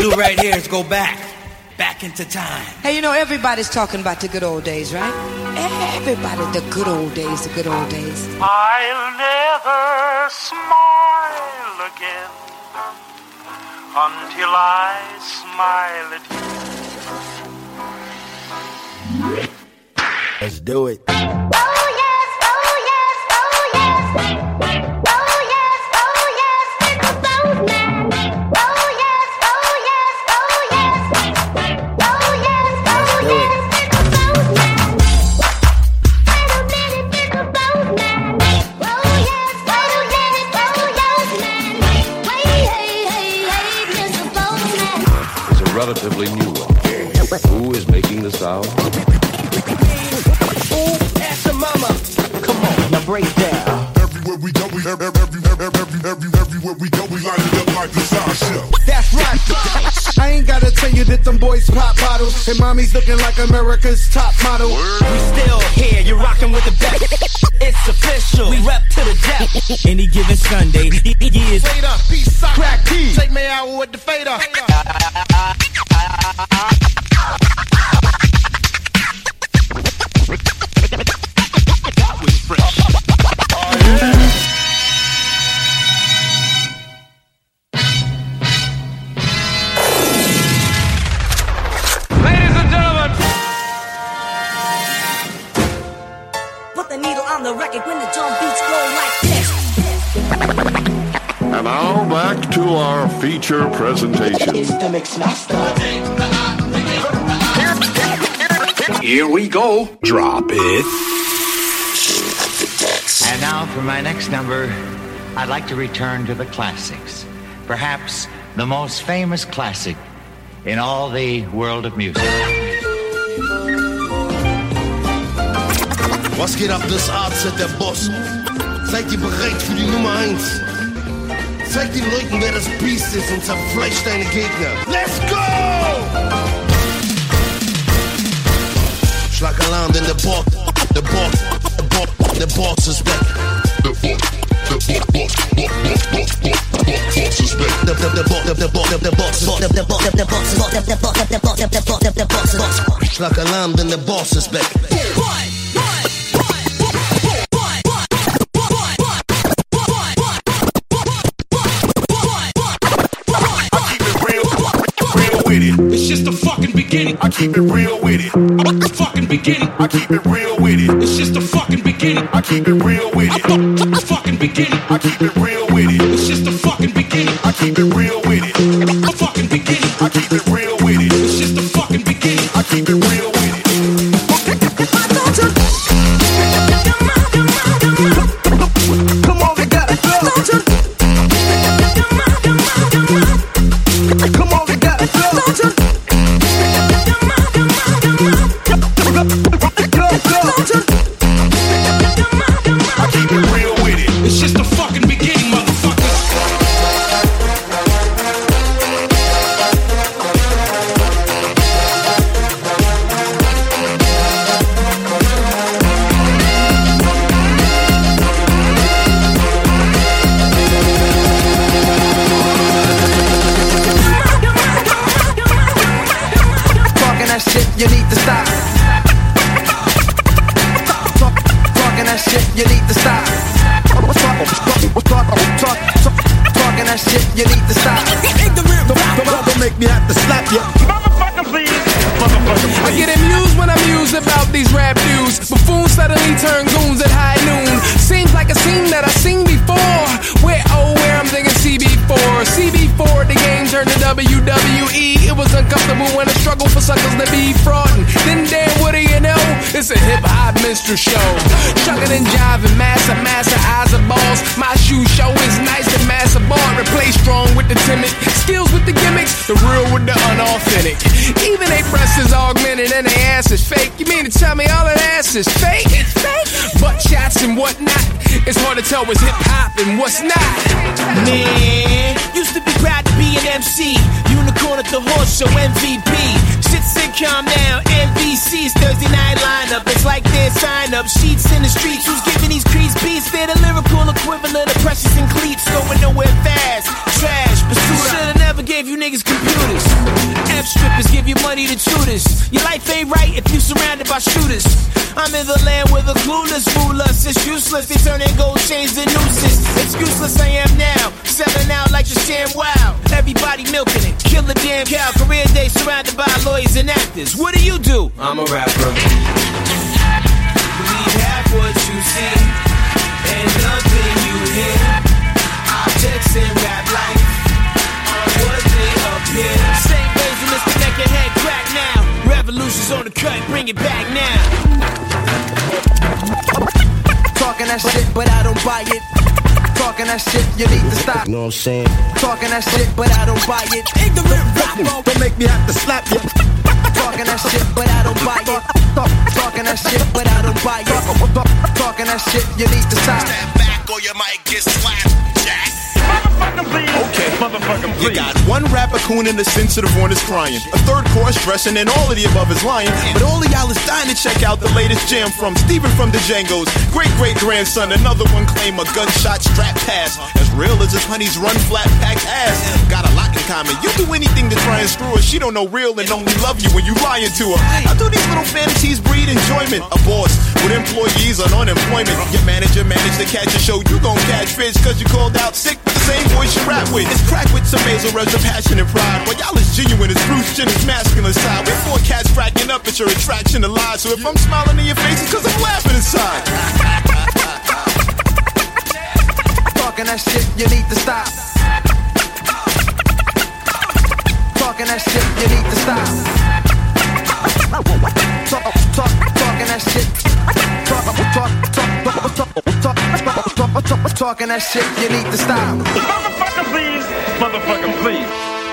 do right here is go back into time. Hey, you know, everybody's talking about the good old days, right? Everybody, the good old days, the good old days. I'll never smile again until I smile at you. Let's do it. Oh yes, oh yes, oh yes. Oh yes, oh yes, it's a boat man. Oh yes, oh yes, oh yes. Oh yes, oh yes, it's a boat man. Wait a minute, it's a boat man. Oh yes, wait a minute, oh yes, man. Wait, hey, Mr. Boatman. It's a relatively new one. Who is making the sound? Break down. Everywhere we go, everywhere we go, we light it up like the sound show. That's right. I ain't gotta tell you that them boys pop bottles and mommy's looking like America's top model. We still here, you're rocking with the best. It's official, we rep to the death. Any given Sunday, years Fader, peace, sock, crack key. Take me out with the fader. When the drum beats go like this. And now back to our feature presentation. It's the Mixmaster. Here we go. Drop it. And now for my next number, I'd like to return to the classics. Perhaps the most famous classic in all the world of music. Was geht ab, das AZ, der Boss? Seid ihr bereit für die Nummer 1? Zeig den Leuten, wer das Biest ist und zerfleischt deine Gegner. Let's go! Schlag Alarm, denn der Boss ist back. Der Boss ist back. Schlag Alarm, denn der Boss ist back. It's just the fucking beginning. I keep it real with it. The fucking beginning. I keep it real with it. It's just the fucking beginning. I keep it real with it. The fucking beginning. I keep it real with it. It's just the fucking beginning. I keep it real with it. The fucking beginning. I keep it real with it. It's just the fucking beginning. I keep it real with it. Come on, we gotta go. Come on, we gotta go. I keep it real with it. It's just the fucking beginning, motherfuckers. Talking that shit, you need to stop. Talking that shit, you need to stop. Talking that shit, you need to stop. Don't make me have to slap you. Motherfucker, please. I get amused when I'm mused about these rap dudes. Buffoons suddenly turn goons at high noon. Seems like a scene that I've seen before. Where I'm thinking CB4. CB4, the game turned to WWE. It was uncomfortable when I struggled for suckers to be fraudin'. Then damn, what do you know? It's a hip-hop minstrel show. Shuckin' and jiving, master eyes of balls. My shoe show is nice and master ball. Replace strong with the timid, skills with the gimmicks, the real with the unauthentic. Even they breasts is augmented and they ass is fake. You mean to tell me all that ass is fake? It's fake. Butt shots and whatnot. It's hard to tell what's hip-hop and what's not. Man, used to be proud to be an MC. Unicorn at the horse show, MVP. Shit sitcom now, NBC's Thursday night lineup. It's like their sign-up sheets in the streets. Who's giving these creeps beats? They're the lyrical equivalent of Precious and Cleats. Going nowhere fast, trash, but should've never gave you niggas computers. the truthers. Your life ain't right if you surrounded by shooters. I'm in the land where the clueless fool us. It's useless, they turning gold chains to nooses. Excuseless I am now, selling out like the sham wow. Everybody milking it, kill the damn cow. Career day surrounded by lawyers and actors. What do you do? I'm a rapper. Believe half what you see and nothing you hear. Objects in rap life are what they appear. Same ways in this connect your head crack now. Revolution's on the cut, bring it back now. Talking that shit, but I don't buy it. Talking that shit, you need to stop. You know what I'm saying? Talking that shit, but I don't buy it. Ignorant rapper, don't make me have to slap you. Talking that shit, but I don't buy it. Talking that shit, but I don't buy it. Talking that shit, you need to stop. Stand back or you might get slapped, Jack. Okay, motherfucker, please. You got one rapper coon and the sensitive one is crying. A third chorus dressing and all of the above is lying. But all of y'all is dying to check out the latest jam from Steven from the Django's great-great-grandson. Another one claim a gunshot strap pass. As real as his honey's run flat packed ass. Got a lot in common. You do anything to try and screw her. She don't know real and only love you when you lying to her. How do these little fantasies breed enjoyment? A boss with employees on unemployment. Your manager managed to catch a show. You gon' catch fish cause you called out sick with the same voice you rap with. It's crack with some nasal res of passion and pride. While y'all is genuine as Bruce Jenner's masculine side. We're four cats cracking up at your attraction to lies. So if I'm smiling in your face, it's cause I'm laughing inside. Talking that shit, you need to stop. Talking that shit, you need to stop. Talking that shit. Talking that shit, you need to stop. Motherfucker, please. Motherfucker, please.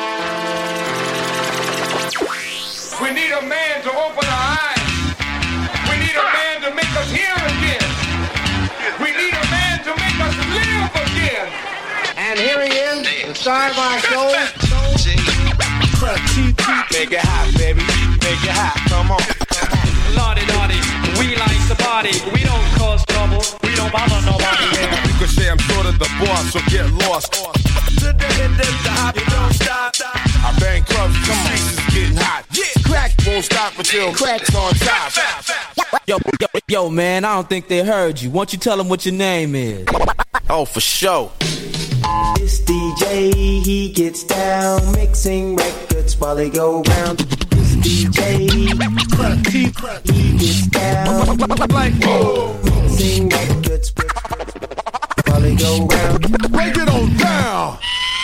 We need a man to open our eyes. We need a man to make us hear again. We need a man to make us live again. And here he is, the star of our show. Make it hot, baby. Make it hot. Come on. Lordy, lordy, we like the party. We don't cause trouble. We don't bother nobody. You could say I'm sort of the boss, so get lost. To the end of the hop, you don't stop. I bang clubs, come on, this is getting hot. Yeah, crack won't stop until crack's on top. Yo, man, I don't think they heard you. Why don't you tell them what your name is? Oh, for sure. This DJ, he gets down, mixing records while they go round. This DJ, he gets down, mixing records while they go round. Break it on down.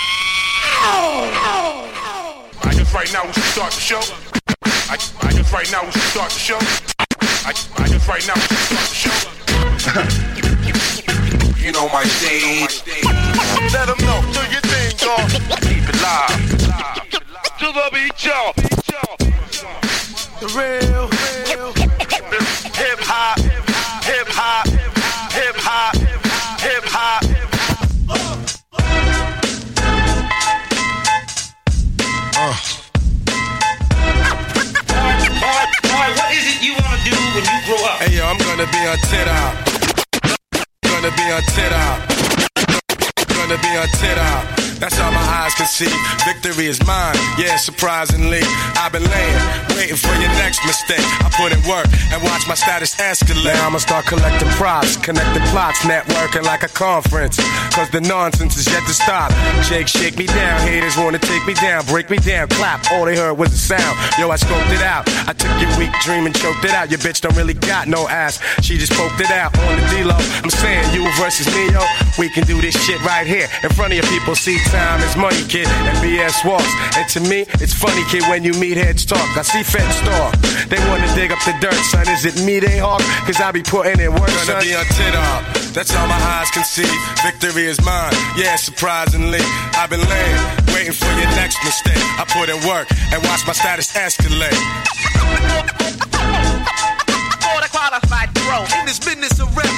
I guess right now we should start the show. I guess right now we should start the show. I guess right now we should start the show. You know my stage. Let them know, do your thing, dog. Keep it live. To the beat, y'all. The real hip hop, hip hop, hip hop, hip hop. Boy, what is it you want to do when you grow up? Hey yo, I'm gonna be on TikTok. Gonna be on TikTok. Gonna be on TikTok. That's all my eyes can see. Victory is mine, yeah, surprisingly. I've been laying, waiting for your next mistake. I put in work and watch my status escalate. Now I'ma start collecting props, connecting plots, networking like a conference. Cause the nonsense is yet to stop. Jake, shake me down, haters wanna take me down, break me down, clap. All they heard was a sound. Yo, I scoped it out. I took your weak dream and choked it out. Your bitch don't really got no ass. She just poked it out on the D-Lo. I'm saying you versus me, yo. We can do this shit right here in front of your people. See, time is money, kid, and BS walks. And to me, it's funny, kid, when you meet heads talk. I see feds talk. They wanna dig up the dirt, son. Is it me they hawk? Cause I be putting in work, son. Gonna be on TikTok. That's all my eyes can see. Victory is mine, yeah, surprisingly. I've been laying, waiting for your next mistake. I put in work and watch my status escalate. For the qualified pro in this business of rap.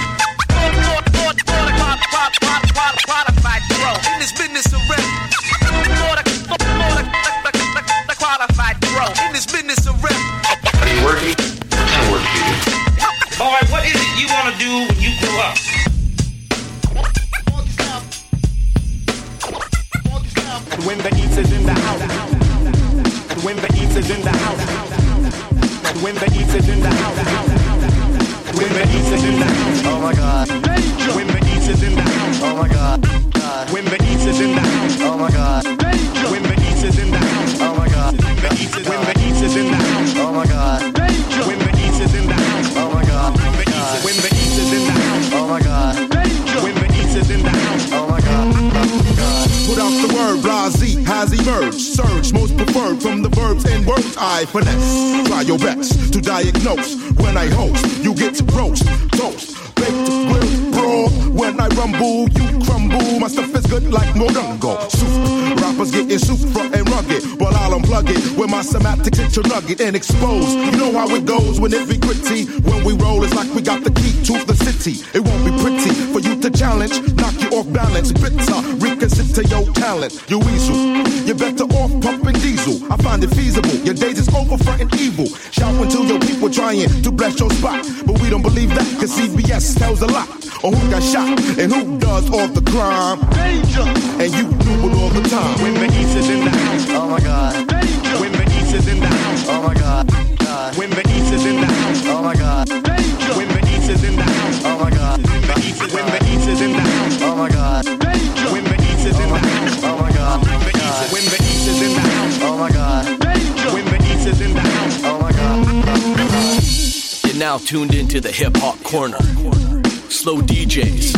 Qualified pro in this business of rap. The qualified pro in this business of rap. Are you working? What kind of work do you do? Boy, what is it you want to do when you grow up? When the East is in the house. When the East is in the house. When the East is in the house. When the East is in the house. Oh my God. When the East is in the house. Oh my God. When the East is in the house. Oh my God. When the East is in the house. Oh my God. When the East is in the house. Oh my God. When the East is in the house. Oh my God. When the East is in the house. Oh my God. When the East is in the house. Oh my God. Put out the word, blase has emerged. Surge, most preferred from the verbs and words I finesse. Try your best to diagnose. When I host, you get roast, toast, baked, grilled, raw. When I rumble, you crumble. My stuff is good like Morongo. Soup, rappers getting super and rugged. While I'll unplug it with my semantics into nugget and expose. You know how it goes when it be gritty. When we roll, it's like we got the key to the city. It won't be pretty for you to challenge. Knock you off balance, bitter, reconsider your talent. You weasel, you're better off pumping diesel. I find it feasible, your days is over fronting evil. Shouting to your people trying to bless your spot. But we don't believe that, cause CBS tells a lot. On who got shot and who does all the crime. Danger! And you do it all the time. When the East is in the house. Oh my God. Danger! When the East is in the house. Oh my God. When the East is in the house. Oh my God. Danger! When the East is in the house. Oh my God. When the East is in the house. Oh my God. Danger! When the East is in the house. Oh my God. When the East is in the house. Oh my God. Danger! When the East is in the house. Oh my God. You're now tuned into the Hip Hop Corner. Slow DJs.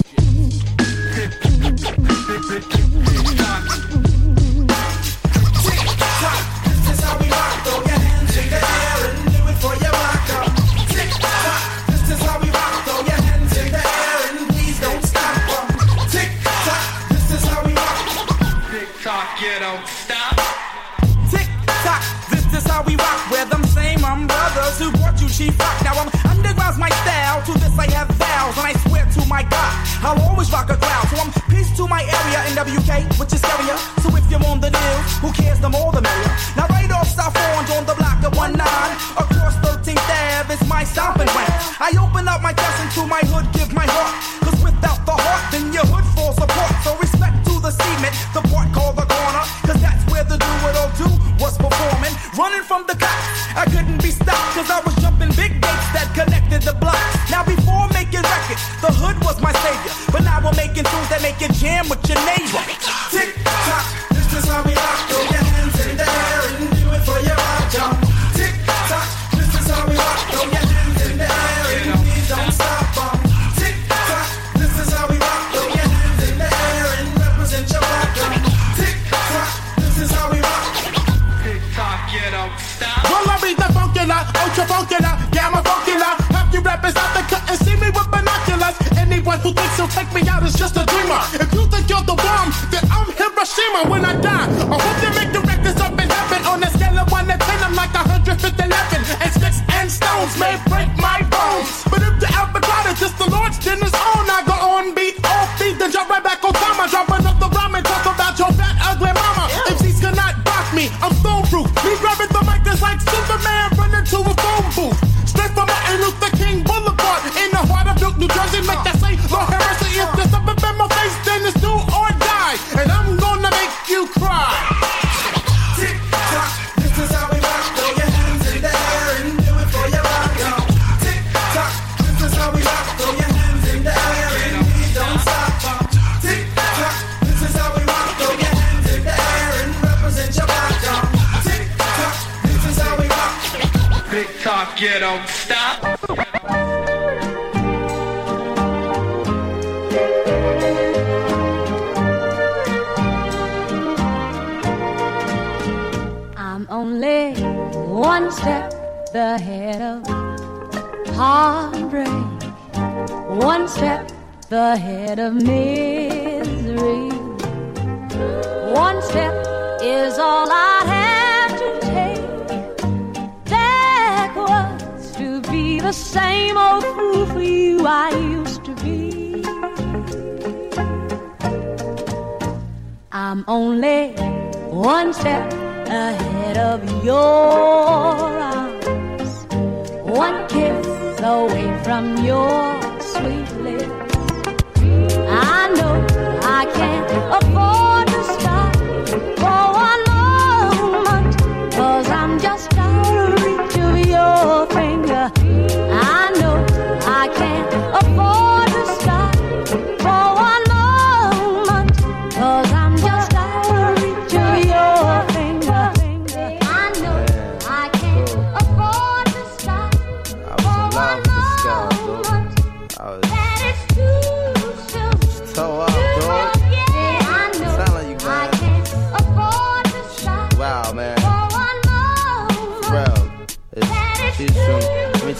Now I'm underground's my style. To this I have vows, and I swear to my God, I'll always rock a crowd. So I'm peace to my area in WK, which is area. So if you're on the news, who cares? The more the merrier. Now right off South Orange on the block of 19, across 13th Ave is my stomping ground. I open up my chest into my hood, give my heart. Cause without the heart, then your hood falls apart. So respect to the cement, the part called the corner. Cause that's where the do-what-I'll-do was performing. Running from the cops, I couldn't be stopped. Cause I was jumping big gates that connected the blocks. Now before making records, the hood was my savior. But now we're making tunes that make you jam with your neighbor. Tick tock, this is how we rock. Throw your hands in the air and do it for your rock, y'all. Tick tock, this is how we rock. Throw your hands in the air and please don't stop. Tick tock, this is how we rock. Throw your hands in the air and represent your rock. Tick tock, this is how we rock. Tick tock, you don't stop. Well, I be the funkular, ultra funkular, gamma funkular. Half you rappers out there couldn't see me with binoculars. Anyone who thinks he'll take me out is just a dreamer. If you think you're the bomb, then I'm Hiroshima when I die. I hope you make the records up in heaven. On a scale of 1 to 10, I'm like 111. And sticks and stones may break my bones. But if the albatross is just the Lord's dinner's own, I go on beat, off beat, then drop right back on time. I drop another rhyme and talk about your fat, ugly mama. MCs cannot block me, I'm stone proof. Me grabbing the mic is like Superman running to a phone booth. Straight from Martin Luther King Boulevard in the heart of New Jersey. Make that say, Lord have mercy, if there's something in my face, then it's do or die. And I'm gonna make you cry. Tick tock, this is how we rock. Throw your hands in the air and do it for your rock, y'all. Tick tock, this is how we rock. Throw your hands in the air and please don't stop. Tick tock, this is how we rock. Throw your hands in the air and represent your rock, y'all. Tick tock, this is how we rock. Tick tock, you don't stop. I'm only one step ahead of heartbreak, one step ahead of misery. One step is all I have to take backwards to be the same old fool for you I used to be. I'm only one step ahead of your arms, one kiss away from your sweet lips. I know I can't afford to stop for one moment,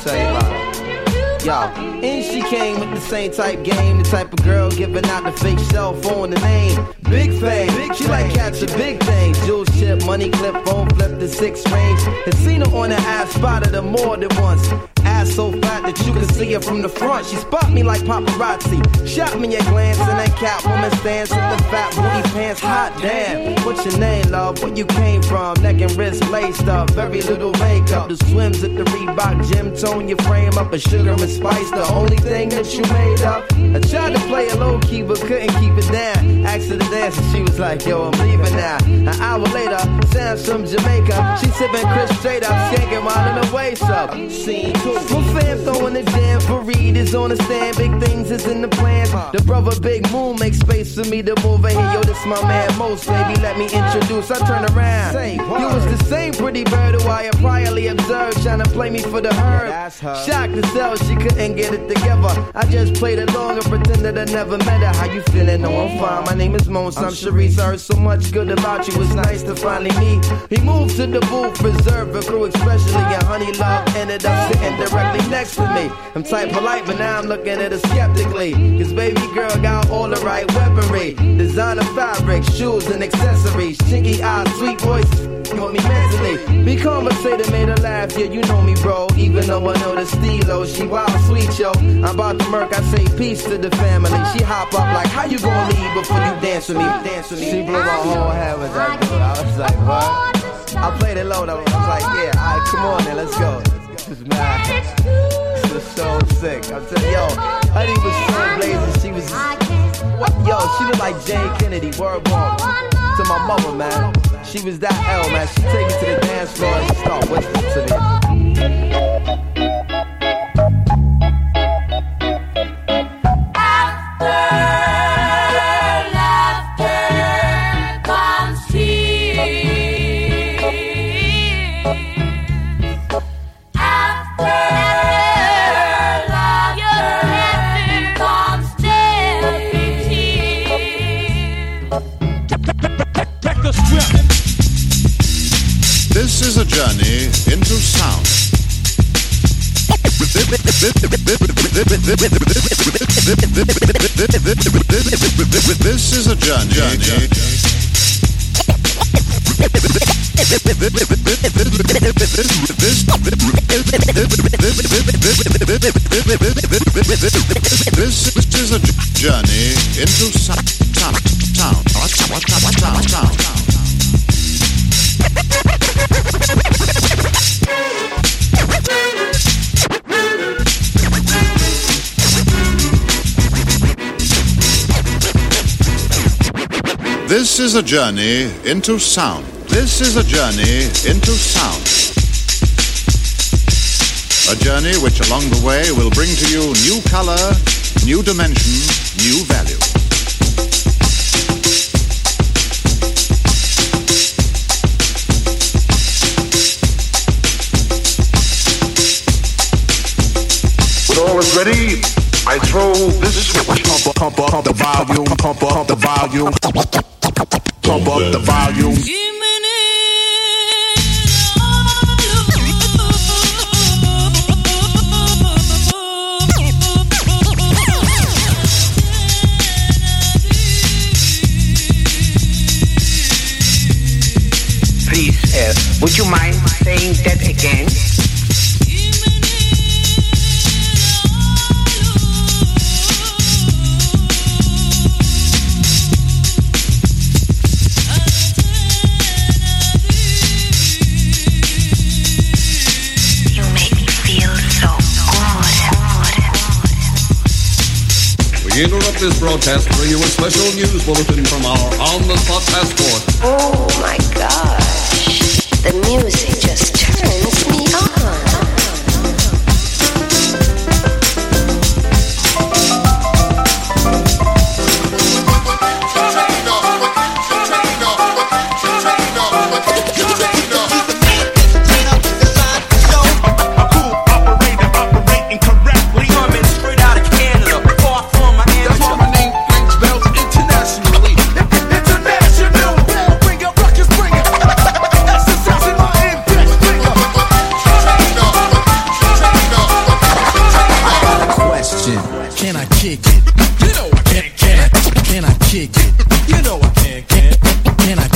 tell you about her. Yo, and she came with the same type game, the type of girl giving out the fake cell phone, the name Big Fame. She like catching big things, jewel chip, money clip, phone flip, the 6 range. Had seen her on the ass, spotted her more than once. Ass so fat that you can see her from the front. She spot me like paparazzi, shot me a glance, and that Catwoman stands with the fat booty pants. Hot damn, what's your name, love? Where you came from? Neck and wrist laced up, very little makeup. The swims at the Reebok gym, tone your frame up, a sugar and spice, the only thing that you made up. I tried to play it low key, but couldn't keep it down. Asked her to dance, and she was like, yo, I'm leaving now. An hour later, Sam's from Jamaica. She sipping Chris straight up, skanking while in the waist up. Scene 2. My fam throwing the jam for Reed is on the stand. Big things is in the plans. The brother Big Moon makes space for me to move in here. Yo, this my man Most, baby, let me introduce. I turn around. You was the same pretty bird who I had priorly observed, trying to play me for the herd. Shocked to sell, she couldn't get it together. I just played along and pretended I never met her. How you feeling? No, I'm fine. My name is Mons. I'm Sharice. I heard so much good about you. It's nice to finally meet. He moved to the booth, reserved for crew, especially. And Honey Love ended up sitting directly next to me. I'm type polite, but now I'm looking at her skeptically. Cause baby girl got all the right weaponry. Designer fabric, shoes and accessories. Chinky eyes, sweet voice. Want me mentally. Be conversated, made her laugh. Yeah, you know me, bro. Even though I know the stilo, she wild sweet, yo. I'm about to murk, I say peace to the family. She hop up like, how you gonna leave before you dance with me? Dance with me. She blew my whole head with that dude. I was like, what? I played it low though. I was like, yeah, alright, come on then, let's go. This is mad. This was so sick. I'm telling you, yo, Honey was so blazing. She was, yo, she looked like Jane Kennedy. Word bomb. To my mother, man. She was that L, man. She take me to the dance floor and she start whispering to me. This is a journey into sound. This is a journey. This is a journey into sound. This is a journey into sound. This is a journey into sound. A journey which along the way will bring to you new color, new dimension, new value. When all is ready, I throw this switch. Pump up the volume, pump up the volume, pump up the volume. Please, would you mind saying that again? We interrupt this broadcast to bring you a special news bulletin from our on-the-spot task force. Oh my gosh, the music just turns me on. International.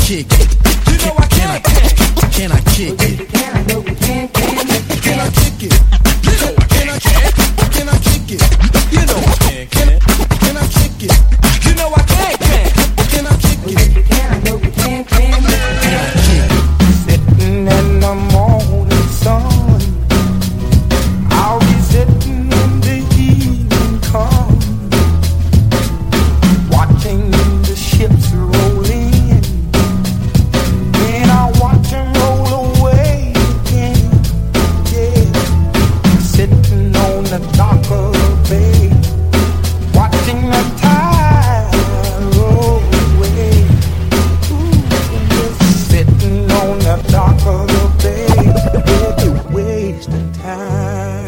kick it? You know I can. Can I kick it? Can I know you can? Can I kick it? You know can I can? Can I kick it? You know I can. Can I kick it? You know I can. Can I kick it? Can I know you can? Can I kick it? Sitting in the morning sun, I'll be sitting in the evening come, watching the ships roll in. Then I watch them roll away again. Yeah, sitting on the dock of the bay, watching the tide roll away. Ooh, sitting on the dock of the bay, yeah, wasting time.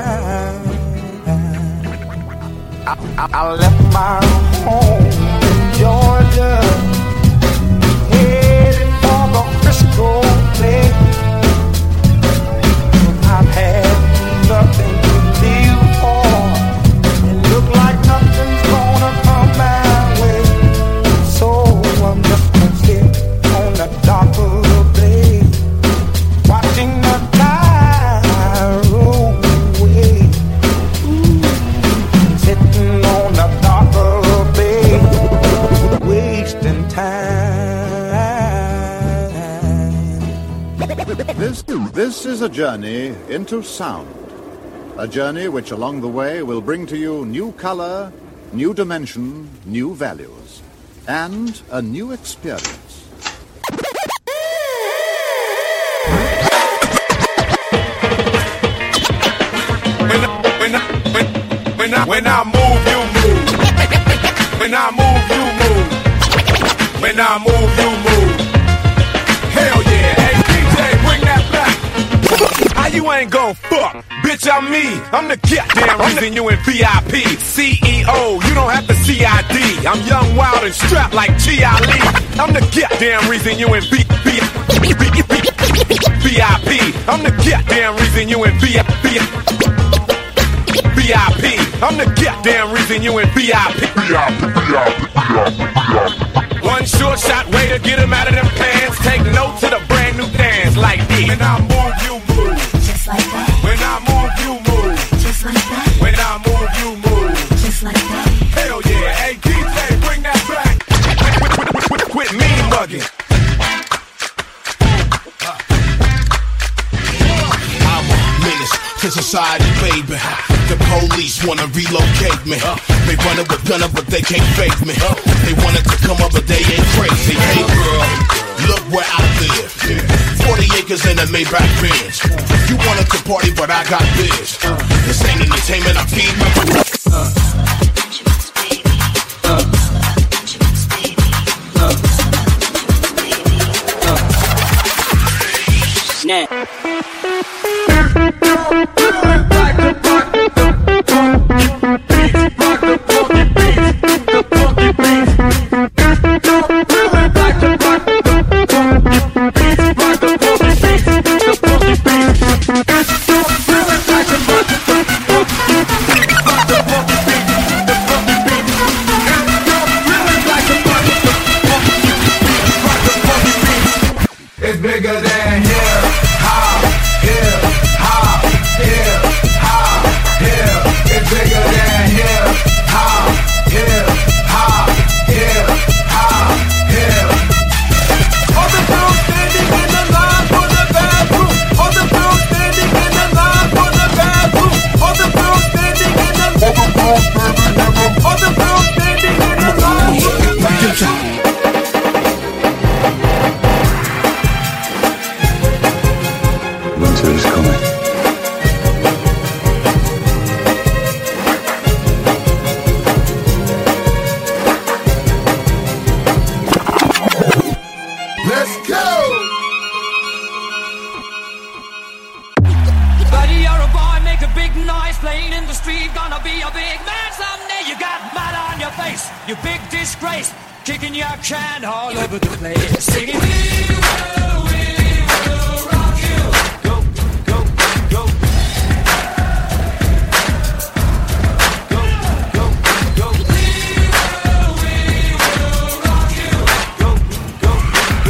I left my home in Georgia, heading for the Frisco Bay. I've had nothing to live for, and look like nothing's gonna come my way. So I'm just gonna sit on the dock of the bay, watching the tide roll away. Ooh, sitting on the dock of the bay, wasting time. This is a journey into sound. A journey which along the way will bring to you new color, new dimension, new values, and a new experience. When I move, you move. When I move, you move. When I move, you move. Hell yeah, hey DJ, bring that back. How you ain't gon' fuck? Bitch, I'm me. I'm the goddamn reason you in VIP. CEO, you don't have the CID. I'm young, wild, and strapped like G.I. Lee. I'm the goddamn reason you in VIP. I'm the goddamn reason you in VIP. I'm the goddamn reason you in VIP. One short shot way to get him out of them pants. Take note to the brand new dance like this. When I move, you move. just like that. When I move, you move. Just like that. When I move, you move. Just like that. Hell yeah, hey DJ, bring that back. Quit mean mugging. I'm a menace to society, baby. The police wanna relocate me. They run it with gunner, but they can't fake me. They wanted to come up, but they ain't crazy. Hey girl, look where I live. 40 acres in a Maybach Benz. You wanted to party, but I got biz. This ain't entertainment, I feed my It's bigger than hip hop, hip hop, hip hop, hip. It's bigger than hip hop, hip hop, hip hop, hip. All the girls standing in the line for the bathroom. All the girls standing in the line for the bathroom. All the girls standing in the line. All the girls standing in the line for the bathroom. Winter is coming. Let's go! Buddy, you're a boy, make a big noise, playing in the street, gonna be a big man someday. You got mud on your face, you big disgrace, kicking your can all over the place, singing, we will rock you. Go, go, go. Go, go, go. We will rock you. Go, go,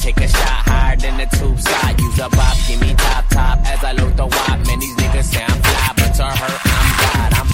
take a shot higher than the tube side. Use a bop, give me top as I load the wop. Man, these niggas say I'm fly, but to her, I'm God. I'm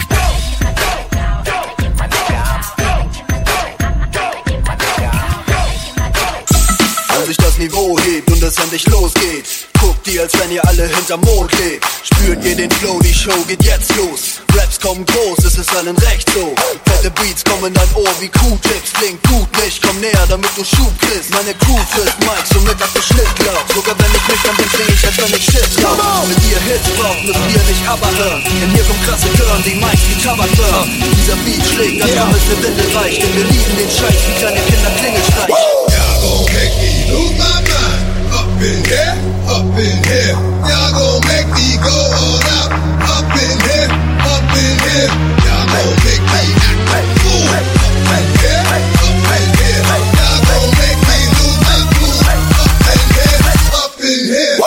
sich das Niveau hebt und es endlich losgeht. Guckt ihr, als wenn ihr alle hinterm Mond lebt. Spürt ihr den Flow, die Show geht jetzt los. Raps kommen groß, es ist allen recht so. Fette Beats kommen in dein Ohr wie Q-Tips. Klingt gut nicht, komm näher, damit du Schub kriegst. Meine Crew frisst Mike, somit hat Schnitt glaubt. Sogar wenn ich nüchtern bin, sing ich, als wenn ich Shit glaub. Wenn ihr Hits braucht, müsst ihr nicht aber hören. Denn hier kommt krasse Girl, die Mikes wie Cover burn. Dieser Beat schlägt, als wenn es ne Windel reicht. Denn wir lieben den Scheiß wie kleine Kinder Klingelstreich. Y'all gon' make me lose my mind. Up in here, up in here. Y'all gon' make me go all out. Up in here, up in here. Y'all gon' make me act like fool. Up in here, up in here. Y'all gon' make me lose my cool. Up in here, up in here.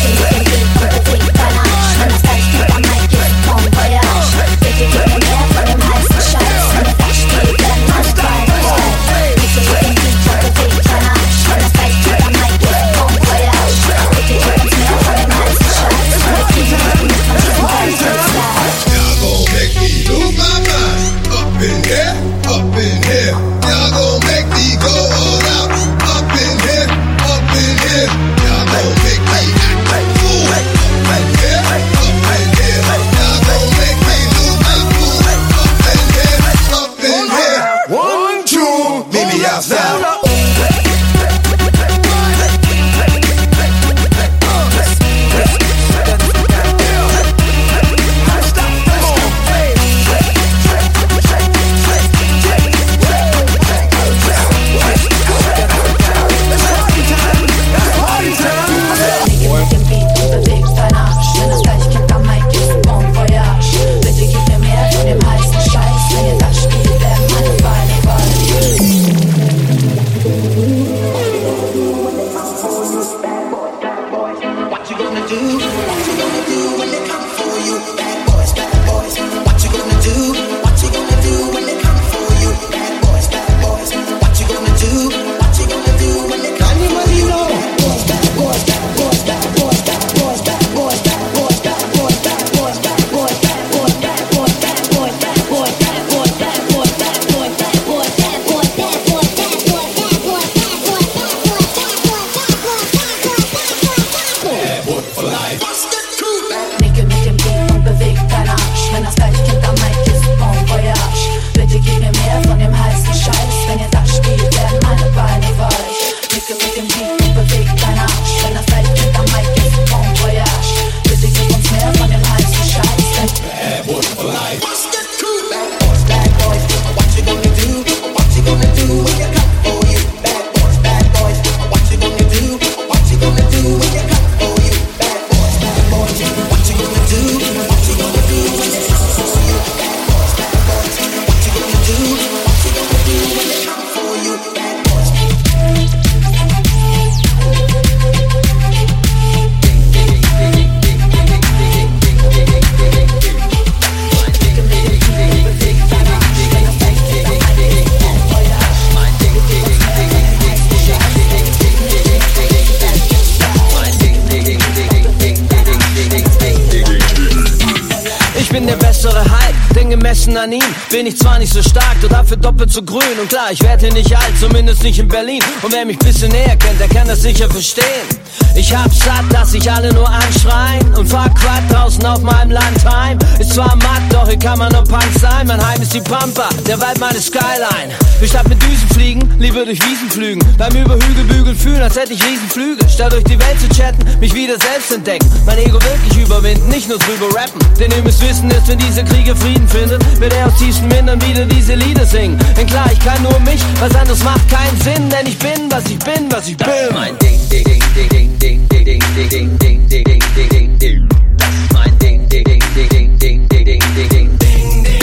An ihm bin ich zwar nicht so stark, doch dafür doppelt so grün. Und klar, ich werde hier nicht alt, zumindest nicht in Berlin. Und wer mich bisschen näher kennt, der kann das sicher verstehen. Ich hab's satt, dass sich alle nur anschreien und fahr Quad draußen auf meinem Landheim. Ist zwar matt, doch hier kann man nur Punk sein. Mein Heim ist die Pampa, der Wald meine Skyline. Wir statt mit Düsen fliegen, lieber durch Wiesen flügen. Beim über Hügel bügeln fühlen, als hätte ich Riesenflügel. Statt durch die Welt zu chatten, mich wieder selbst entdecken. Mein Ego wirklich überwinden, nicht nur drüber rappen. Denn ihr müsst wissen, ist, wenn diese Kriege Frieden findet, wird er aus tiefsten Mindern wieder diese Lieder singen. Denn klar, ich kann nur mich, was anderes macht keinen Sinn. Denn ich bin, was ich bin, was ich bin. Mein Ding, ding, ding, ding, ding, ding, ding, ding, ding, ding, ding, ding, ding, ding, ding. Das ist mein Ding, ding, ding, ding, ding, ding, ding, ding, ding, ding, ding.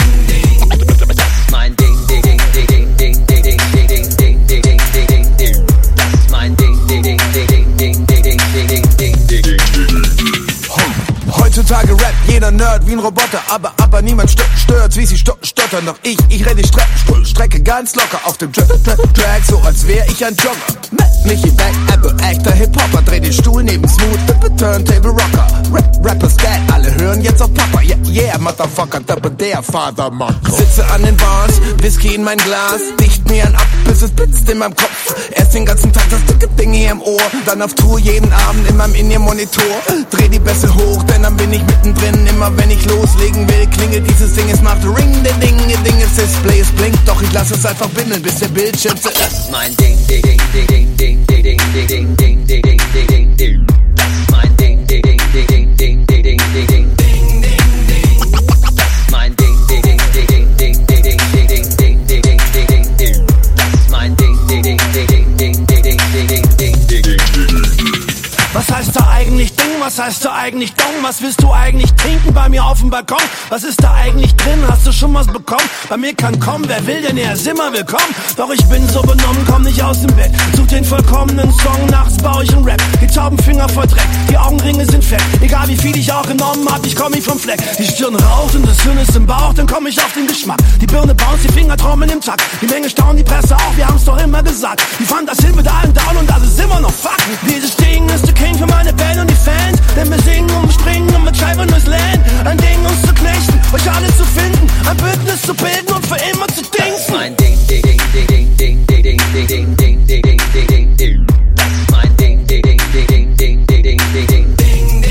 Das ist mein Ding, ding, ding, ding, ding, ding, ding, ding, ding, ding, ding, ding, ding, ding. Das ist mein Ding, ding, ding, ding, ding, ding, ding, ding, ding, ding, ding, ding. Heutzutage rappt jeder Nerd wie ein Roboter, aber niemand stört, wie sie stottern. Doch ich renne die Strecke ganz locker auf dem Track, so als wär ich ein Jogger. Michi Beck, Apple, Actor, Hip-Hopper, dreh den Stuhl neben Smooth, Turntable Rocker. Rappers dead, alle hören jetzt auf Papa, yeah, Motherfucker, der Father, Mann. Sitze an den Bars, Whisky in mein Glas, dicht mir an ab, bis es blitzt in meinem Kopf. Erst den ganzen Tag das dicke Ding hier im Ohr, dann auf Tour jeden Abend in meinem In-Ear-Monitor. Dreh die Bässe hoch, denn dann bin ich mittendrin. Immer wenn ich loslegen will, klingelt dieses Ding, es macht Ring, der Ding, das Display, es blinkt, doch ich lass es einfach bimmeln, bis der Bildschirm Das ist mein Ding, Ding, Ding, Ding, Ding, Ding, Ding, Ding, Ding, Ding, Ding, Ding, Ding. Das ist mein Ding, Ding, Ding, Ding, Ding, Ding, Ding, Ding, Ding, Ding. Das ist mein Ding, Ding, Ding, Ding, Ding, Ding, Ding, Ding, Ding, Ding, Ding, Ding. Das ist mein Ding, Ding, Ding, Ding, Ding, Ding, Ding, Ding, Ding, Ding. Was heißt da eigentlich Ding? Was heißt da eigentlich Dong? Was willst du eigentlich trinken bei mir auf dem Balkon? Was ist da eigentlich drin? Hast du schon was bekommen? Bei mir kann kommen, wer will, denn er ist immer willkommen. Doch ich bin so benommen, komm nicht aus dem Bett. Such den vollkommenen Song, nachts baue ich einen Rap. Die Taubenfinger voll Dreck, die Augenringe sind fett. Egal wie viel ich auch genommen hab, ich komm nicht vom Fleck. Die Stirn raucht und das Hirn ist im Bauch, dann komm ich auf den Geschmack. Die Birne bounce, die Finger trommeln im Takt. Die Menge staunt, die Presse auch, wir haben's doch immer gesagt. Die fand das Hin mit allen down und das ist immer noch Fuck. Dieses Ding ist der King für meine Band und die Fans. Denn wir singen und springen und mit Scheiben durchs Land. Ein Ding uns zu knechten, euch alle zu finden. Ein Bündnis zu bilden und für immer zu dingsen. Das ist mein Ding, Ding, Ding, Ding, Ding, Ding, Ding, Ding, Ding, Ding, Ding, Ding, Ding, Ding. Das ist mein Ding, Ding, Ding, Ding, Ding, Ding, Ding, Ding, Ding, Ding.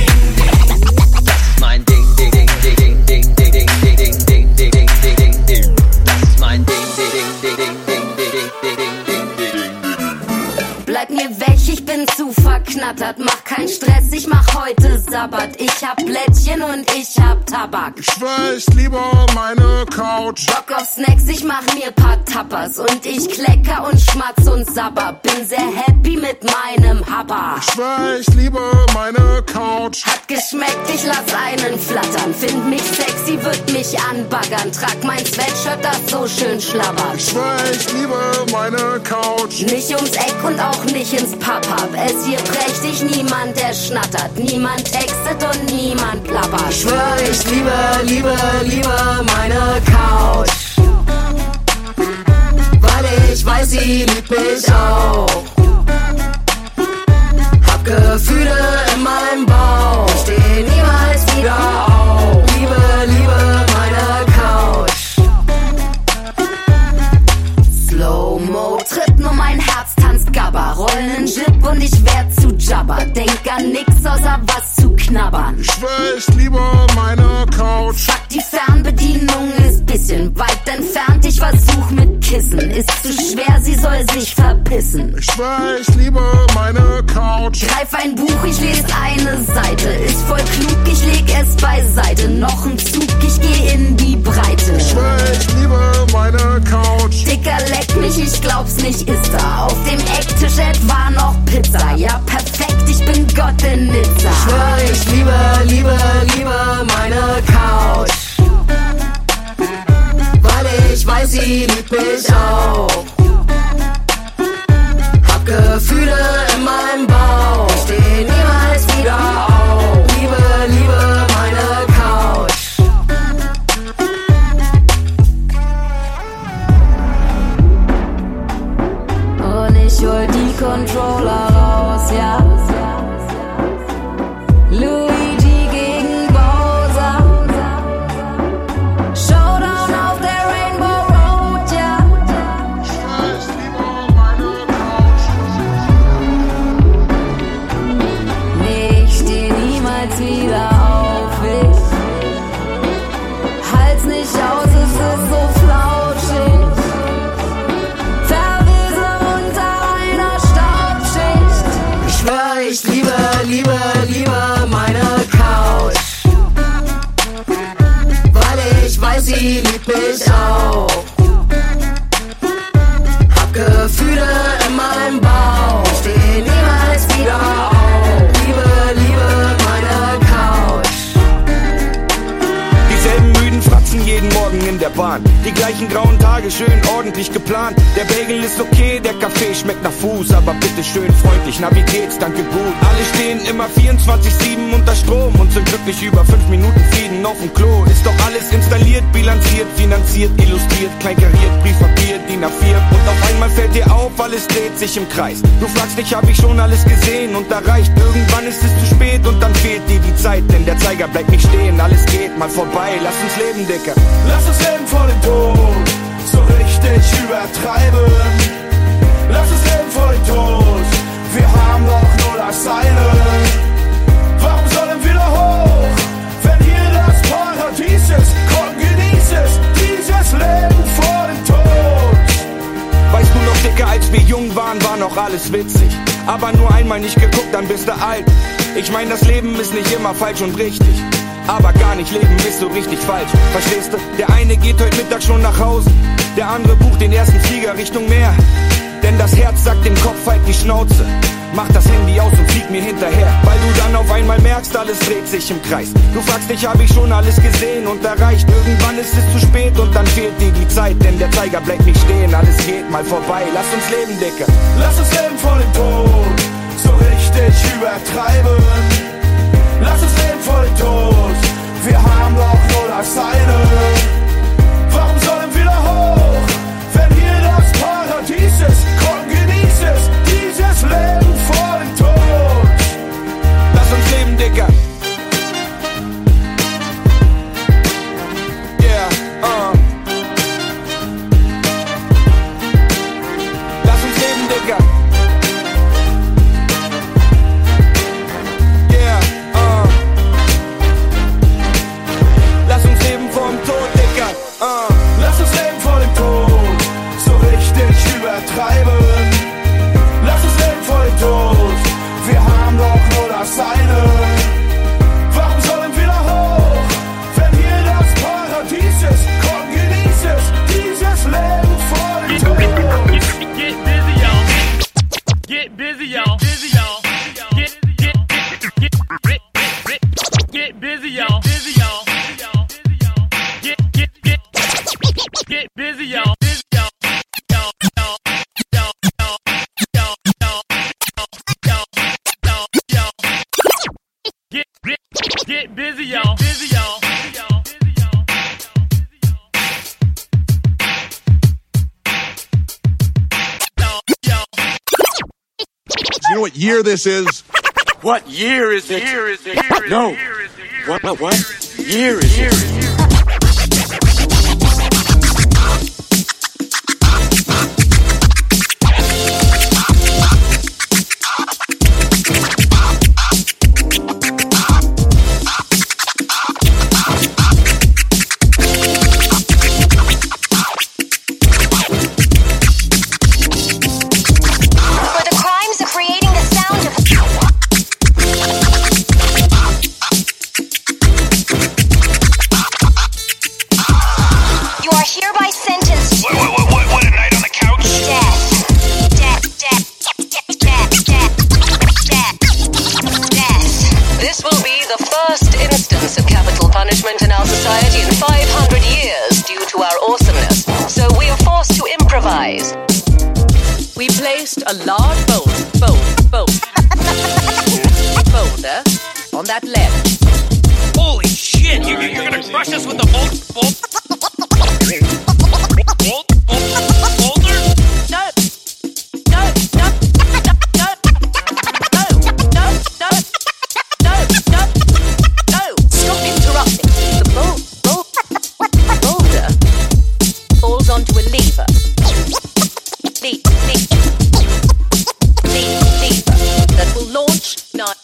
Das ist mein Ding, Ding, Ding, Ding, Ding, Ding, Ding, Ding, Ding, Ding, Ding, Ding. Das ist mein Ding, Ding, Ding, Ding, Ding, Ding, Ding, Ding, Ding. Bleib mir weg, ich bin zu verknattert. Mach keinen Stress, ich mach heute Sabbat. Ich hab Blättchen und ich hab Tabak. Ich weiß lieber meine Couch. Bock auf Snacks, ich mach mir paar Tapas. Und ich klecker und schmatz und sabber. Bin sehr happy mit meinem Habba. Ich weiß lieber meine Couch. Hat geschmeckt, ich lass einen flattern. Find mich sexy, würd mich anbaggern. Trag mein Sweatshirt, das so schön schlabbert. Ich weiß lieber meine Couch. Nicht ums Eck und auch nicht ins Pub-Hub. Es hier prächtig, niemand der schnattert. Niemand textet und niemand plappert. Ich schwör, ich liebe meine Couch. Weil ich weiß, sie liebt mich auch. Hab Gefühle in meinem Bauch. Steh niemals wieder auf. Liebe meine Couch. Slow-Mo, tritt nur mein Herz, tanzt Gabba. Rollen Jib und ich werd zu Jabba. Denk an nix außer was zu knabbern. Ich weiß lieber meine Couch. Fuck, die Fernbedienung ist bisschen weit entfernt. Ich versuch mit Kissen. Ist zu schwer, sie soll sich verpissen. Ich weiß lieber meine Couch. Greif ein Buch, ich lese eine Seite. Ist voll klug, ich leg es beiseite. Noch ein Zug, ich geh in die Breite. Ich weiß lieber meine Couch. Dicker, leck mich, ich glaub's nicht, ist da. Auf dem Ecktisch etwa noch Pizza. Ja, perfekt, ich bin Gott in Nizza. Ich schwör, ich liebe meine Couch. Weil ich weiß, sie liebt mich auch. Hab Gefühle in meinem Bauch. Steh niemals wieder auf. Liebe meine Couch. Und ich hol die Controller raus, ja. Luigi gegen Bowser. Showdown auf der Rainbow Road, ja. Ich weiß lieber meine Couch. Nee, ich steh niemals wieder auf, ich halt's nicht aus, es ist so flauschig. Verwesen unter einer Staubschicht. Ich schwör, ich liebe meine Couch. Weil ich weiß, sie liebt mich auch. Hab Gefühle in meinem Bauch. Steh niemals wieder auf. Liebe meine Couch. Dieselben müden Fratzen jeden Morgen in der Bahn. Die gleichen grauen Tage, schön ordentlich geplant. Der Bagel ist okay, der Kaffee Tee schmeckt nach Fuß, aber bitte schön freundlich, na wie geht's, danke gut. Alle stehen immer 24/7 unter Strom und sind glücklich über 5 Minuten Frieden auf dem Klo. Ist doch alles installiert, bilanziert, finanziert, illustriert, kleinkariert, Briefpapier, DIN A4. Und auf einmal fällt dir auf, alles dreht sich im Kreis. Du fragst dich, hab ich schon alles gesehen und erreicht? Irgendwann ist es zu spät und dann fehlt dir die Zeit, denn der Zeiger bleibt nicht stehen. Alles geht mal vorbei, lass uns leben, Dicker. Lass uns leben vor dem Tod, so richtig übertreiben. Lass uns leben vor dem Tod, wir haben doch nur das eine. Warum sollen wir da hoch, wenn hier das Paradies ist? Komm, genieß es, dieses Leben vor dem Tod. Weißt du noch, Dicker, als wir jung waren, war noch alles witzig. Aber nur einmal nicht geguckt, dann bist du alt. Ich mein, das Leben ist nicht immer falsch und richtig, aber gar nicht leben ist so richtig falsch. Verstehst du? Der eine geht heute Mittag schon nach Hause, der andere bucht den ersten Flieger Richtung Meer. Denn das Herz sagt dem Kopf halt die Schnauze. Mach das Handy aus und flieg mir hinterher, weil du dann auf einmal merkst, alles dreht sich im Kreis. Du fragst dich, hab ich schon alles gesehen und erreicht? Irgendwann ist es zu spät und dann fehlt dir die Zeit, denn der Zeiger bleibt nicht stehen. Alles geht mal vorbei, lass uns leben, Dicker. Lass uns leben vor dem Tod, so richtig übertreiben. Lass uns leben vor dem Tod, wir haben doch nur das eine. Warum sollen wir da hoch, wenn hier das Paradies ist? Komm, genieß es, dieses Leben vor dem Tod. Lass uns leben, Dicker. Yeah, Lass uns leben, Dicker. Yeah, Lass uns leben vor dem Tod, Dicker. Lass uns leben vor dem Tod, so richtig übertreiben. Lass uns leben vor dem Tod, wir haben doch nur das eine. Warum sollen wir da hoch, wenn hier das Paradies ist? Komm, genieß es, dieses Leben vor dem Tod. Get busy, y'all. Get busy, y'all. Get busy, y'all. Busy, y'all. Get busy, y'all. Get busy, y'all. Busy, y'all. You know what year this is? What year is it? No. What year is it? A large boulder on that ledge. Holy shit! You're gonna crush us with a boulder? No! Stop interrupting. The boulder falls onto a lever. That will launch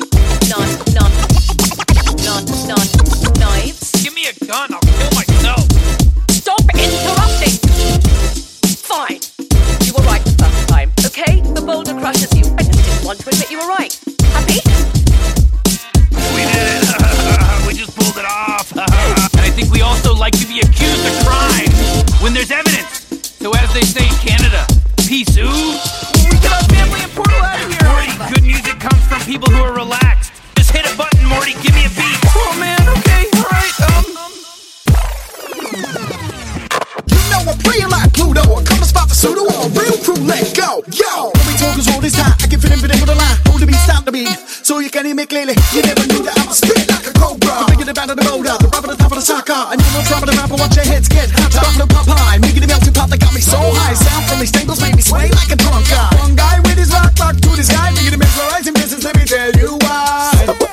knives. Give me a gun, I'll kill myself. Stop interrupting. Fine. You were right the first time, okay? The boulder crushes you. I just didn't want to admit you were right. Happy? We did it. We just pulled it off. And I think we also like to be accused of crime when there's evidence. So as they say in Canada, peace ooh. We get our family and Portal out of here. Morty, good music comes from people who are relaxed. Just hit a button, Morty, give me a beat. Oh man, okay, alright, You know I'm playing like Pluto, I'm coming spot the So the all real crew, let go, yo. When we talk is all this time, I can fit in with a line. Hold the beat, stop the beat. So you can hear me clearly. You never knew that I'ma spit like a cobra. I'm bigger than the motor, the rubber, the top of the soccer. And you know drop of the rapper, watch your heads get hotter. Buffalo pop high, making the melting pot that got me so high. Sound from these tables made me sway like a drunk guy. One guy with his rock to this guy, making him mesmerizing business. Let me tell you why.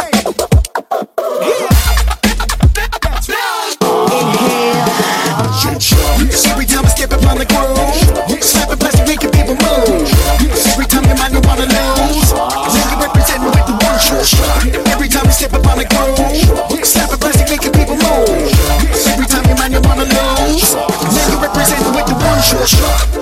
Every time I step up on the groove, slapping plastic, making people move. Every time your mind you wanna lose, nigga representing with the one shot. Every time I step up on the groove, slapping plastic, making people move. Every time your mind you wanna lose, nigga representing with the one shot.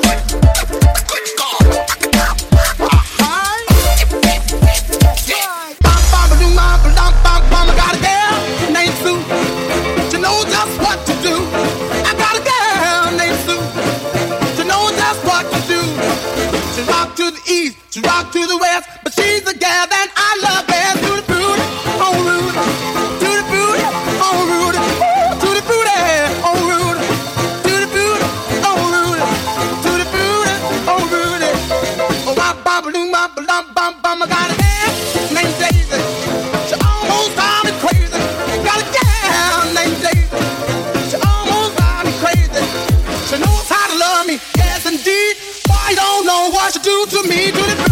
To rock to the west, but she's the gal that I love best. To the booty, oh Rudy. To the booty, oh Rudy. To the booty, oh Rudy. To the booty, oh Rudy. To the booty, oh Rudy. Oh, bop, bop, doo, bop, bop, bop, bop. I got a gal named Daisy. She almost drives me crazy. Got a gal named Daisy. She almost drives me crazy. She knows how to love me, yes indeed. Boy, you don't know what she do to me. To the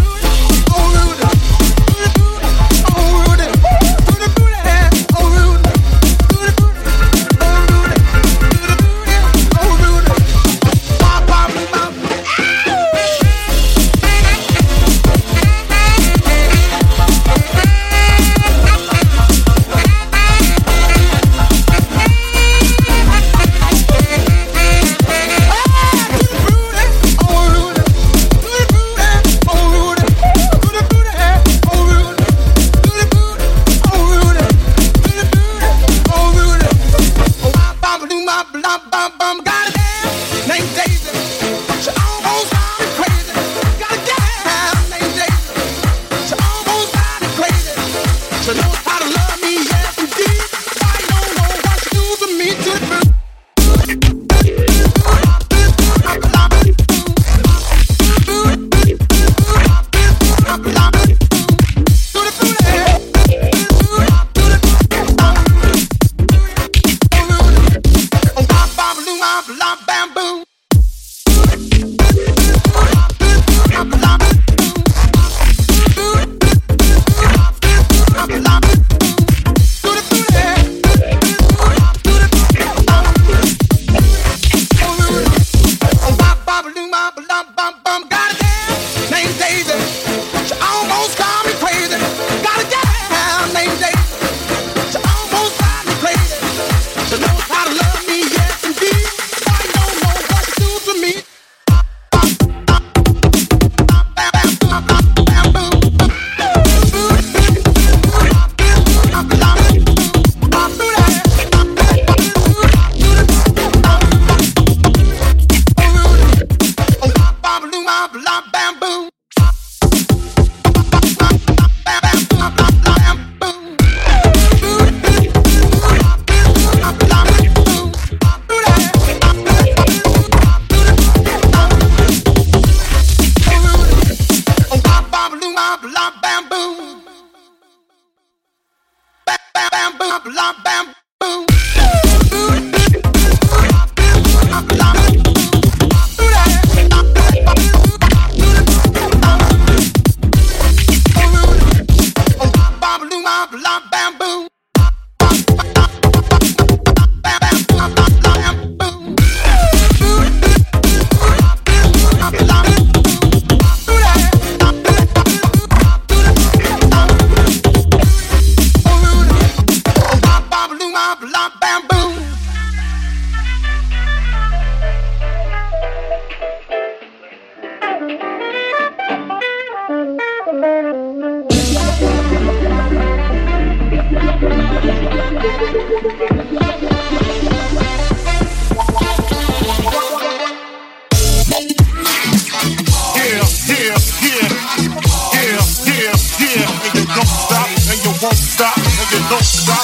won't stop, and you don't stop.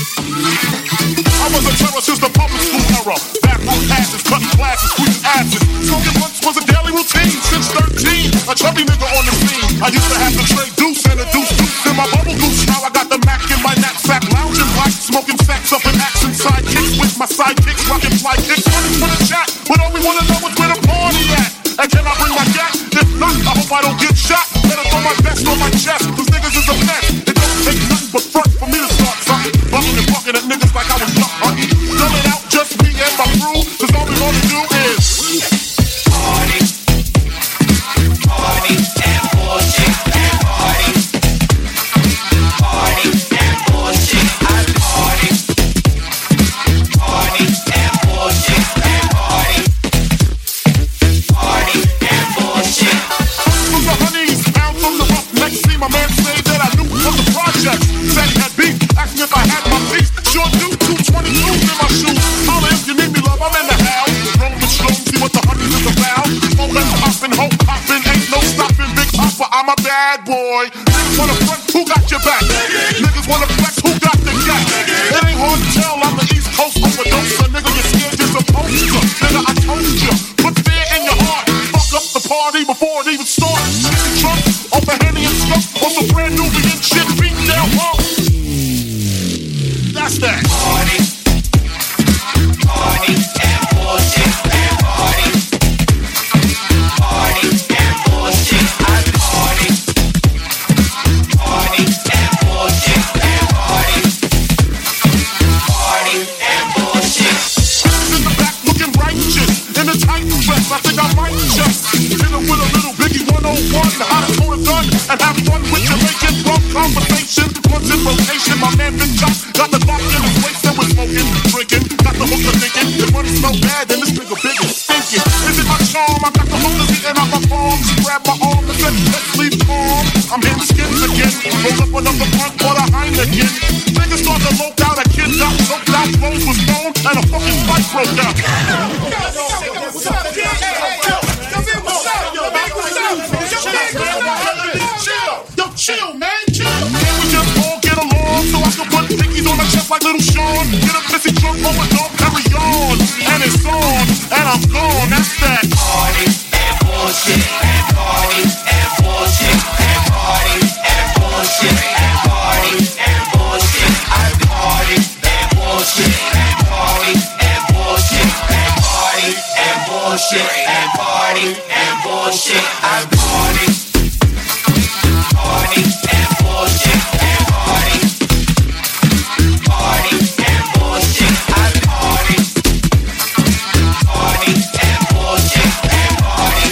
I was a terror since the public school era. Backroom passes, cutting classes, squeezing asses. Smoking blunts was a daily routine since 13. A chubby nigga on the scene. I used to have the trade deuce and a deuce in my bubble goose. Now I got the Mac in my knapsack, lounging black, smoking sacks up in action sidekicks with my sidekicks, rocking fly kicks. Running for the chat, but all we wanna know is where the party at. And can I bring my gat? If not, I hope I don't get shot. Better throw my vest on my chest, cause niggas is a mess. It don't take nothing but front for me to start something. Bucking and bucking at niggas like I was duck hunting. Coming out just me and my crew, cause all we wanna do is party, party, and bullshit, and party, party, and bullshit, and party, party, and bullshit, and party, party, and bullshit. From the honeys, down from the rough neck, see my man say that I knew from the project. Said he had beef, asked me if I had my piece. Sure do, 222s in my shoes. Holla if you need me, love, I'm in the house. Roll the slow, see what the honeys is about. Hold that poppin', hope poppin', ain't no stoppin', Big Papa, I'm a bad boy. Niggas wanna front, who got your back? Niggas wanna flex, who got the gat? It ain't hard to tell, I'm the East Coast overdoser. Nigga, you're scared, you're supposed to. Nigga, I told you, put fear in your heart. Fuck up the party before it even starts. Chicken trunk, off the Henny and stuff, on some brand new vegan shit, beat down home. That's that. Party, party, and bullshit, and party, party, and bullshit, and party, party, and bullshit, and party, party, and bullshit. In the back looking righteous, in a tight dress, I think I might just hit him with a little Biggie 101, how to pull a gun and have fun with Jamaican drunk conversation. Once in rotation, my man Big Chop got the Glock in his waist and was smoking, drinking, got the hooker thinking, if money smell bad, then this nigga big is stinking. Is it my charm? I got the hooker beating out my palm. She grabbed my arm and said, let's leave calm. I'm hitting skins again, roll up another blunt for the Heineken. Niggas start to lope out, a kid got choked out, clothes was thrown, and a fucking fight broke out. Chill, man, chill. Can we just all get along so I can put pickies on my chest like Little Sean? Get a pissy drunk over, don't carry on. And it's on, and I'm gone. That's that. Party and bullshit, and party and bullshit, and party and bullshit, and party and bullshit, and party and bullshit, and party and bullshit, and party and bullshit, and party and bullshit, and party. Party and bullshit and party, party and bullshit and party, party and bullshit and party,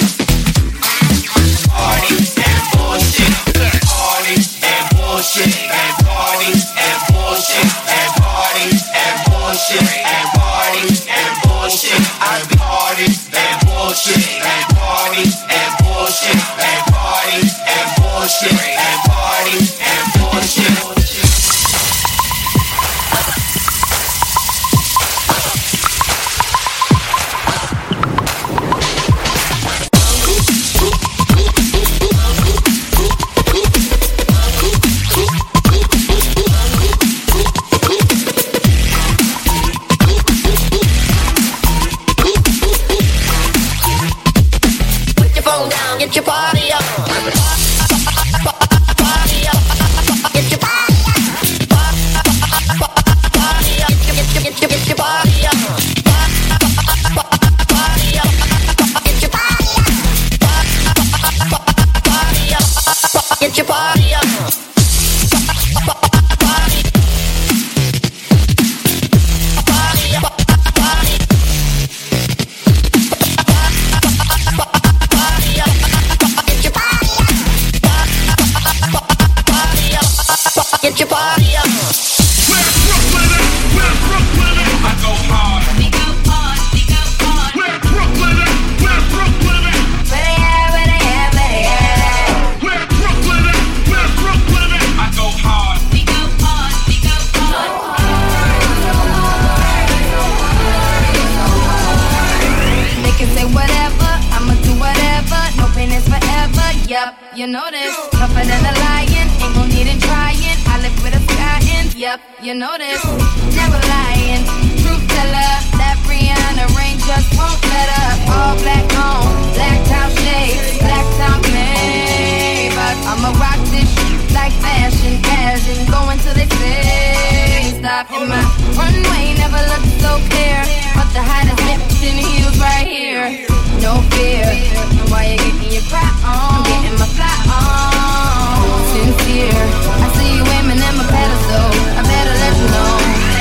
party and bullshit, party and bullshit and party and bullshit and party and bullshit and party and bullshit and party and bullshit and party and bullshit and party and bullshit and party and bullshit. Put your phone down, get your party on. Get your party on. Get your party on. Where's Brooklyn at? Where's Brooklyn at? I go hard. We go hard, we go hard. Where's Brooklyn at? Where's Brooklyn at? Where they at, where they at, where they at? Where's Brooklyn at? Where's Brooklyn at? I go hard. We go hard, we go hard. They can say whatever, I'ma do whatever. No pain is forever, yup, you know this. Tougher than a lion, ain't gon' need it trying. I live with a sky in, yup, you know this. Never lying, truth teller. That Rihanna rain just won't let up. All black on, Black top shades, black top Maybach. I'ma rock this shit like fashion, fashion. Going till they say stop. In my runway never looked so clear, but the hottest lips in heels right here. No fear, why you getting your cry on? I'm getting my fly on. Sincere, I see you aiming at my pedestal. I better let you know.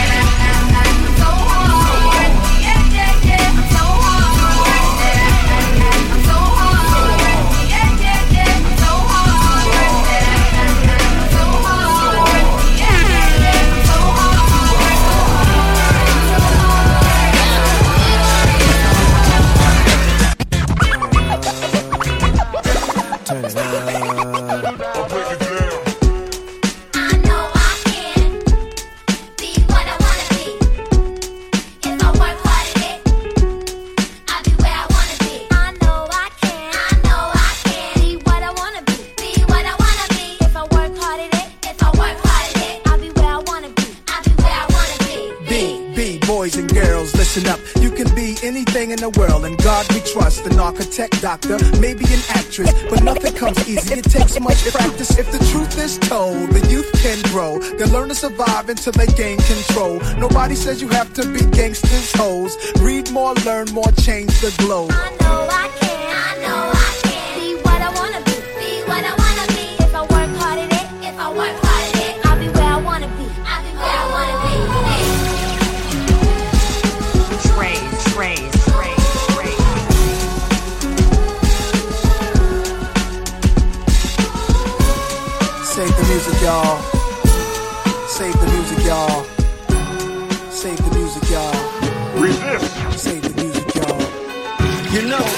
In the world, and God we trust. An architect, doctor, maybe an actress, but nothing comes easy. It takes much practice. If the truth is told, the youth can grow. They'll learn to survive until they gain control. Nobody says you have to be gangsters, hoes. Read more, learn more, change the globe. I know I can. I know I can. Be what I wanna be. Be what I wanna be. If I work hard at it. If I work hard at it. I'll be where I wanna be. I'll be where I wanna be. Trays. Save the music, y'all. Save the music, y'all. Save the music, y'all. Resist. Save the music, y'all. You know.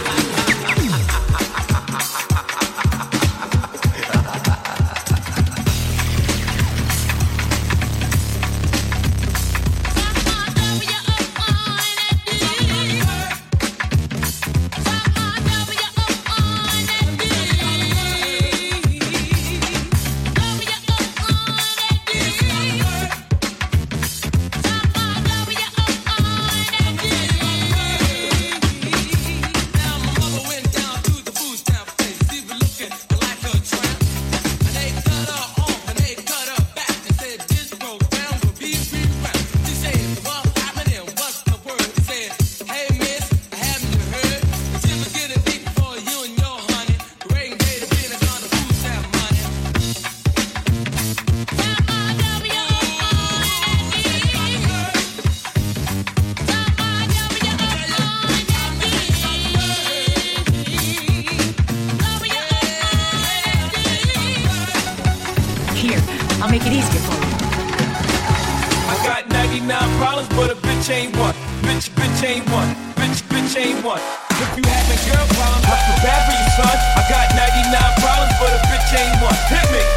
I'll make it easier for you. I got 99 problems, but a bitch ain't one. Bitch ain't one. Bitch ain't one. If you having girl problems, I feel bad for you, son. I got 99 problems, but a bitch ain't one. Hit me.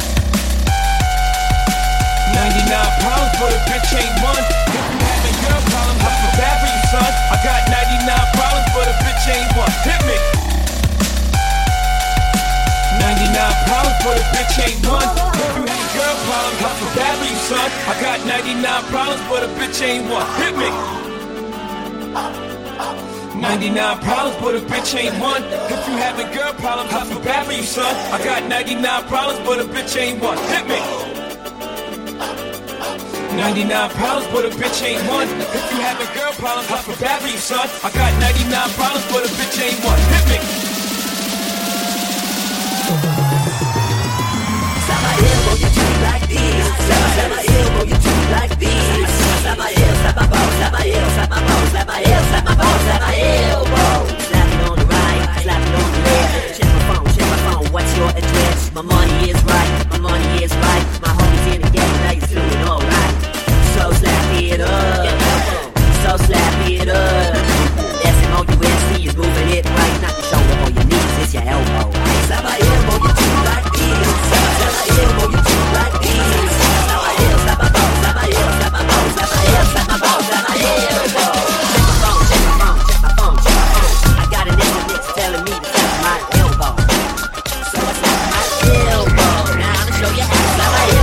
99 problems, but a bitch ain't one. If you having girl problems, I feel bad for you, son. I got 99 problems, but a bitch ain't one. Hit me. 99 problems, but a bitch ain't one. If you having girl problems, I feel bad for you, son. I got 99 problems, but a bitch ain't one. Hit me. 99 problems, but a bitch ain't one. If you having girl problems, I feel bad for you, son. I got 99 problems, but a bitch ain't one. Hit me. 99 problems, but a bitch ain't one. If you having girl problems, I feel bad for you, son. I got 99 problems, but a bitch ain't one. Hit me. Slap my elbow, you do like this. Slap my elbow, you do like this. Slap my elbow, slap my ball, slap my elbow, slap my ball, slap my elbow, slap my ball, slap my elbow. Slap it on the right, slap it on the left. Check my phone, what's your address? My money is right, my money is right. My homies in the game, now you're doing alright. So slap it up, so slap it up. S-M-O-U-S-C is moving it right. Not your shoulder or your knees, it's your elbow. Slap my elbow, you do like this. Slap my elbow, you do like this. Slap my elbow, slap my ball, slap my elbow, slap my ball, slap my elbow, slap my ball, slap my elbow. Check my phone, check my phone, check my phone, check my phone. I got an SMS telling me to slap my elbow. So I slap my elbow. Now I'ma show you how to slap my elbow.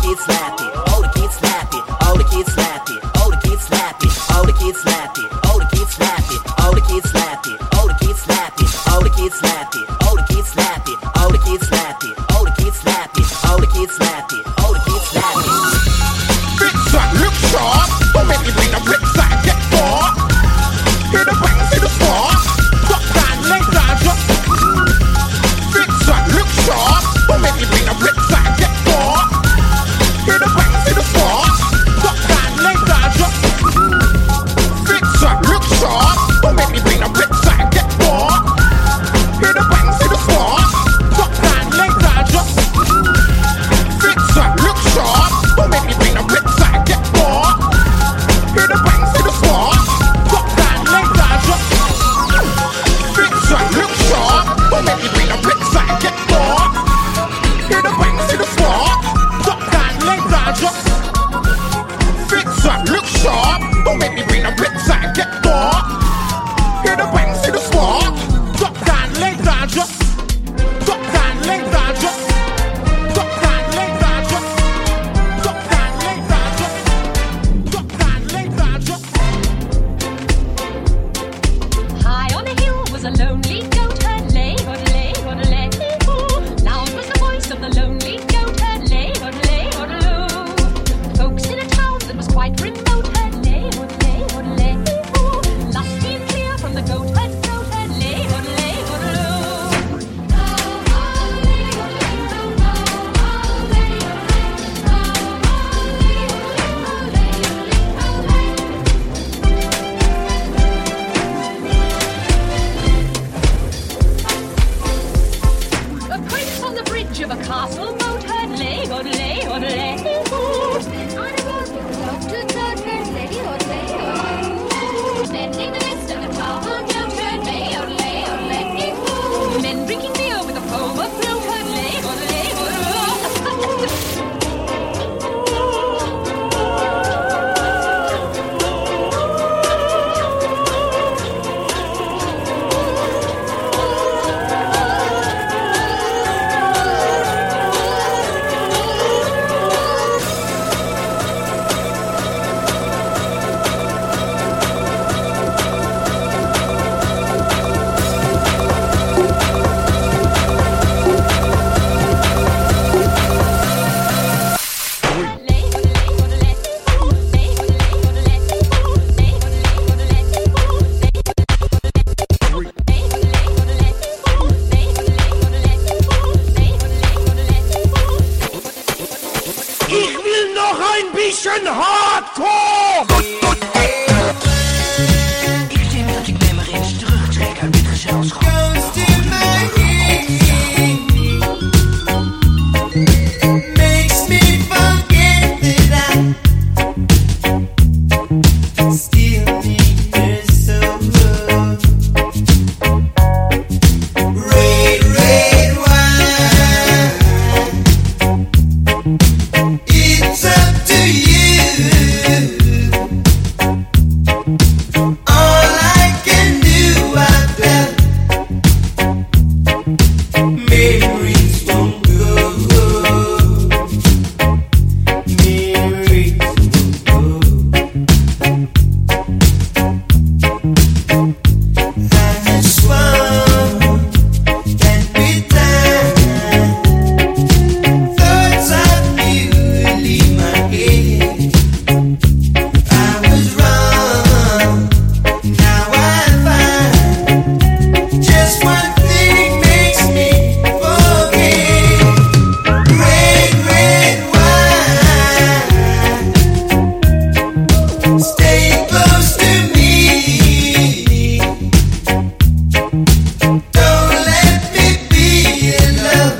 kids slap it. Oh, the kids slap it. Oh, the kids slap it. Oh, the kids slap it. Oh, the kids slap it. Oh, the kids slap it. Oh, the kids slap it. Oh, the kids slap it. Oh, the kids slap it. Oh, the kids slap it. Oh, the kids slap it. Oh, the kids slap it. Oh, the kids slap it. Oh, the kids slap it. Big shot, look sharp. Don't make me bring the bricks I get far. Hear the bang, see the spark. Drop down, lay down, drop. Big shot, look sharp. Don't make me bring the bricks I get far. Hear the bang, see the spark. Drop down, lay down, drop. Big shot, look sharp. Don't make me bring the bricks I get far. Hear the bang, see the spark. Drop down, lay down, drop. Big shot, look sharp. Don't make me bring the bricks I get far. Hear the bang, see the spark. Drop down, lay down, drop. Big shot, look sharp. Don't make me bring the bricks I get far. Hear the bang, see the spark. Drop down, lay down, drop. Big shot, look sharp. Don't make me bring the bricks I get far. Hear the bang, see the spark. Drop down, lay down, drop. Drop down, lay down, drop. Drop down, lay down, drop. Drop down, lay down, drop. Drop down, lay down, drop. High on a hill was a lonely goat herd, lay, lay, lay. Loud was the voice of the lonely goat herd, lay, lay. Folks in a town that was quite remote herd, lay, lay. Lusty and clear from the goat herd, lay, lay. A prince on the bridge of a castle moat herd, lay, lay. On a road with goat to goat herd, lay, lay. Spending the rest of the town on goat herd, lay, lay. Men drinking beer with a overflow herd, lay, lay. Ich will noch ein bisschen Hardcore! Ik zie dat ik me maar eens terugtrek uit dit gezelschap. Makes me forget that I still need her so good. Red, red wine. It's up to you. All I can do, I tell. Memories won't go. Memories won't go. I swung every time. Thoughts of you leave my head. I was wrong. Now I find just one thing makes me forget. Red, red wine. Stay close to me. Don't let me be alone.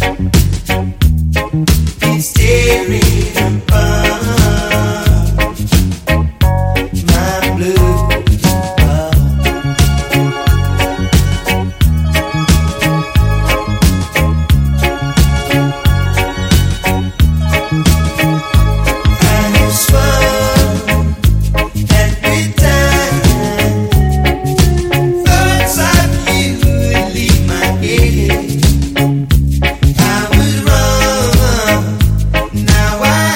It's tearing apart my blue heart. I have swung every time. Thoughts of you leave my head. I was wrong. Now I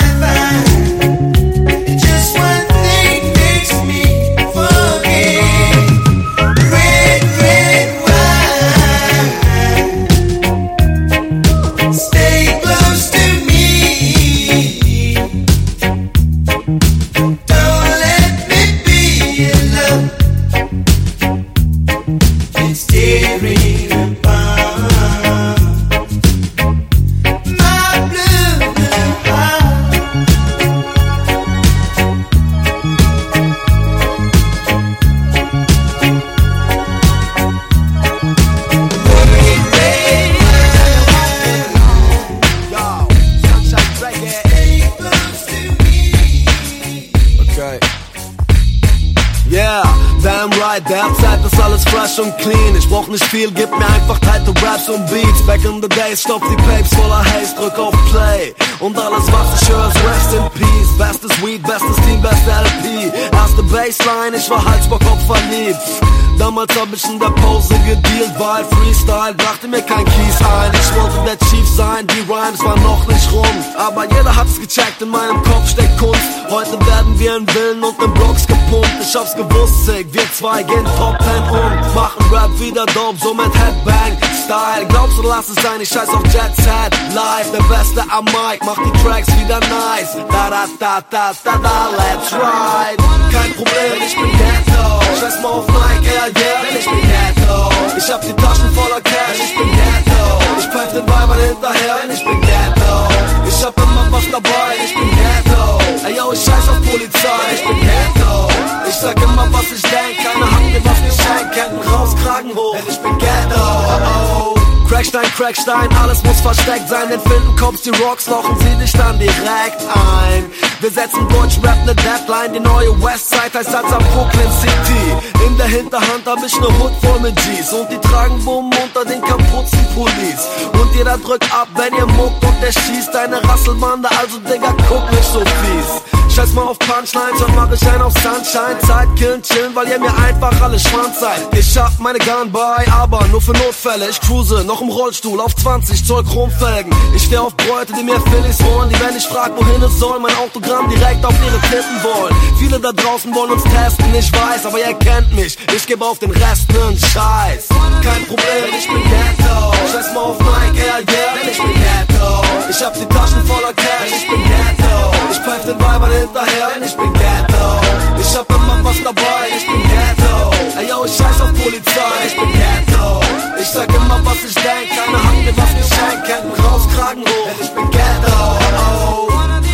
beim Ride, derzeit ist alles fresh und clean. Ich brauch nicht viel, gib mir einfach tighte Raps und Beats. Back in the days, stopp die Papes voller Haze, drück auf Play. Und alles was ich höre ist Rest in Peace. Bestes Weed, bestes Team, beste LP. Erste Bassline, ich war Halsbock verliebt. Damals hab ich in der Pause gedealt, weil Freestyle brachte mir kein Kies ein. Ich wollte der Chief sein, die Rhymes waren noch nicht rum. Aber jeder hat's gecheckt, in meinem Kopf steckt Kunst. Heute werden wir in Villen und in Blocks gepumpt. Ich hab's gewusst, Sick, wir zwei gehen Top 10 und machen Rap wieder dope, so mit Headbang Style. Glaubst du, lass es sein, ich scheiß auf Jet Set Live, der Beste am Mic, mach die Tracks wieder nice. Da da da da da da, let's ride. Kein Problem, ich bin Ghetto. Scheiß mal auf Nike, yeah, denn ich bin Ghetto. Ich hab die Taschen voller Cash, ich bin Ghetto. Ich pfeif den Weibern hinterher, denn ich bin Ghetto. Ich hab immer was dabei, ich bin Ghetto. Ey yo, ich scheiß auf Polizei, ich bin Ghetto. Ich sag immer was ich denk, keiner hat mir was geschenkt. Ketten raus, Kragen hoch, denn ich bin Ghetto. Oh. Crackstein, Crackstein, alles muss versteckt sein. Denn finden Cops die Rocks, lochen sie dich dann direkt ein. Wir setzen Deutschrap ne Deadline, die neue Westside heißt als am Brooklyn City. In der Hinterhand hab ich ne Hood voll mit G's und die tragen Bumm unter den kaputzen Pullis. Und jeder drückt ab, wenn ihr muckt und der schießt. Deine Rasselbande, also Digga, guck nicht so fies. Scheiß mal auf Punchlines und mach ich einen auf Sunshine. Zeit killen, chillen, weil ihr mir einfach alle Schwanz seid. Ich hab meine Gun bei, aber nur für Notfälle. Ich cruise noch im Rollstuhl auf 20 Zoll Chromfelgen. Ich steh auf Bräute, die mir Phillies holen. Die, wenn ich frag, wohin es soll, mein Autogramm direkt auf ihre Titten wollen. Viele da draußen wollen uns testen, ich weiß, aber ihr kennt mich. Ich geb auf den Rest nen Scheiß. Kein Problem, ich bin Ghetto. Scheiß mal auf Nike, yeah, denn ich bin Ghetto. Ich hab die Taschen voller Cash, ich bin Ghetto. Ich pfeif den Weibern hinterher, denn ich bin Ghetto. Ich hab immer was dabei, ich bin Ghetto. Ey yo, ich scheiß auf Polizei, ich bin Ghetto. Ich sag immer was ich denk, keiner hat mir was geschenkt. Ketten raus, Kragen hoch, denn ich bin Ghetto. Oh.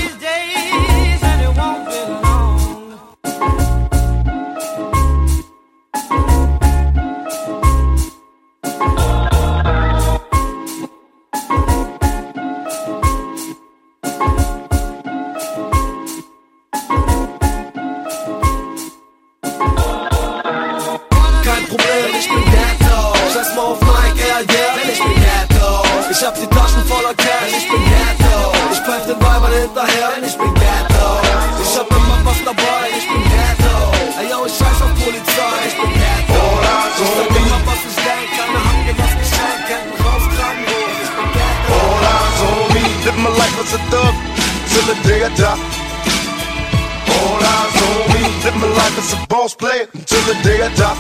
Ich hab die Taschen voller Cash, ich bin Ghetto. Ich pfeif den Weibern hinterher, denn ich bin Ghetto. Ich hab immer was dabei, ich bin Ghetto. Ey yo, ich scheiß auf Polizei, ich bin Ghetto. Ich sag immer was ich denk, keiner hat mir was geschenkt. Ketten raus, Kragen hoch, ich bin Ghetto. All eyes on me, live my life as a thug till the day I die. All eyes on me, live my life as a boss player until the day I die.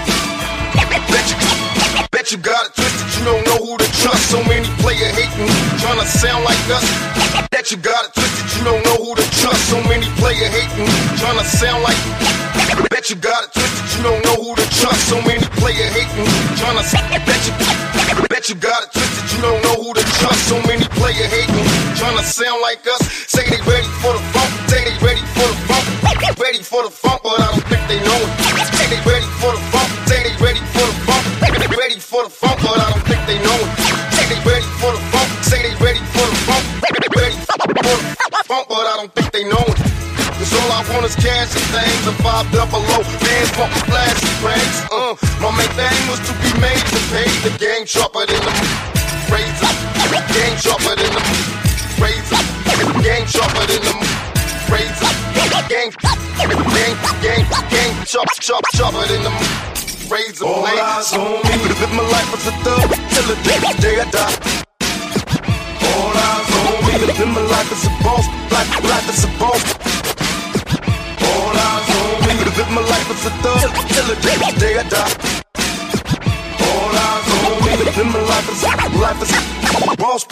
Bet you got it twisted, you don't know who to trust. So many player hating, tryna sound like us. Bet you got it twisted, you don't know who to trust. So many player hating, tryna sound like. Bet you got it twisted, you don't know who to trust. So many player hating, tryna. Bet you got it twisted, you don't know who to trust. So many player hating, tryna sound like us. Say they ready for the funk, say they ready for the funk, ready for the funk, but I don't think they know it. Say they ready for the funk, say they ready for the funk. Ready for the funk, but I don't think they know it. Say they ready for the funk, say they ready for the funk. Ready for the funk, but I don't think they know it. Cause all I want is cash and things, a 5 double O, bands pumping flashy rings. My main thing was to be made to pay the game sharper than the razor. Game sharper than the razor. Game sharper than the razor. Game sharper than the razor. All eyes on me, live my life as a thug till the day I die. All eyes on me, live my life as a boss, life as a boss. All eyes on me, live my life as a thug till the day I die. All eyes on me, live my life as a boss.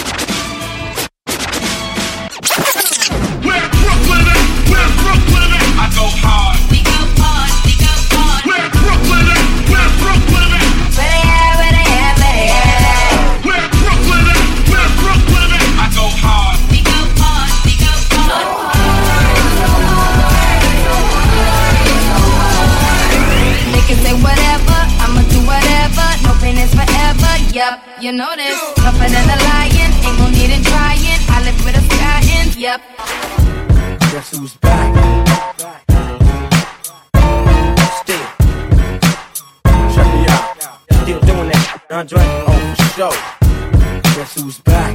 Where Brooklyn at? Where Brooklyn at? I go hard. We go hard. We go hard. Where Brooklyn at? Where Brooklyn at? Where they at? Where Brooklyn at? Where Brooklyn at? I go hard. We go hard. We go hard. They can say whatever, I'ma do whatever. No pain is forever. Yup, you know this. Tougher than a lion, ain't gon' need it trying. I live with a sky in. Yup. Guess who's back? Still. Andre, oh for sure. Guess who's back?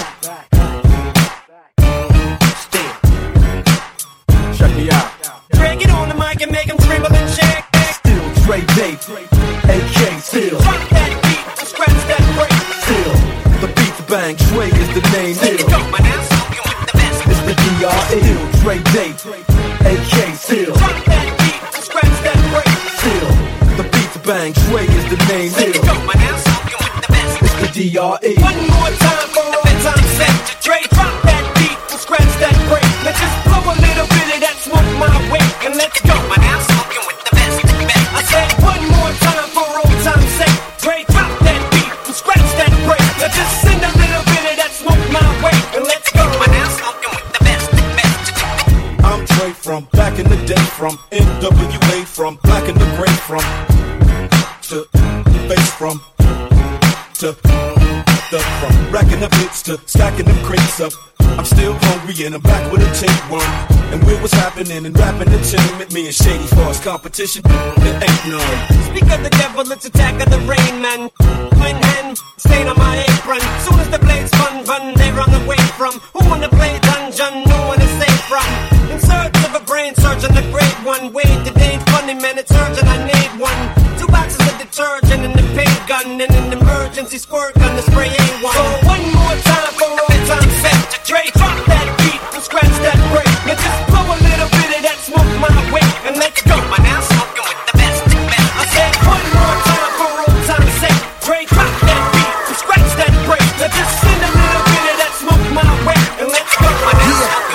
Still. Check me out. Dre, get on the mic and make him tremble and shake. Still Dre Day, AK Still. Drop that beat and scratch that break. Still, the beat to bang, Dre is the name. Let it go, man, I'm smoking with the best. It's the DRE. Still Dre Day, AK Still. Drop that beat and scratch that break. Still, the beat to bang, Dre is the name. Let it go, man, I'm smoking with the best. It's the DRE. One more time for all the time set. Dre, drop that beat and scratch that break. Let's just blow a little bit of that smoke my way and let's go, man, I'm smoking with the best. I said one more time for old time's sake. Dre, drop that beat and scratch that break. Let's just send a little bit of that smoke my way and let's go, man, I'm smoking with the best. I'm Dre from back in the day, from NWA, from black in the gray, from to bass, from to the from racking up hits to stacking them crates up. I'm still hungry and I'm back with a tapeworm. And with what's happening in rap entertainment, me and Shady Far's competition, there ain't none. Speak of the devil, it's attack of the rain man. Twin hand, stain on my apron. Soon as the blades run, they run away from. Who wanna play dungeon? No one is safe from. In search of a brain surgeon, a great one. Wait, it ain't funny, man, it's urgent, I need one. 2 boxes of detergent and the paint gun and an emergency squirt gun to spray A1. So one more time for all time set. Dre, drop that beat and scratch that break. And just blow a little bit of that smoke my way and let's go. Man, I'm smoking with the best. I said one more time for old time's sake. Dre, drop that beat and scratch that break. Now just send a little bit of that smoke my way and let's go. Man, I'm smoking.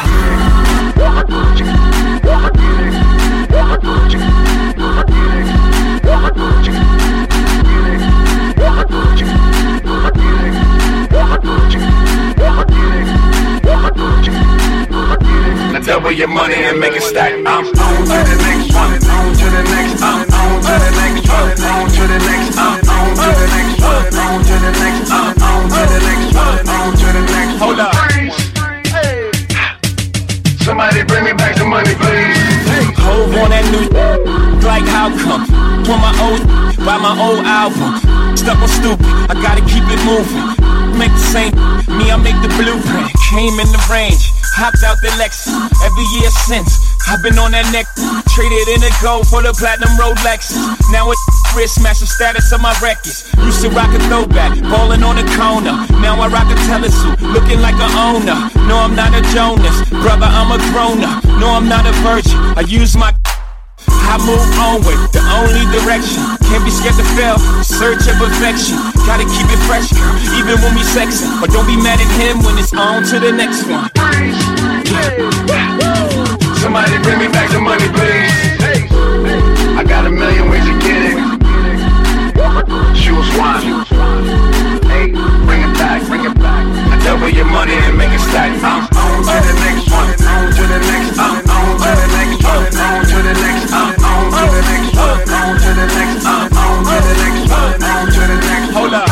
Now double your money and make it stack. I'm on to the next one, on to the next, I'm on to the next one, on to the next, I'm on to the next one, on to the next, I'm on to the next one, on to the next. Hold up. Somebody bring me back some money, please. Hove on that new like how come? Pour my old buy my old album. Stuck on stupid, I gotta keep it moving. Make the same, me I make the blueprint. Came in the range, hopped out the Lexus. Every year since, I've been on that neck. Traded in the gold for the platinum Rolex. Now it's wrist match the status of my records. Used to rock a throwback, ballin' on the corner. Now I rock a telesuit, looking like an owner. No, I'm not a Jonas, brother, I'm a grown-up. No, I'm not a virgin, I use my I move onward, the only direction. Can't be scared to fail, search of perfection. Gotta keep it fresh, girl, even when we sexin'. But don't be mad at him when it's on to the next one. Somebody bring me back the money, please. I got a million ways to get it. Choose one. Hey, bring it back, bring it back. I double your money and make it stack. I'm on to the next one, on to the next, I'm on to the next one, on to the next, I'm on to the next one, on to the next, I'm on to the next one, on to the next. Hold up.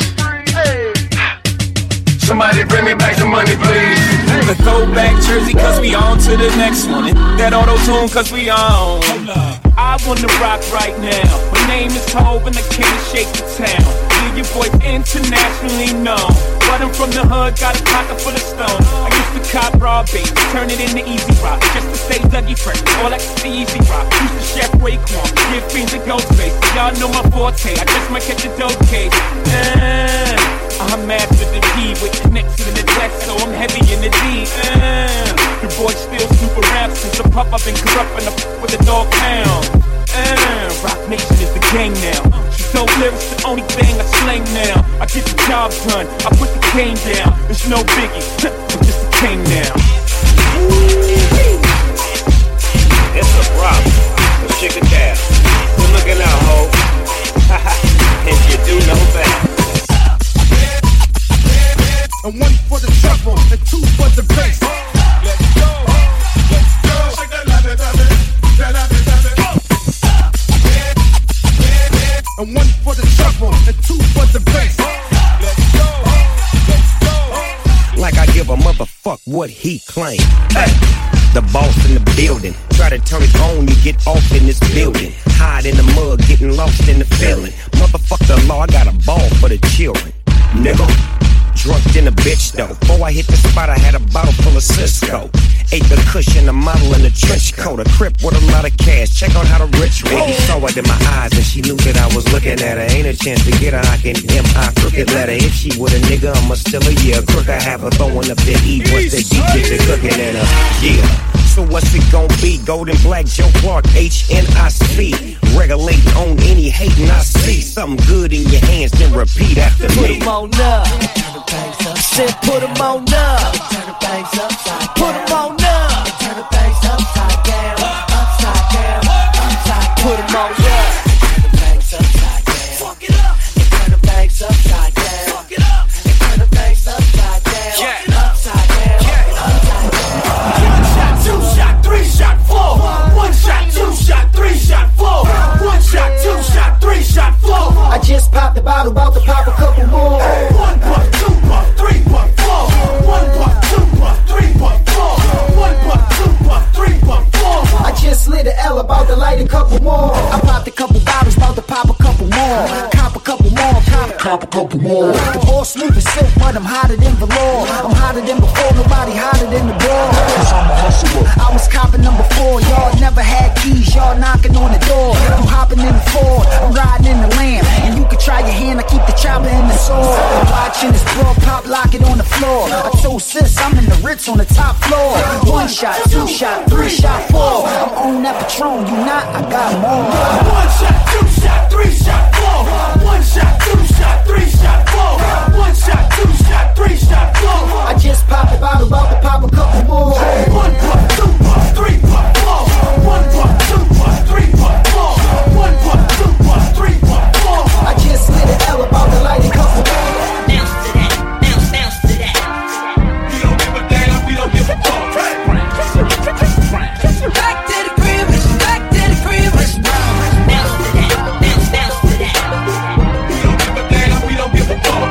Somebody bring me back some money, please. The throwback jersey, cause we on to the next one. And that auto-tune, cause we on. I wanna rock right now. My name is Hov and I can't shake the town. Hear your voice internationally known. But I'm from the hood, got a pocket full of stone. I used to cop raw bait, turn it into easy rock. Just to stay Dougie fresh, all like the easy rock. Used to chef Raekwon, give fiends a ghost face. Y'all know my forte, I just might catch a dope case. I'm after the D with connection in the text, so I'm heavy in the D. The boy still super rap since the pup I've been corrupting up with a dog pound. Rock Nation is the gang now. She's dope lyrics, the only thing I slang now. I get the job done, I put the cane down. It's no biggie, I'm just a king now. It's a problem, let's check it down. Good looking out, ho. And you do know that. And one for the treble, and two for the bass. Let's go, let's go. Shake that love it, love it, love it, love it. And one for the treble, and two for the bass. Let's go, let's go. Like I give a motherfuck what he claimed. Hey. the boss in the building. Try to turn it on, you get off in this building. Hide in the mud, getting lost in the feeling. Motherfuck the law, I got a ball for the children. Nigga, drunk in a bitch though. Before I hit the spot, I had a bottle full of Cisco. Ate the cushion, a model in a trench coat. A crip with a lot of cash, check out how the rich roll. She saw it in my eyes and she knew that I was looking at her. Ain't a chance to get her, I can M.I. crooked letter. If she with a nigga, I'ma still a year. Crook, I have her throwing up the E. What's the D, get the cooking in her, yeah. So what's it gon' be? Golden Black, Joe Clark, HNIC. Regulate on any hatin' I see. Something good in your hands, then repeat after me. Put 'em on up. Said put 'em on up. Put 'em on up. Turn the bass upside down, upside down, upside down. Put 'em on up. Turn the bass upside down. Fuck it up. Turn the bass upside down. Fuck it up. Turn the bass upside down. Yeah. Upside down. Yeah. Upside down. One shot, two shot, three shot, four. One shot, two shot, three shot, four. One shot, two shot, three shot, four. I just popped the bottle, about to pop a couple more. One puff, two puff, three puff, four. One puff, two puff, three puff, four. One puff, two puff, three puff, four. I just slid the L, about to light a couple more. I popped a couple bottles, about to pop a couple more. Cop a couple more, cop a couple more. The ball smooth as silk, but I'm hotter than velour. I'm hotter than before, nobody hotter than the door. Cause I'm a hustler. I was copping number 4, y'all never had keys, y'all knocking on the door. I'm hopping in the Ford, I'm riding in the Lamb. And you can try your hand, I keep the chopper in the sword. I'm watching this bro pop, lock it on the floor. I told sis, I'm in the Ritz on the top floor. One shot, two shot, three shot, four. I'm on that Patron, you not, I got more. One shot, two shot, three shot, four. One shot, two shot, three shot, four. One shot, two shot, three shot, four. I just popped the bottle, about to pop a couple more. One puff, two puff, three puff, four. One puff, two puff, three puff, four. One puff, two puff, three puff, four. I just slid the L, about to light a couple more. Bounce to that, bounce, bounce to that. We don't give a damn, we don't give a fuck. Back to the crib, back to the crib. Bounce to that, bounce, bounce to that. We don't give a damn, we don't give a fuck.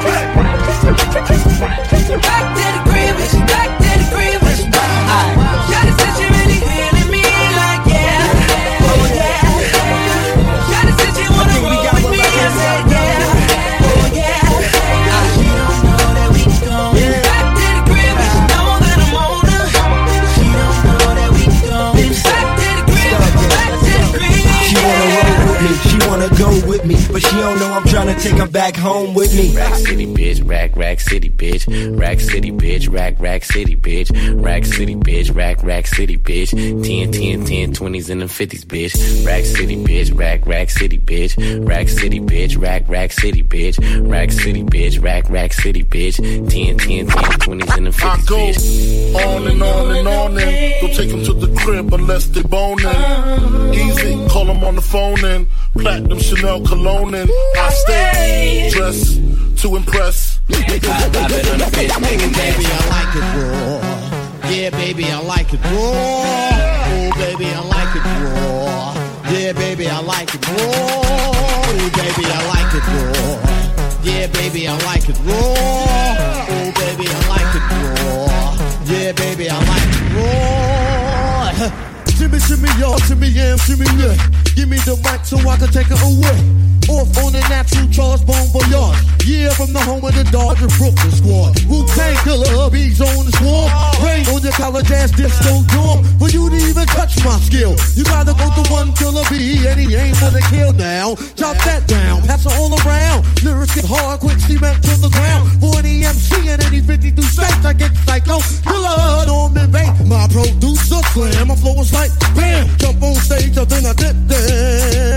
Back to the crib, back to the crib. Shawty said she really feeling me like yeah, oh yeah. Shawty said she wanna roll with me, I said yeah, oh yeah. She don't know that we going back to the crib, she know that I'm on her. She don't know that we going back to the crib, back to the crib. She wanna roll with me, she wanna go with me, but she don't know I'm tryna take her back home with me. Rack City bitch, rack city bitch, rack city bitch, rack city bitch, rack city bitch, rack city bitch, 10, 20s and the 50s bitch, rack city bitch, rack city bitch, rack city bitch, rack city bitch, rack city bitch, rack city bitch, 10, 20s and the 50s bitch. I go on and on and on and don't take them to the crib unless they boning. Easy, call them on the phone and platinum Chanel cologne and I stay dressed to impress. Baby, I like it raw. Yeah, baby, I like it raw. Oh, baby, I like it raw. Yeah, baby, I like it raw. Oh, baby, I like it raw. Yeah, baby, I like it raw. Oh, baby, I like it raw. Yeah, baby, I like it raw. Shimmy, y'all, shimmy, yeah, shimmy, yeah. Give me the mic so I can take it away. Off on the natural charge, Bon Voyage. Yeah, from the home of the Dodger Brooklyn squad. Wu-Tang Killer, hubby's on the swarm. Rain on your college ass disco dorm. For you to even touch my skill, you gotta go to one Killer B, and he ain't for the kill now. Drop that down, pass it all around. Lyrics get hard, quick cement to the ground. For any MC and any 52 states, I get psycho. Killer, Norman Bates, my producer, slam. My flow is like bam, jump on stage, and then I dip there.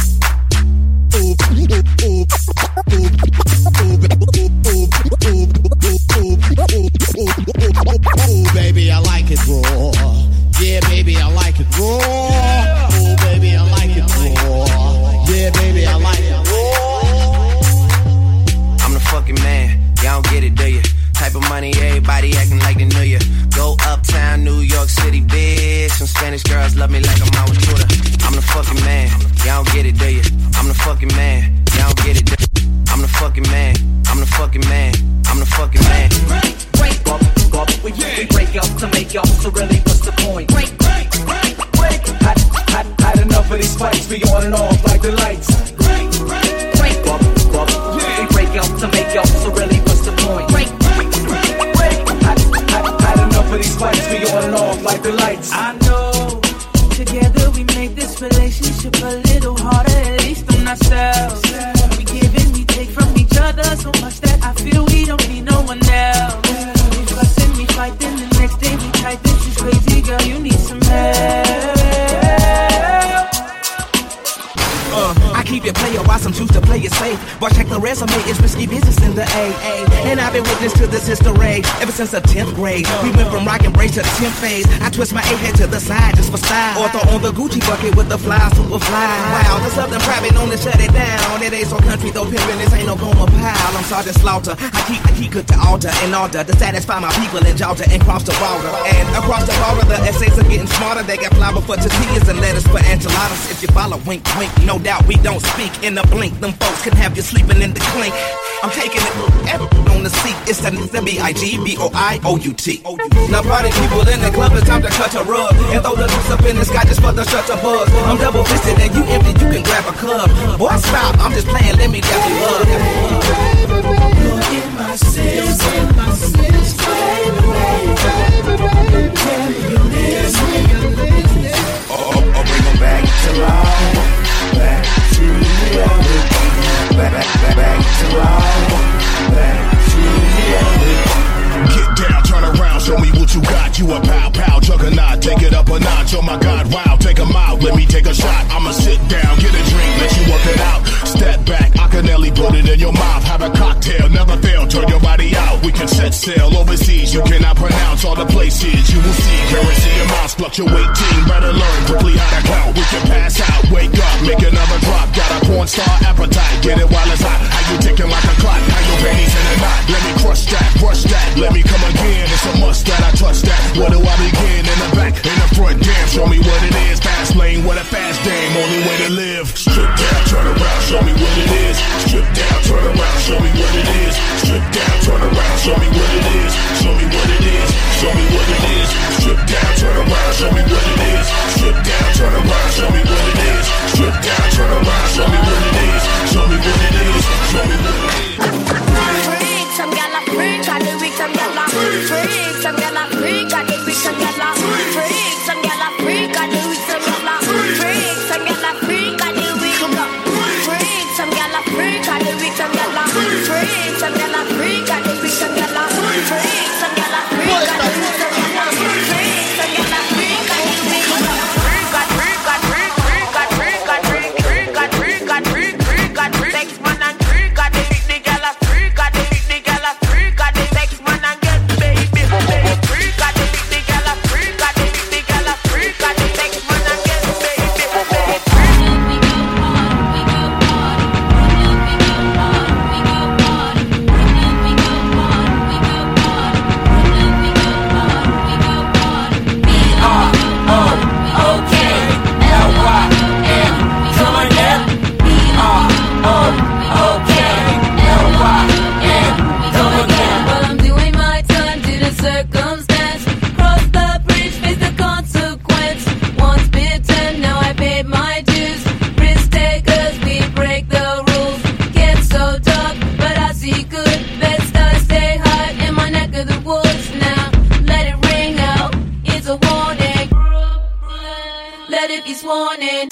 Oh, baby, I like it raw. Yeah, baby, I like it raw. Oh, baby, I like it raw. Yeah, baby, I like it raw. I'm the fucking man, y'all don't get it, do you? Type of money, everybody acting like they knew you. Go uptown, New York City, bitch. Some Spanish girls love me like I'm out with Twitter. I'm the fucking man, y'all don't get it, do you? I'm the fucking man, y'all don't get it, do you? I'm the fucking man, I'm the fucking man, I'm the fucking man. Break up, we break up. to make y'all, so really what's the point? Break. Had enough of these fights, we on and off like the lights. They break out to make y'all, so really what's the point? Had enough of these fights, we on and off like the lights. I know, together we make this relationship a little harder, at least on ourselves. We give and we take from each other so much that I feel we don't need no one else. We fuss and we fight, then the next day we type, this is crazy, girl, you need some help. I keep it player while some choose to play it safe. Boy, check the resume, it's risky business in the AA. And I've been witness to this history ever since the 10th grade. We went from rock and brace to the 10th phase. I twist my A-head to the side just for style. Or throw on the Gucci bucket with the fly, super fly. Wow, there's something private known to shut it down. It ain't so country though, pimpin', this ain't no Goma pile. I'm Sergeant Slaughter, I keep good to altar in order to satisfy my people in Georgia and cross the border. And across the border, the essays are getting smarter. They got flour for tortillas and lettuce for enchiladas. If you follow, wink, wink, no doubt we don't speak in a blink. Them folks can have you sleeping in the clink. I'm taking it on the seat. It's the BIGBOIOUT. Now party people in the club, it's time to cut a rug and throw the loose up in the sky just for the shutter buzz. I'm double fisted and you empty, you can grab a club. Boy, stop, I'm just playing, let me get you love. You're in my sins, fade away. Can you listen? I'll bring them back to life. Back to reality. Back to life. Back to reality. Get down, turn around, show me what you got. You a pow, juggernaut, take it up a notch. Oh my God, wow, take 'em out, let me take a shot. I'ma sit down, get a drink, let you work it out. Step back, Akinelli, put it in your mouth. Have a cocktail, never fail, turn your body out. We can set sail overseas, you cannot pronounce all the places. You will see currency amounts fluctuating. Better learn quickly how to count. We can pass out, wake up, make another drop. Got a porn star appetite, get it while it's hot. How you ticking like a clock? How your panties in a knot? Let me crush that, brush that. Let me come again, it's a must that I touch that. Where do I begin? In the back, in the front, damn, show me what it is. Fast lane with a fast dame, only way to live. Strip down, turn around, show me what it is. Strip down, turn around, show me what it is. Strip down, turn around, show me what it is. Show me what it is, show me what it is. Strip down, turn around, show me what it is. Strip down, turn around, show me what it is. Strip down, turn around, show me what it is. Show me what it is, show me what it is. Freak, some gyal a freak, I do weak, some gyal a freak, some gyal a freak, I do weak, some gyal a freak, some gyal a freak, I do weak, some gyal a freak, some gyal a freak, I do weak, freak, some gyal a freak, I do weak, some gyal a freak, some gyal a freak, I do weak, some gyal a freak, some gyal a freak, I do weak, some gyal a freak, some gyal a freak, I do weak, sex man and freak, I do the gyal a freak, I do the gyal a freak, I do sex man and get baby, freak, I do the gyal a freak, I do the gyal a freak, I do sex man and get let it be sworn in.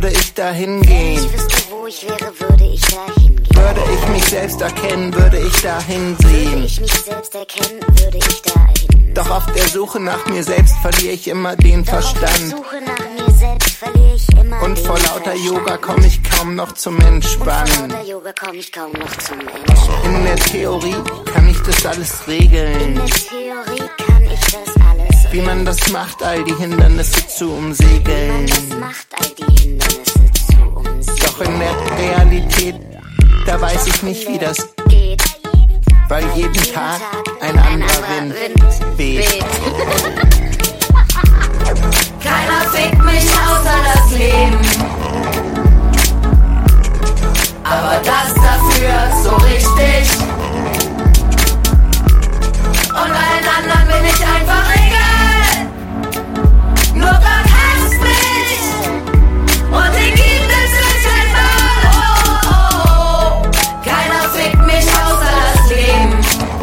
würde ich dahin gehen. Wenn ich wüsste, wo ich wäre, würde ich dahin gehen. Würde ich mich selbst erkennen, würde ich dahin sehen. Würde ich mich selbst erkennen, würde ich dahin. Doch auf der Suche nach mir selbst verliere ich immer den Verstand. Auf der Suche nach mir selbst verliere ich immer Und den vor lauter Verstand. Yoga komme ich kaum noch zum Entspannen. Und vor lauter Yoga komme ich kaum noch zum Entspannen. In der Theorie kann ich das alles regeln. In der Theorie kann ich das alles Wie man das macht, all die Hindernisse zu umsegeln. das macht, all die Hindernisse zu umsegeln. Doch in der Realität, da weiß ich nicht, wie das geht, weil jeden Tag ein anderer Wind weht. Keiner fickt mich außer das Leben. Aber das dafür so richtig. Und allen anderen bin ich einfach egal. Nur Gott hasst mich. Und den gibt es nicht einmal. Oh, oh, oh. Keiner fickt mich außer das Leben.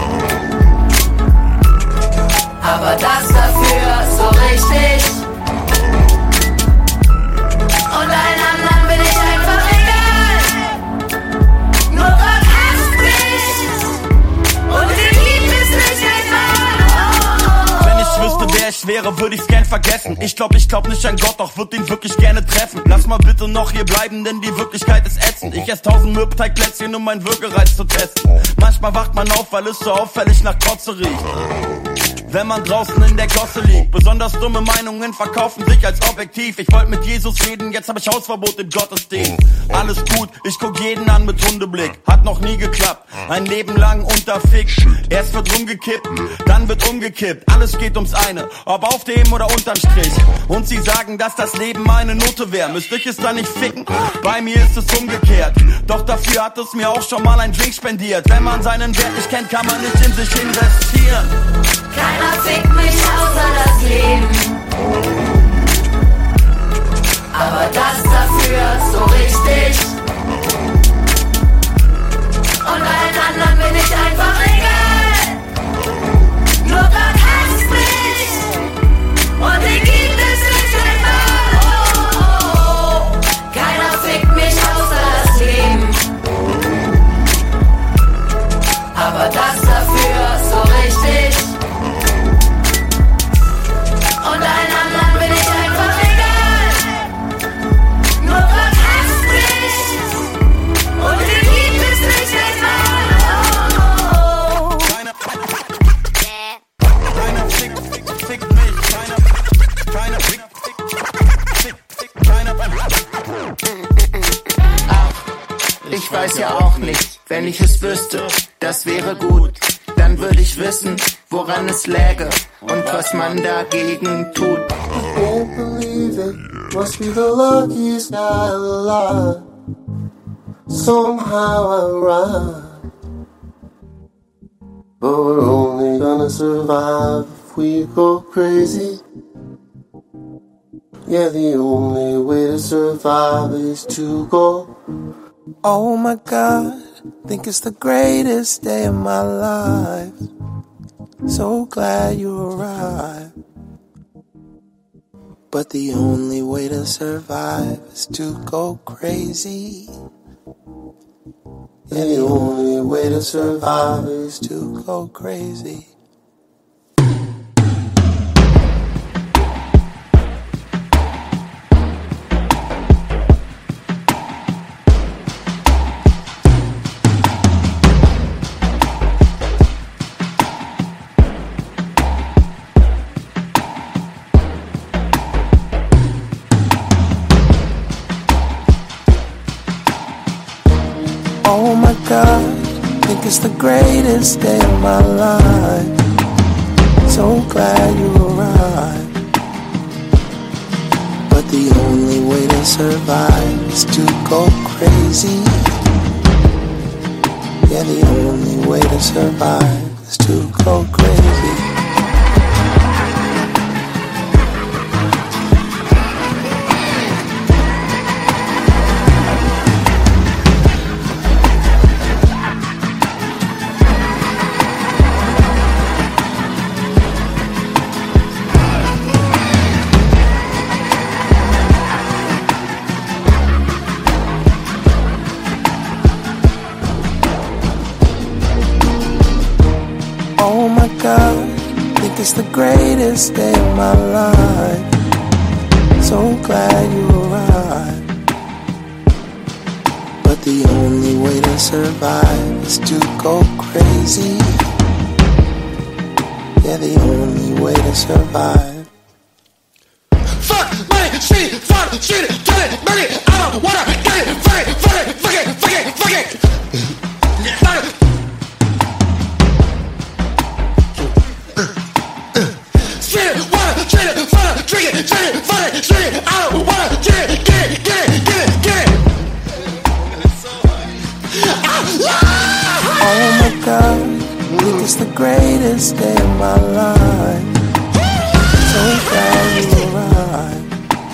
Aber das dafür so richtig. Und allen anderen bin ich einfach egal. Nur Gott hasst mich. Und den gibt es nicht einmal. Wenn ich wüsste, wer ich wäre, würde ich's gern vergessen. Ich glaub nicht an Gott, doch würd ihn wirklich gerne treffen. Lass mal bitte noch hier bleiben, denn die Wirklichkeit ist ätzend. Ich ess 1000 Mürbteigplätzchen, um meinen Würgereiz zu testen. Manchmal wacht man auf, weil es so auffällig nach Kotze riecht. Wenn man draußen in der Gosse liegt. Besonders dumme Meinungen verkaufen sich als objektiv. Ich wollte mit Jesus reden, jetzt hab ich Hausverbot im Gottesdienst. Alles gut, ich guck jeden an mit Hundeblick. Hat noch nie geklappt, ein Leben lang unterfickt. Erst wird rumgekippt, dann wird umgekippt. Alles geht ums eine, ob auf dem oder unterm Strich. Und sie sagen, dass das Leben meine Note wäre. Müsste ich es dann nicht ficken? Bei mir ist es umgekehrt. Doch dafür hat es mir auch schon mal ein Drink spendiert. Wenn man seinen Wert nicht kennt, kann man nicht in sich investieren. Keiner fickt mich außer das Leben. Aber das dafür so richtig. Und allen anderen bin ich einfach egal. Nur Gott hasst mich. Und den gibt es nicht einmal. Oh, oh, oh. Keiner fickt mich außer das Leben. Aber das dafür so richtig. Und allen anderen bin ich einfach egal. Nur Gott hasst mich. Und den gibt es nicht einmal. Oh, oh. Keiner fickt mich. Keiner fickt keiner. Ich weiß ja auch nicht, wenn ich es wüsste, das wäre gut. Dann würde ich wissen, woran es läge und was man dagegen tut. I can't believe it, must be the luckiest guy alive. Somehow I rhyme. But we're only gonna survive if we go crazy. Yeah, the only way to survive is to go. Oh my God, think it's the greatest day of my life. So glad you arrived. But the only way to survive is to go crazy. Yeah, the only way to survive is to go crazy. Oh my God, think it's the greatest day of my life. So glad you arrived. But the only way to survive is to go crazy. Yeah, the only way to survive is to go crazy. God, think it's the greatest day of my life. So glad you arrived. But the only way to survive is to go crazy. Yeah, the only way to survive. Fuck money, shit, fuck shit, kill it, burn it, I don't wanna get it, fuck it, fuck it, fuck it, fuck it, fuck it. Fuck it. Shit, wanna, shit, fuck it, drink it, shit, fuck it, shit, I don't wanna get it, get it, get it, get it, get it. Oh my God, I think it's the greatest day of my life. So glad you arrived.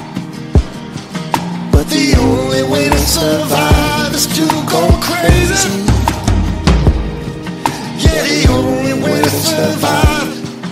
But the only way to survive is to go crazy. Yeah, the only way to survive.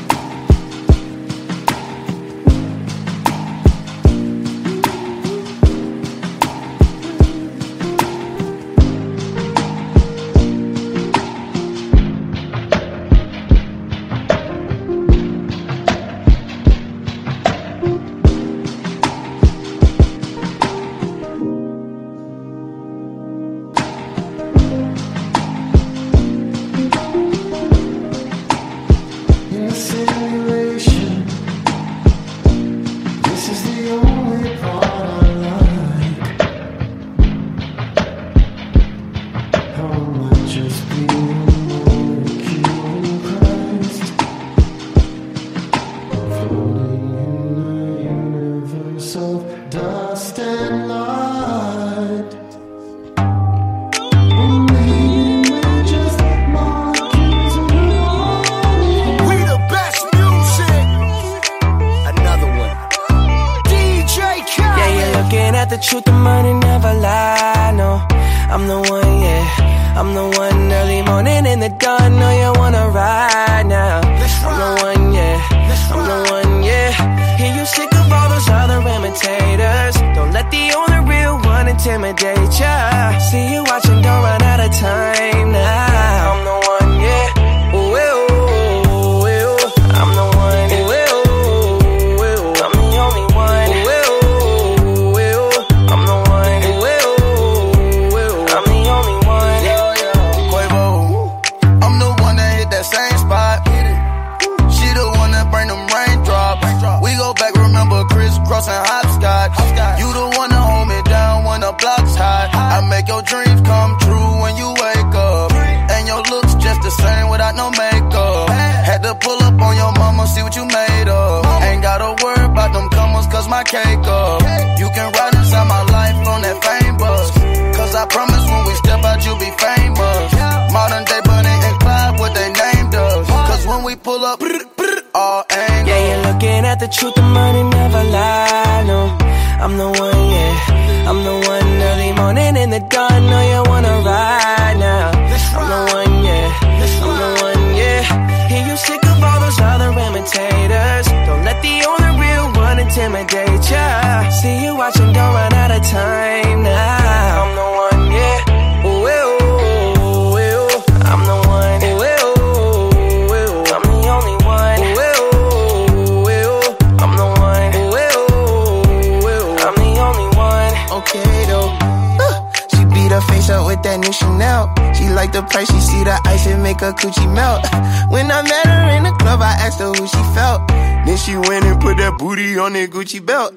Gucci belt.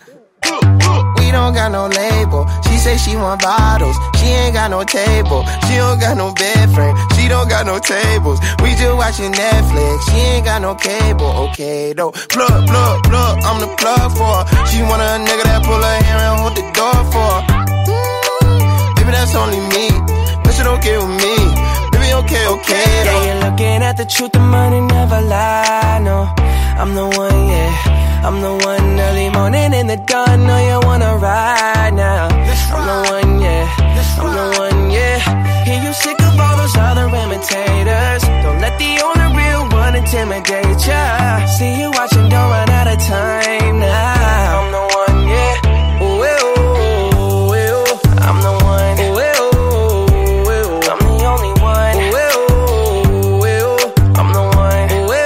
We don't got no label. She say she want bottles. She ain't got no table. She don't got no bed frame. She don't got no tables. We just watching Netflix. She ain't got no cable. Okay though. Plug, plug, plug. I'm the plug for her. She want a nigga that pull her hair and hold the door for her. Baby, that's only me. That shit okay with me. Baby, okay, okay though. Yeah, you're looking at the truth. The money never lie. No, I'm the one, yeah. I'm the one early morning in the dawn. Know you wanna ride now. I'm the one, yeah. I'm the one, yeah. Hear you sick of all those other imitators. Don't let the only real one intimidate ya. See you watching, don't run out of time now. I'm the one, yeah. Ooh, ooh, ooh. I'm the one. Ooh, ooh, ooh. I'm the only one. Ooh, ooh, ooh. I'm the one. Ooh,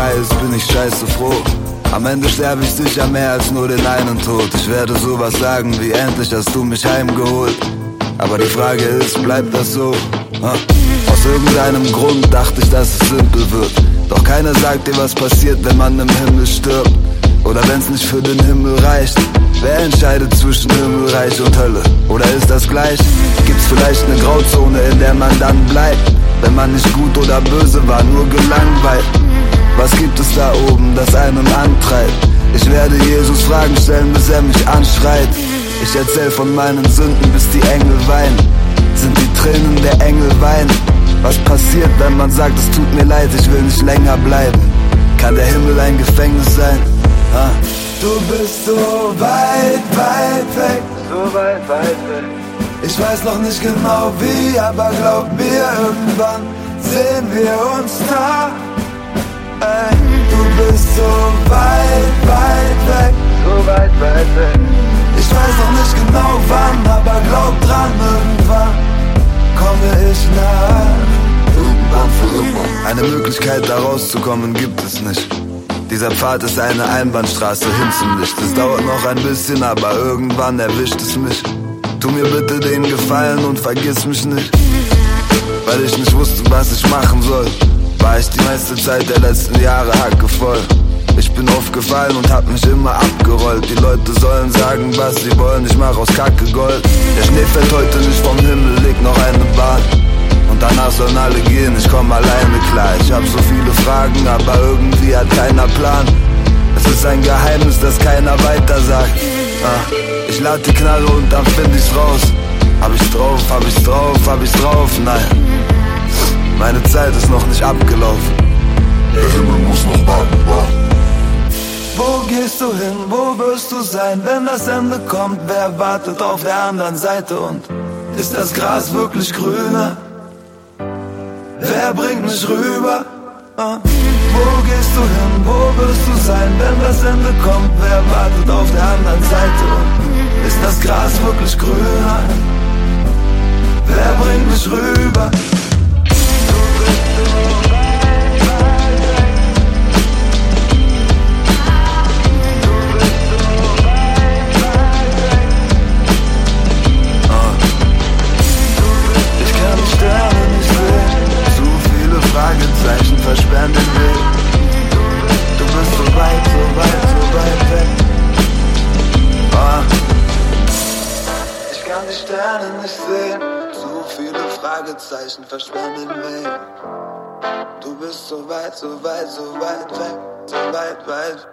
vorbei ist, bin ich scheiße froh. Am Ende sterbe ich sicher mehr als nur den einen Tod. Ich werde sowas sagen wie: endlich hast du mich heimgeholt. Aber die Frage ist, bleibt das so? Aus irgendeinem Grund dachte ich, dass es simpel wird. Doch keiner sagt dir, was passiert, wenn man im Himmel stirbt. Oder wenn's nicht für den Himmel reicht. Wer entscheidet zwischen Himmelreich und Hölle? Oder ist das gleich? Gibt's vielleicht eine Grauzone, in der man dann bleibt? Wenn man nicht gut oder böse war, nur gelangweilt. Was gibt es da oben, das einen antreibt? Ich werde Jesus Fragen stellen, bis er mich anschreit. Ich erzähl von meinen Sünden, bis die Engel weinen. Sind die Tränen der Engel weinen? Was passiert, wenn man sagt, es tut mir leid, ich will nicht länger bleiben? Kann der Himmel ein Gefängnis sein? Du bist so weit, weit weg. So weit, weit weg. Ich weiß noch nicht genau wie, aber glaub mir, irgendwann sehen wir uns da. Ey, du bist so weit, weit weg. So weit, weit weg. Ich weiß noch nicht genau wann, aber glaub dran, irgendwann komme ich nach. Irgendwann für immer. Eine Möglichkeit da rauszukommen gibt es nicht. Dieser Pfad ist eine Einbahnstraße hin zum Licht. Es dauert noch ein bisschen, aber irgendwann erwischt es mich. Tu mir bitte den Gefallen und vergiss mich nicht. Weil ich nicht wusste, was ich machen soll, war ich die meiste Zeit der letzten Jahre hackevoll. Ich bin aufgefallen und hab mich immer abgerollt. Die Leute sollen sagen, was sie wollen, ich mach aus Kacke Gold. Der Schnee fällt heute nicht vom Himmel, liegt noch eine Bahn. Und danach sollen alle gehen, ich komm alleine klar. Ich hab so viele Fragen, aber irgendwie hat keiner Plan. Es ist ein Geheimnis, das keiner weiter sagt. Ich lad die Knarre und dann find ich's raus. Hab ich's drauf, hab ich's drauf, hab ich's drauf, nein. Meine Zeit ist noch nicht abgelaufen. Der Himmel muss noch warten. Wo gehst du hin, wo wirst du sein, wenn das Ende kommt? Wer wartet auf der anderen Seite und ist das Gras wirklich grüner? Wer bringt mich rüber? Wo gehst du hin, wo wirst du sein, wenn das Ende kommt? Wer wartet auf der anderen Seite und ist das Gras wirklich grüner? Wer bringt mich rüber? Fragezeichen versperren den Weg. Du bist so weit, so weit, so weit weg. Ich kann die Sterne nicht sehen. Zu viele Fragezeichen versperren den Weg. Du bist so weit, so weit, so weit weg. So weit, weit.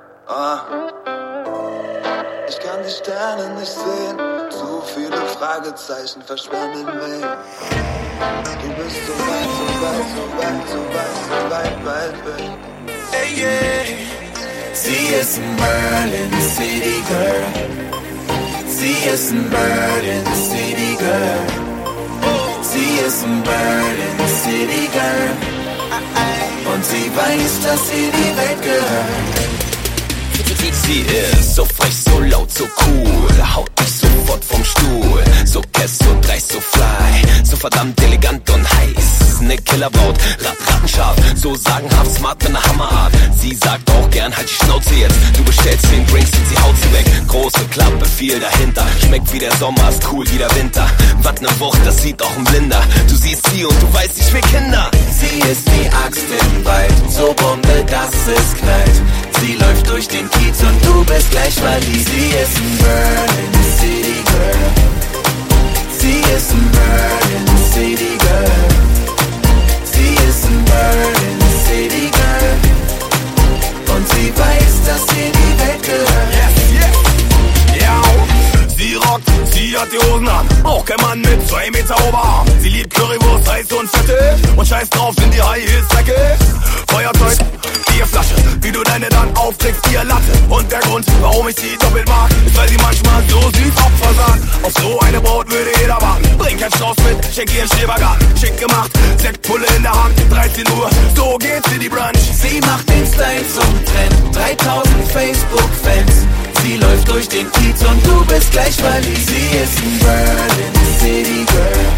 Ich kann die Sterne nicht sehen. Zu viele Fragezeichen versperren den Weg. Du bist so weit, so weit, so weit, so weit, so weit, weit weg. Hey, yeah. Sie ist ein Berlin City Girl. Sie ist ein Berlin City Girl. Sie ist ein Berlin City Girl. Und sie weiß, dass sie die Welt gehört. Sie ist so frech, so laut, so cool, haut mich sofort vom Stuhl. So kess, so dreist, so fly, so verdammt elegant und heiß. Ne Killerbraut, rattenscharf, so sagenhaft smart mit ne Hammerart. Sie sagt auch gern, halt die Schnauze jetzt. Du bestellst 10 Drinks und sie haut sie weg. Große Klappe, viel dahinter. Schmeckt wie der Sommer, ist cool wie der Winter. Was ne Wucht, das sieht auch ein Blinder. Du siehst sie und du weißt, ich will Kinder. Sie ist die Axt im Wald, so Bombe, dass es knallt. Sie läuft durch den Kiez und du bist gleich verliebt. Sie ist ein Berlin City Girl. Sie ist ein Berlin City Girl. Sie ist ein Berlin City Girl. Und sie weiß, dass sie die Welt gehört. Yes, yes. Ja, sie rockt, sie hat die Hosen an. Auch kein Mann mit 2 Meter Oberarm. Sie liebt Currywurst, heiß und fettig. Und scheiß drauf, sind die High Heels dreckig. Feuerzeug, Bierflasche, wie du deine dann aufträgst, ihr Latte. Und der Grund, warum ich sie doppelt mag, ist, weil sie manchmal so süß Opfer sagt. Auf so eine Braut würde jeder warten. Bring kein Strauß mit, schenk ihr einen Schrebergarten. Schick gemacht, Sektpulle in der Hand, 13 Uhr, so geht's für die Brunch. Sie macht den Style zum Trend, 3000 Facebook-Fans. Sie läuft durch den Kiez und du bist gleich verliebt. Sie ist ein Berlin City Girl.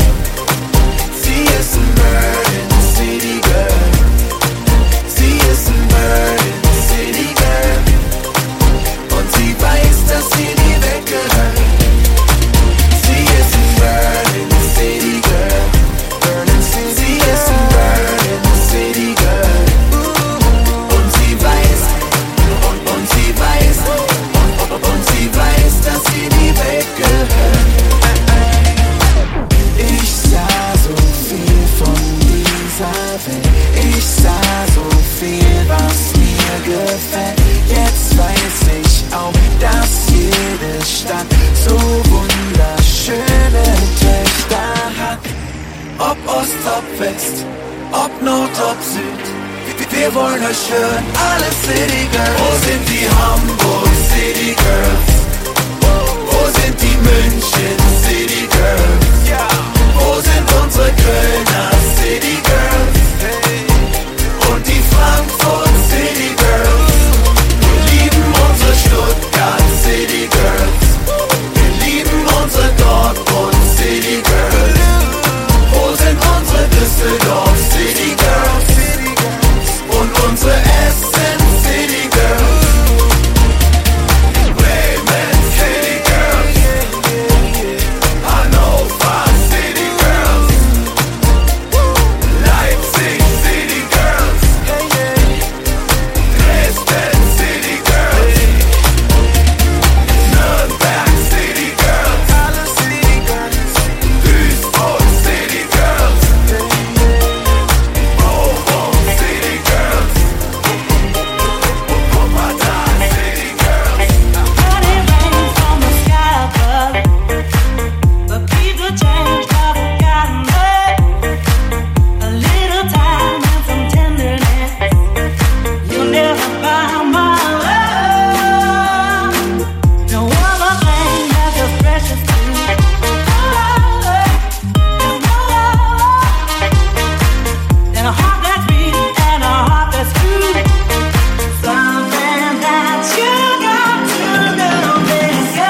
Sie ist ein Berlin City Girl. Sie ist ein Berlin Stadt so wunderschöne Töchter hat. Ob Ost, ob West, ob Nord, ob Süd, wir wollen euch hören, alle City Girls. Wo sind die Hamburg City Girls? Wo sind die München City Girls? Wo sind unsere Kölner City Girls? Und die Frankfurt City Girls? Wir lieben unsere Stuttgart City Girls. Wir lieben unsere Dortmund City Girls. Wo sind unsere Düsseldorf City Girls? Und unsere Essen City Girls? Bremen City Girls. Hannover City Girls. Leipzig City Girls. Dresden City Girls. Nürnberg City Girls. Duisburg City Girls. Bochum City Girls. Wuppertal City Girls. Running rain from the sky above, but people change, haven't gotten up. A little time and some tenderness, you'll never find my love. No other thing that's as precious to me. And a heart that's beat and a heart that's true. Something that you got to know, baby.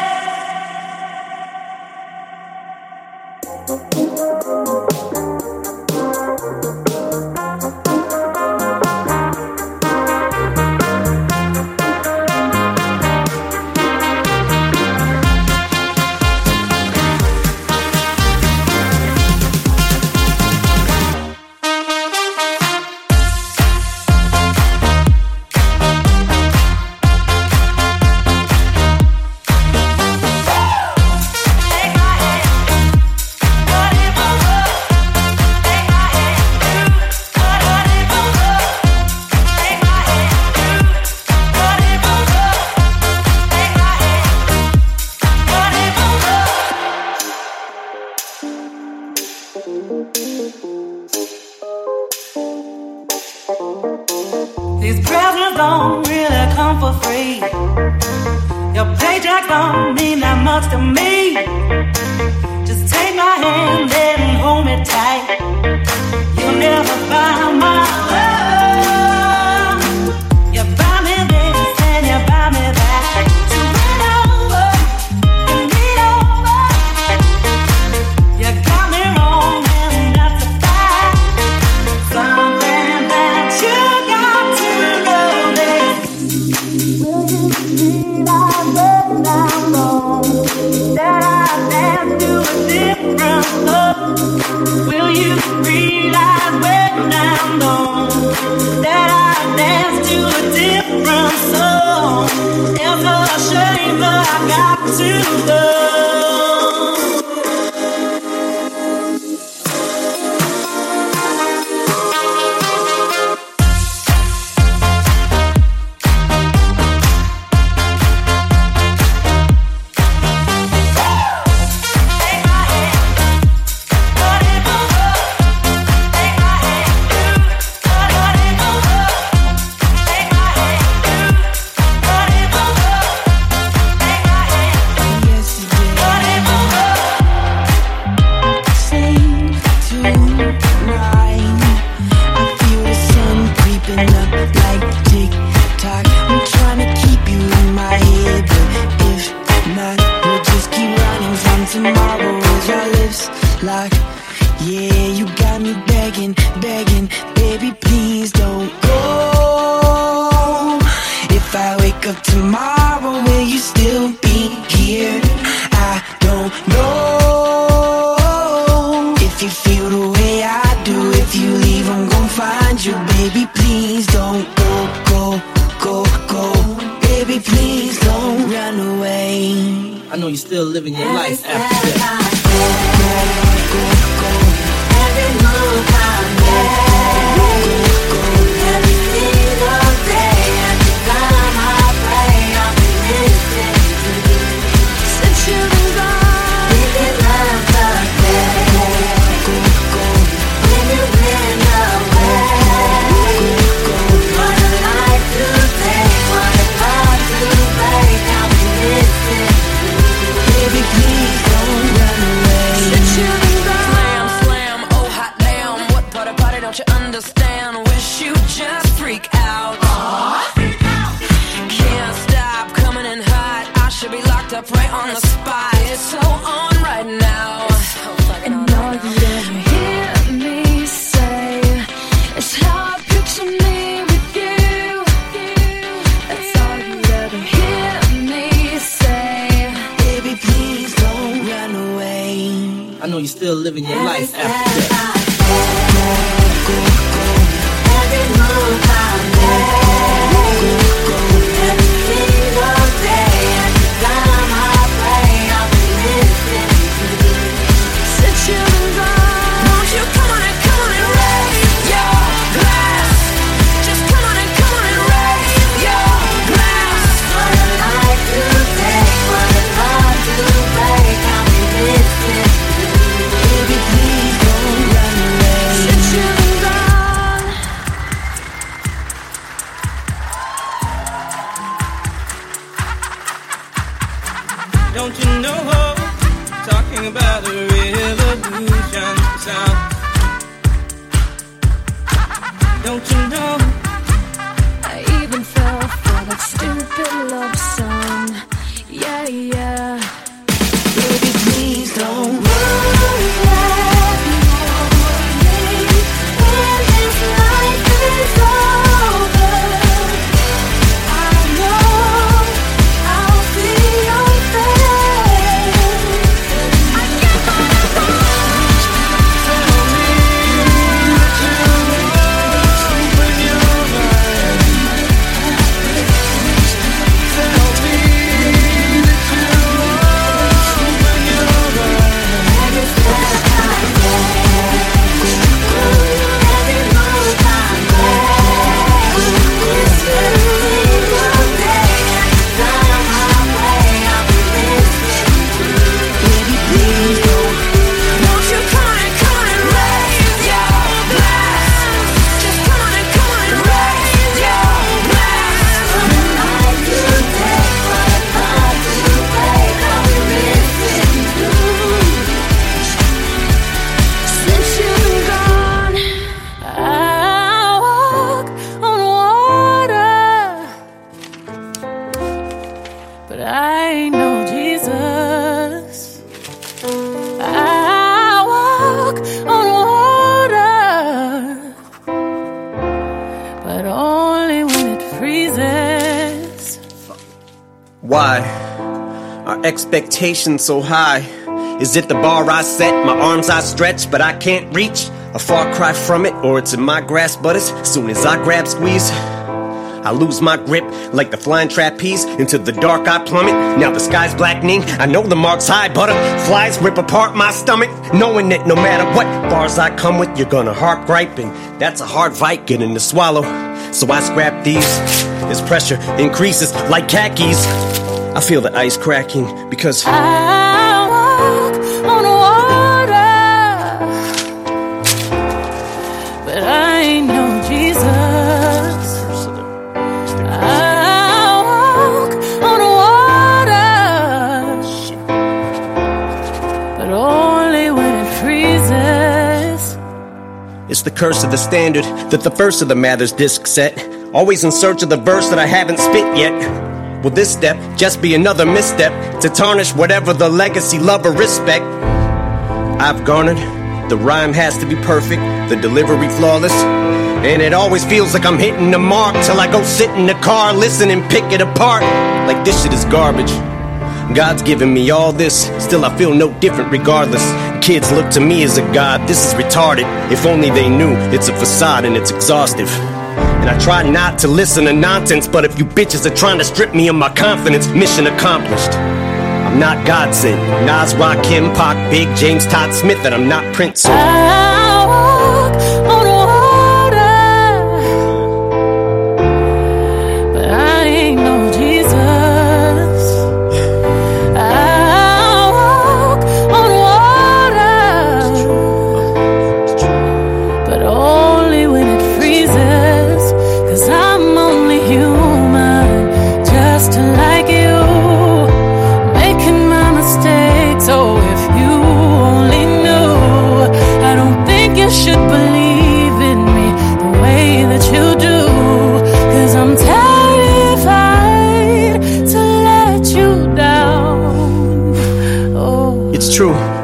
These presents don't really come for free. Your paycheck don't mean that much to me. Just take my hand and hold me tight. You'll never find my love. You buy me this and you buy me that. So lean over and lean over. You got me wrong and that's a fact. Something that you got to know, baby. Will you realize when I'm gone that I dance to a different love? Will you realize when I'm gone that I dance to a different song? It's a shame, but I got to go. I know you're still living your life after death. Every move I make, every single day, every time I pray, I'll be listening to you. fucked up right on the spot. It's so on right now. And all you ever hear me say is how I picture me with you. That's all you ever hear me say. Baby, please don't run away. I know you're still living your life after that. Every move I make, every single day, every time I pray, I'll be listening to you. Since you've been gone, Won't you come on and raise your glass? Just come on and raise your glass. what a life to take, what a love to break, I'll be listening to you. Baby, please don't run away. Since you've been gone, Don't you know? Talking about a revolution sound. Don't you know? I even fell for that stupid love song. Yeah, yeah. Baby, please don't. When this life is over, I know I'll see your face. I can't Won't you come on and raise your glass? Just come on and raise your glass. Since you've been gone, I walk on water, but I ain't no Jesus. I walk on water, but only when it freezes. Why are expectations so high? Is it the bar I set, my arms I stretch, but I can't reach? A far cry from it, or it's in my grasp, but as soon as I grab squeeze, I lose my grip like the flying trapeze. Into the dark I plummet, now the sky's blackening. I know the mark's high, butterflies rip apart my stomach, knowing that no matter what bars I come with, you're gonna harp gripe, and that's a hard fight getting to swallow. So I scrap these, as pressure increases like khakis. I feel the ice cracking because I walk on water, but I ain't no Jesus. I walk on water, but only when it freezes. it's the curse of the standard that the first of the Mathers disc set. Always in search of the verse that I haven't spit yet. Will this step just be another misstep to tarnish whatever the legacy, love, or respect I've garnered? The rhyme has to be perfect, the delivery flawless, and it always feels like I'm hitting the mark till I go sit in the car, listen and pick it apart like this shit is garbage. God's given me all this, still I feel no different regardless. Kids look to me as a god, this is retarded. If only they knew it's a facade and it's exhaustive. And I try not to listen to nonsense, but if you bitches are trying to strip me of my confidence, mission accomplished. I'm not God sent. Nas, Rakim, Pac, Big, James, Todd Smith, and I'm not Prince. I walk on water, but I ain't no Jesus. I walk on water, but only when it freezes. 'Cause I'm only human, just like you, making my mistakes. Oh, if you only knew, I don't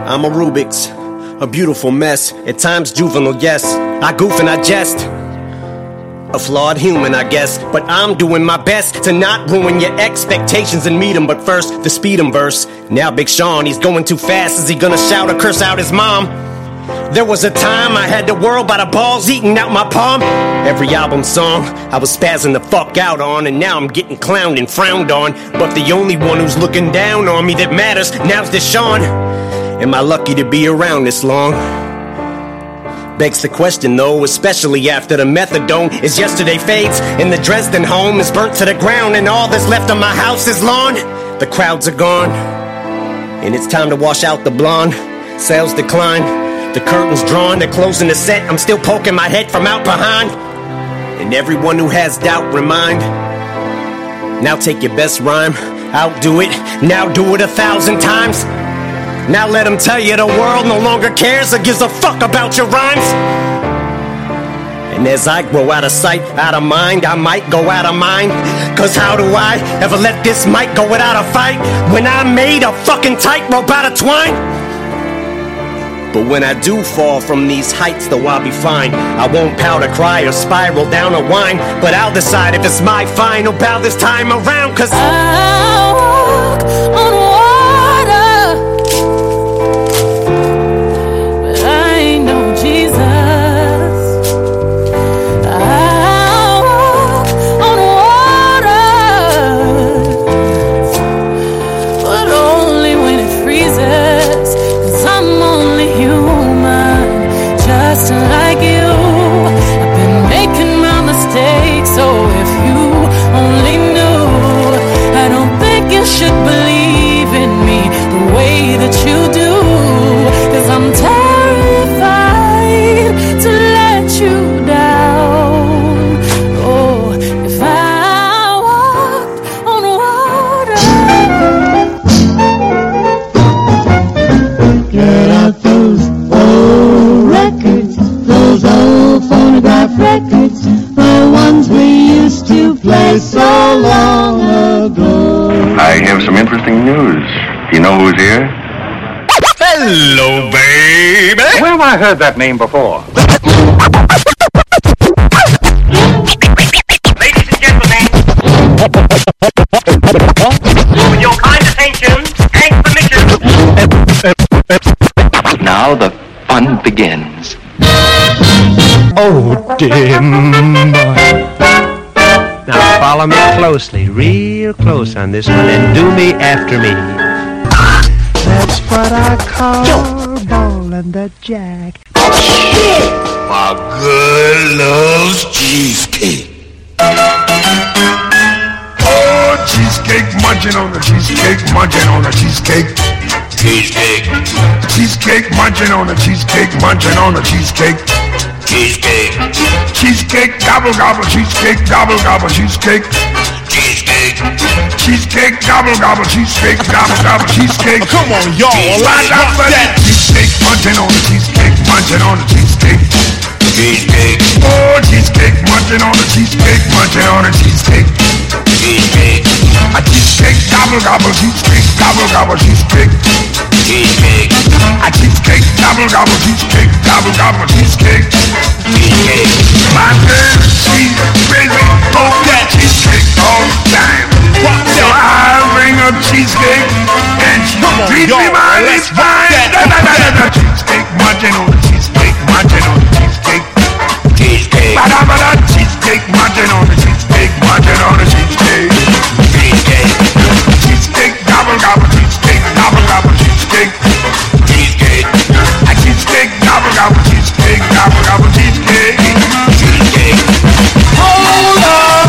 I'm a Rubik's, a beautiful mess. At times juvenile, yes. I goof and I jest. A flawed human, I guess. But I'm doing my best to not ruin your expectations and meet 'em. But first, the speed 'em verse. Now Big Sean, he's going too fast. Is he gonna shout or curse out his mom? There was a time I had the world by the balls eating out my palm. Every album song I was spazzing the fuck out on, and now I'm getting clowned and frowned on. But the only one who's looking down on me that matters now's Deshaun. Am I lucky to be around this long? Begs the question though, especially after the methadone is yesterday fades and the Dresden home is burnt to the ground and all that's left of my house is lawn. The crowds are gone and it's time to wash out the blonde. Sales decline, the curtains drawn, they're closing the set. I'm still poking my head from out behind. And everyone who has doubt, remind. Now take your best rhyme, outdo it, now do it 1,000 times. Now let them tell you the world no longer cares or gives a fuck about your rhymes. And as I grow out of sight, out of mind, I might go out of mind. Cause how do I ever let this mic go without a fight when I made a fucking tightrope out of twine? But when I do fall from these heights, though I'll be fine. I won't pout or cry or spiral down or whine, but I'll decide if it's my final bow this time around. Cause I walk on water, but I ain't no Jesus. I walk on water, but only when it freezes. Cause I'm only human, just like you. I've been making my mistakes, so if you only knew, I don't think you should believe in me the way that you do. Cause I'm terrified to let you down. Oh, if I walked on water. Get out those old records, those old phonograph records, the ones we used to play so long ago. I have some interesting news. You know who's here? hello, baby. Where have I heard that name before? Ladies and gentlemen, with your kind attention and permission. Now the fun begins. Oh, dear boy. Now follow me closely, real close on this one, and do me after me. That's what I call ballin' the jack. My girl loves cheesecake. Oh, cheesecake, munching on the cheesecake, munching on the cheesecake. Cheesecake. Cheesecake, munching on the cheesecake, munching on the cheesecake. Cheesecake. Cheesecake, gobble gobble, cheesecake, gobble gobble, cheesecake. Cheesecake. Cheesecake, gobble gobble, cheesecake, gobble gobble, cheesecake. Come on, y'all, let's rock that. Cheesecake, munching on the cheesecake, munching on the cheesecake. Cheesecake. Oh, cheesecake, munching on the cheesecake, munching on the cheesecake. Cheesecake. A cheesecake, gobble gobble, cheesecake, gobble gobble, cheesecake. Cheesecake. A cheesecake, gobble gobble, cheesecake, gobble gobble, cheesecake. Cheesecake. My girl, she's crazy for that cheesecake all the time. So I bring her cheesecake and she treats me mighty fine. Cheesecake, munching on the cheesecake, munching on the cheesecake. Cheesecake. Ba-da-ba-da, cheesecake, munching on the cheesecake, munching on the cheesecake. Cheesecake. Cheesecake, gobble gobble, cheesecake, gobble gobble, cheesecake. Cheesecake. A cheesecake, gobble gobble, cheesecake, gobble gobble, cheesecake. Cheesecake. Hold up!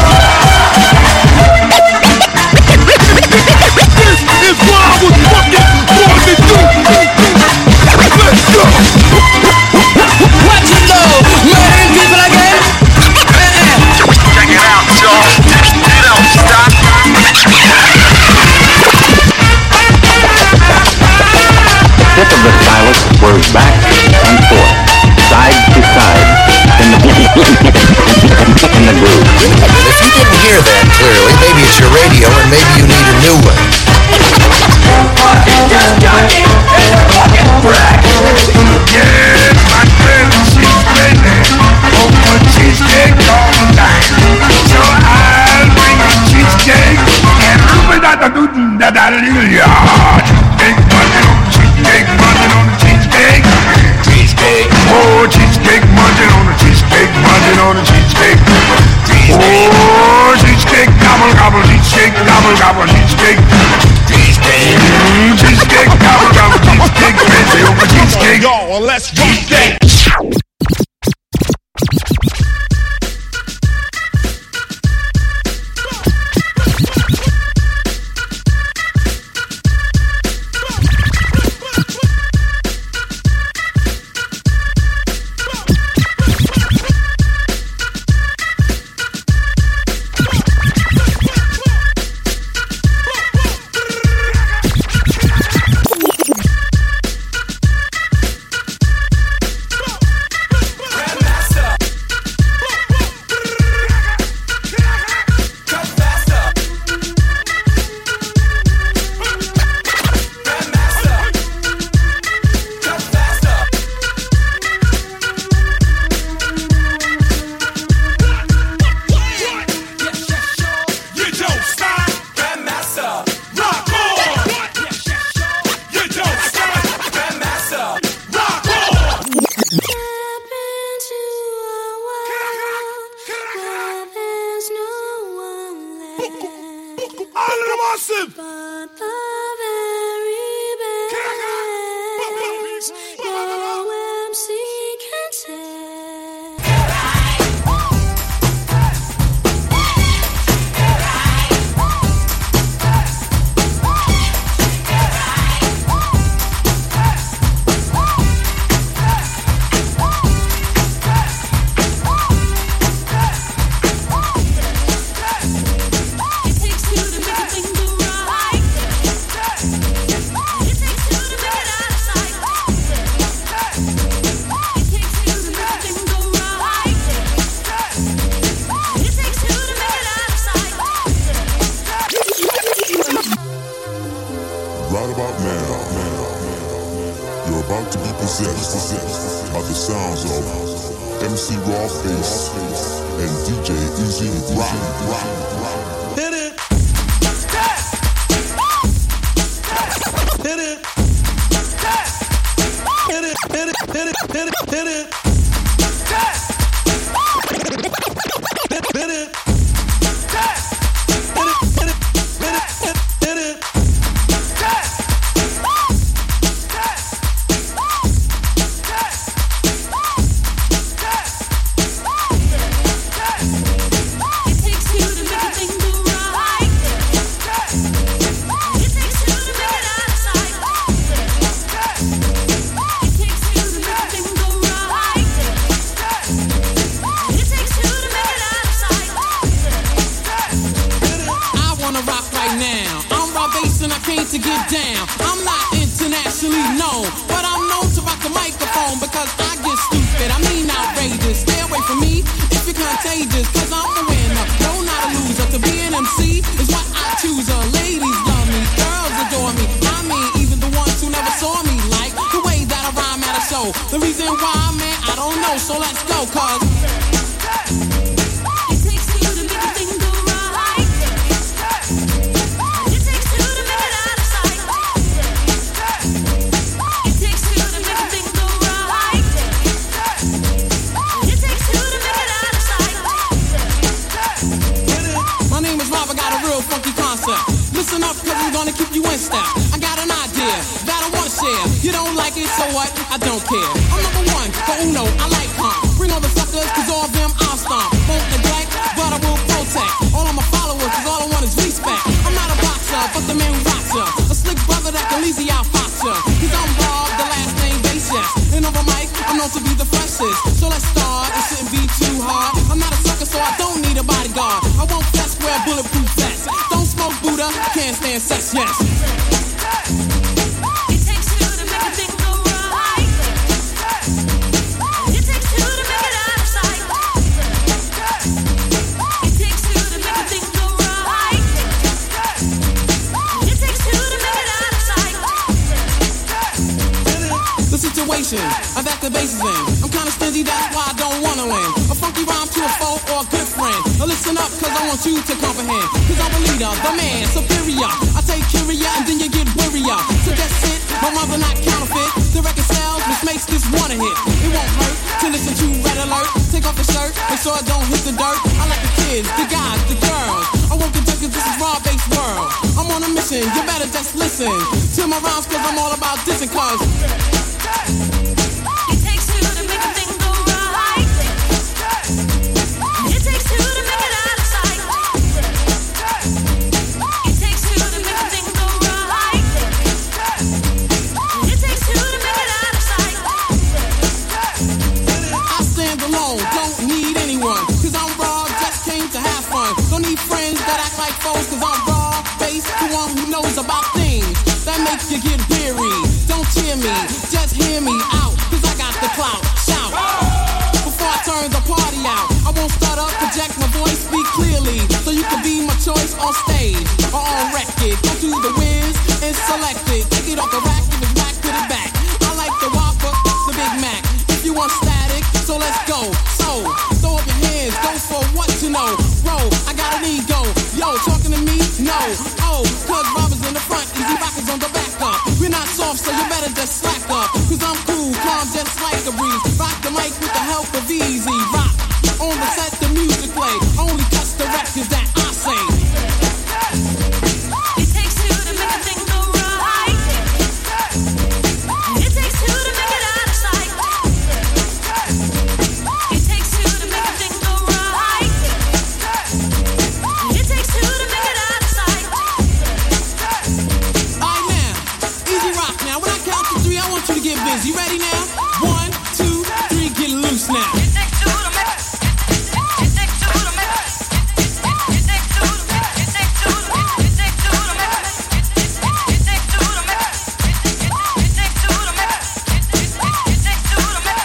This is what I was fucking born to do. Let's go. Hallelujah. Cheesecake munching on the cheesecake. Cheesecake. Oh, cheesecake munching on the cheesecake. Munching on the cheesecake. Cheesecake. Oh, cheesecake gobble gobble. Cheesecake gobble gobble. Cheesecake. Cheesecake. Cheesecake gobble gobble. Cheesecake. Fancy over cheesecake. Y'all, let's cheesecake. Listen up, cause I want you to comprehend. Cause I'm a leader, the man, superior. I take Curia and styles are not counterfeit. The record sells, which makes this one a hit. It won't hurt to listen to Red Alert. Take off the shirt, make sure it don't hit the dirt. I like the kids, the guys, the girls. I won't get cause this is raw-based world. I'm on a mission, you better just listen to my rhymes cause I'm all about dissing cause it takes two to make a thing go right. It takes two to make it out of sight. It takes two to make a thing go right. It takes two to make it out of sight. I stand alone, don't need anyone cause I'm raw, just came to have fun. Don't need friends that act like foes cause I'm raw based, the one who knows about things that make you get weary. Don't cheer me, just hear me out cause I got the clout, shout before I turn the party out. I won't start up, project my voice, speak clearly so you can be my choice on stage or on record. Go to the whiz and select it, take it off the rack, give it back, put it back. I like the Whopper, the Big Mac. If you want static, so let's go. So, throw up your hands, go for what you know. Bro, I got an ego. Yo, talking to me? No. Oh, cause robbers in the front, easy rockers on the back up. We're not soft, so you better just slack up. Cause I'm cool, calm, just like a breeze. Rock the mic with the help of Easy Rock. On the set, the music play. Only cuts the records that I say. It takes two to make a thing go right. It takes two to make it out of sight. It takes two to make a thing go right. It takes two to make it out of sight. Alright now, Easy Rock now. When I count to three, I want you to get busy. Ready now? 1, 2, 3, get loose now. It takes two to make it. It takes two to make it. It takes two to make it. It takes two to make it. It takes two to make it. It takes two to make it. It takes two to make it. It takes two to make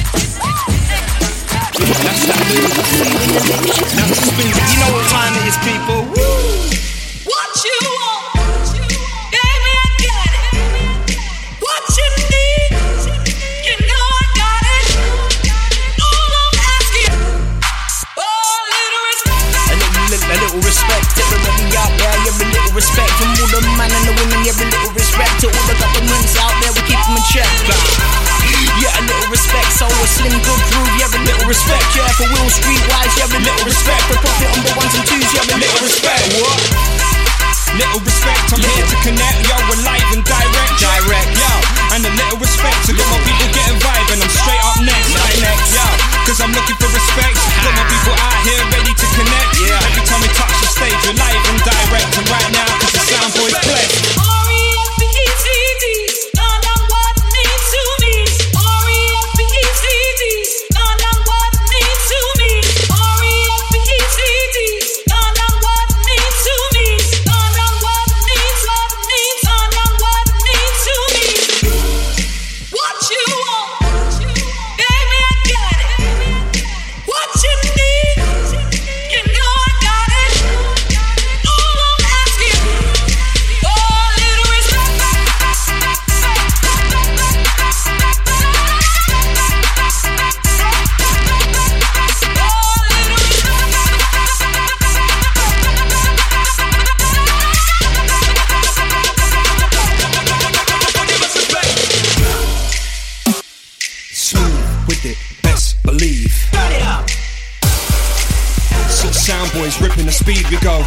it. That's that music. That's the speed. You know what time it is, people. What you want, baby, I got it. What you need, you know I got it. All I'm asking, a little respect. A little respect to everybody out there. Yeah, a little respect from all the men and the women. Yeah, a little respect to all the governments out there. We keep them in check. Yeah, a little respect. So a slim good groove. Yeah, a little respect. Yeah, for Will Street wise. Yeah, a little respect. For profit on the ones and twos. Yeah, a little respect. What? Little respect, I'm here to connect. Yo, we're live and direct. Yo, and a little respect to got my people getting vibe. And I'm straight up next. Yo, cause I'm looking for respect. Got my people out here ready to connect. Yeah. Every time we touch the stage, we're live and direct. And right now, cause the sound boys play. R-E-S-P-E-C-T, done what needs to be. R-E-S-P-E-C-T, done what needs to be. R-E-S-P-E-C-T, done what needs to be. Done what needs to be. What you want, baby, I got it. What you need, you know I got it. All I'm asking, a little respect. Smooth with it, best believe. Six sound boys ripping the speed, we go.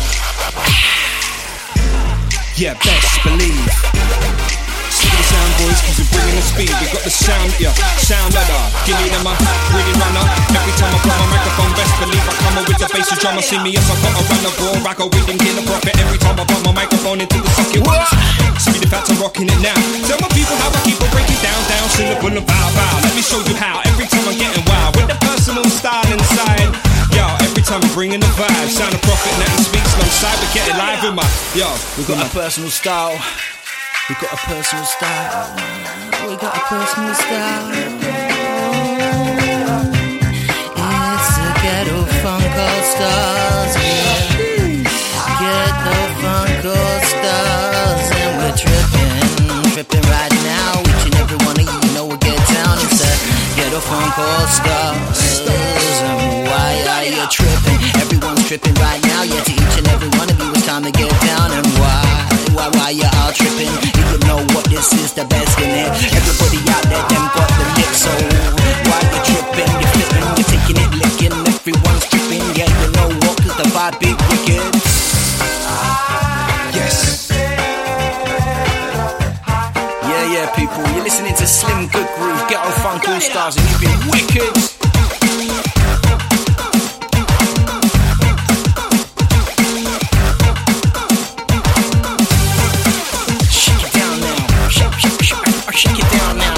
Yeah, best believe. Stick the sound boys, cause we're bringing the speed. We got the sound, yeah, sound ladder. Give me them a really runner. Every time I put my microphone, best believe I come up with the bass and drummer. See me as I got a runner, bro. I go with them, get a profit. Every time I put my microphone into the socket. Speed about to rocking it now. Tell my people how I keep on breaking down, syllable and bow, bow. Let me show you how. Every time I'm getting wild with the personal style inside. Yo, every time I'm bringing the vibe. Sound of profit, let me speak alongside. We get it live with my, yo. We got a personal style. We got a personal style. We got a personal style. It's a ghetto funk all stars. Yeah. Ghetto funk all stars, and we're tripping right now. Each and every one of you know we get down. It's a ghetto funk all stars. And why are you tripping? Everyone's tripping right now. Yeah, to each and every one of you, it's time to get down. And why you all tripping? You know what this this is the best in it. Everybody out there, them got the lick, so while you're tripping, you're flipping, you're taking it, licking, everyone's tripping, yeah, you know what, cause the vibe be wicked. Yes. Yeah, people, you're listening to Slim Good Groove, Ghetto Funk All Stars, and you've been wicked. Shake it down now, shake it down now.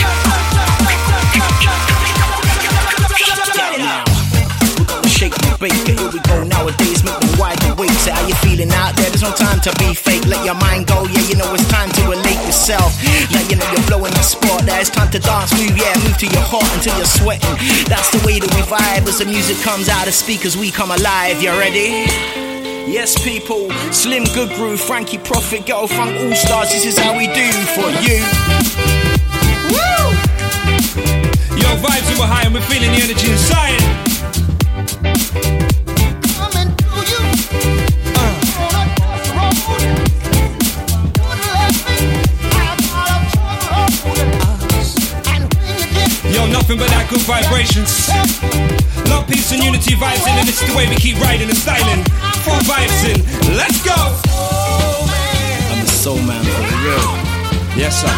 We're gonna shake the bait, here we go nowadays, make them wide awake. Say how you feeling out there, there's no time to be fake. Let your mind go, yeah, you know it's time to relate yourself. Now you know you're blowing the spot, there it's time to dance, move, yeah, move to your heart until you're sweating. That's the way that we vibe, as the music comes out of speakers, we come alive, you ready? Yes, people, Slim Good Groove, Frankie Prophet, Ghetto Funk All Stars, this is how we do for you. Woo! Yo, vibes super high and we're feeling the energy inside. Coming to you. Yo, nothing but that good vibrations. Love, peace and unity vibes in, and this is the way we keep riding and styling. Full vibes in, let's go. I'm a soul man for real. Yes, sir.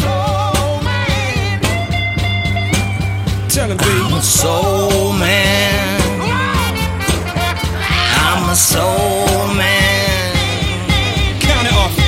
Tell him, B. I'm a soul man. I'm a soul man. Count it off.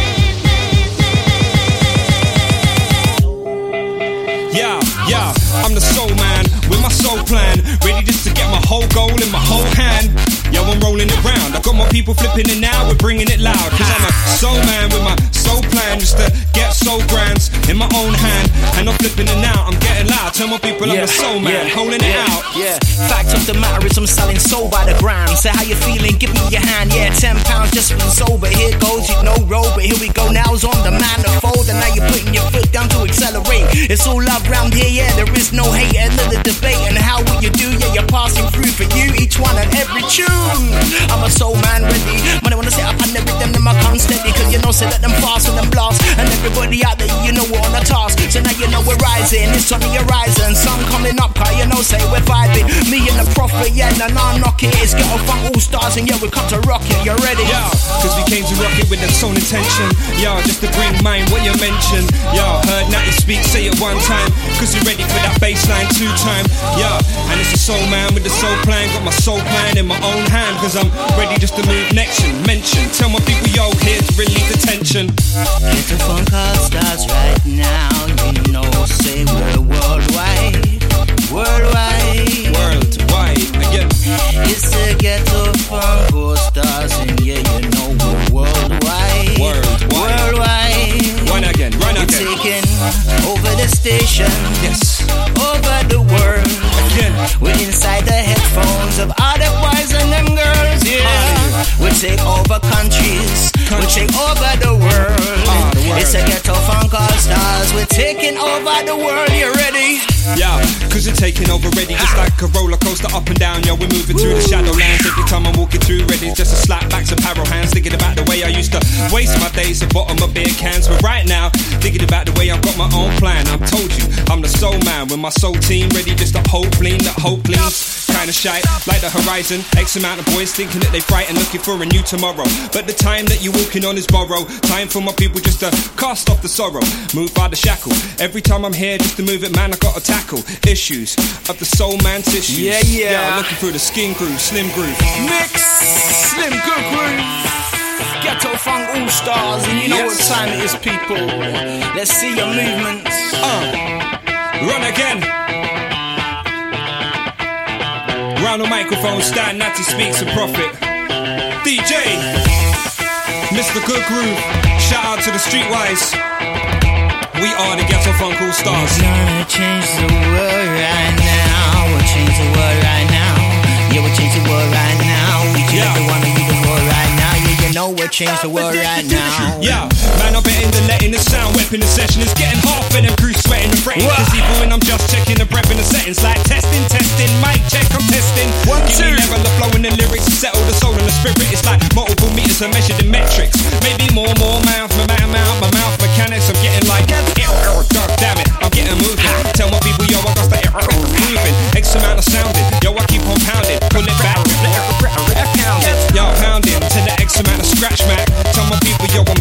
Yeah, I'm the soul man with my soul plan, ready just to get my whole goal in my whole hand. Yo, I'm rolling it round. I got my people flipping it now, we're bringing it loud. Cause I'm a soul man with my soul plan, just to get soul grands in my own hand. And I'm flipping it now, I'm getting loud. Tell my people I'm a soul man, holding it out. Yeah, fact of the matter is I'm selling soul by the gram. Say how you feeling, give me your hand. Yeah, £10 just for sober. Here goes, you know, roll, but here we go. Now's on the manifold, and now you're putting your foot down to accelerate. It's all love round here, yeah, there is no hate, another debate. And how will you do? Yeah, you're passing through for you, each one and every tune. I'm a soul man ready. Man, I wanna set up and the rhythm, them I come steady. Cause you know, say let them fast and them blast. And everybody out there, you know we're on the task. So now you know we're rising, it's on the horizon. Sun coming up, cause you know, say we're vibing. Me and the prophet, yeah, nah, knock it. It's Ghetto Funk All Stars, and yeah, we come to rock it, you ready? Yo, cause we came to rock it with that soul intention. Yo, just to bring mind what you mentioned. Yo, heard Natty speak, say it one time. Cause you're ready for that bassline 2 time. Yo, and it's a soul man with the soul plan. Got my soul plan in my own hand. Cause I'm ready just to move next and mention. Tell my people, yo, here to relieve the tension. Ghetto Funk All Stars right now. You know, say we're worldwide. Worldwide. Worldwide, again. It's the Ghetto Funk All Stars, and yeah, you know we're worldwide. Worldwide. Run again. We're taking over the station. Yes. Over the world. Again. We're inside the headphones of all the boys and them girls, yeah. We take over countries. We take over the world. It's a Ghetto Funk All Stars. We're taking over the world. You ready? Yeah, cause you're taking over ready, just like a roller coaster up and down. Yo, we're moving through the shadowlands. Every time I'm walking through, ready just to slap back some arrow hands. Thinking about the way I used to waste my days at bottom of beer cans. But right now, thinking about the way I've got my own plan. I've told you, I'm the soul man with my soul team, ready just to hope clean, that hope cleans. Kinda shy, like the horizon. X amount of boys thinking that they frightened, looking for a new tomorrow. But the time that you're walking on is borrowed. Time for my people just to cast off the sorrow, move by the shackle. Every time I'm here just to move it, man, I gotta tackle issues of the soul man's issues. Yeah, looking through the skin groove, Slim Groove. Mix Slim Good Groove. Ghetto Funk All Stars, and you know what time it is, people. Let's see your movements. Run again. Round the microphone, stand, Natty speaks and profit. DJ, Mr. Good Groove. Shout out to the Streetwise. We are the Ghetto Funk All Stars. We're gonna change the world right now. We'll change the world right now. Yeah, we'll change the world right now. We change the one and we the world right now. Yeah, you know we'll change the world right now. Yeah, man, I'm betting the letting the sound weapon the session is getting half and them crew sweating and fretting. Cause even when I'm just checking the breath in the settings, like testing, mic check, I'm testing. 1, 2. Level the flow and the lyrics, settle the soul and the spirit. It's like multiple meters are measured in metrics. Maybe more mouth, my mouth mechanics. I'm getting like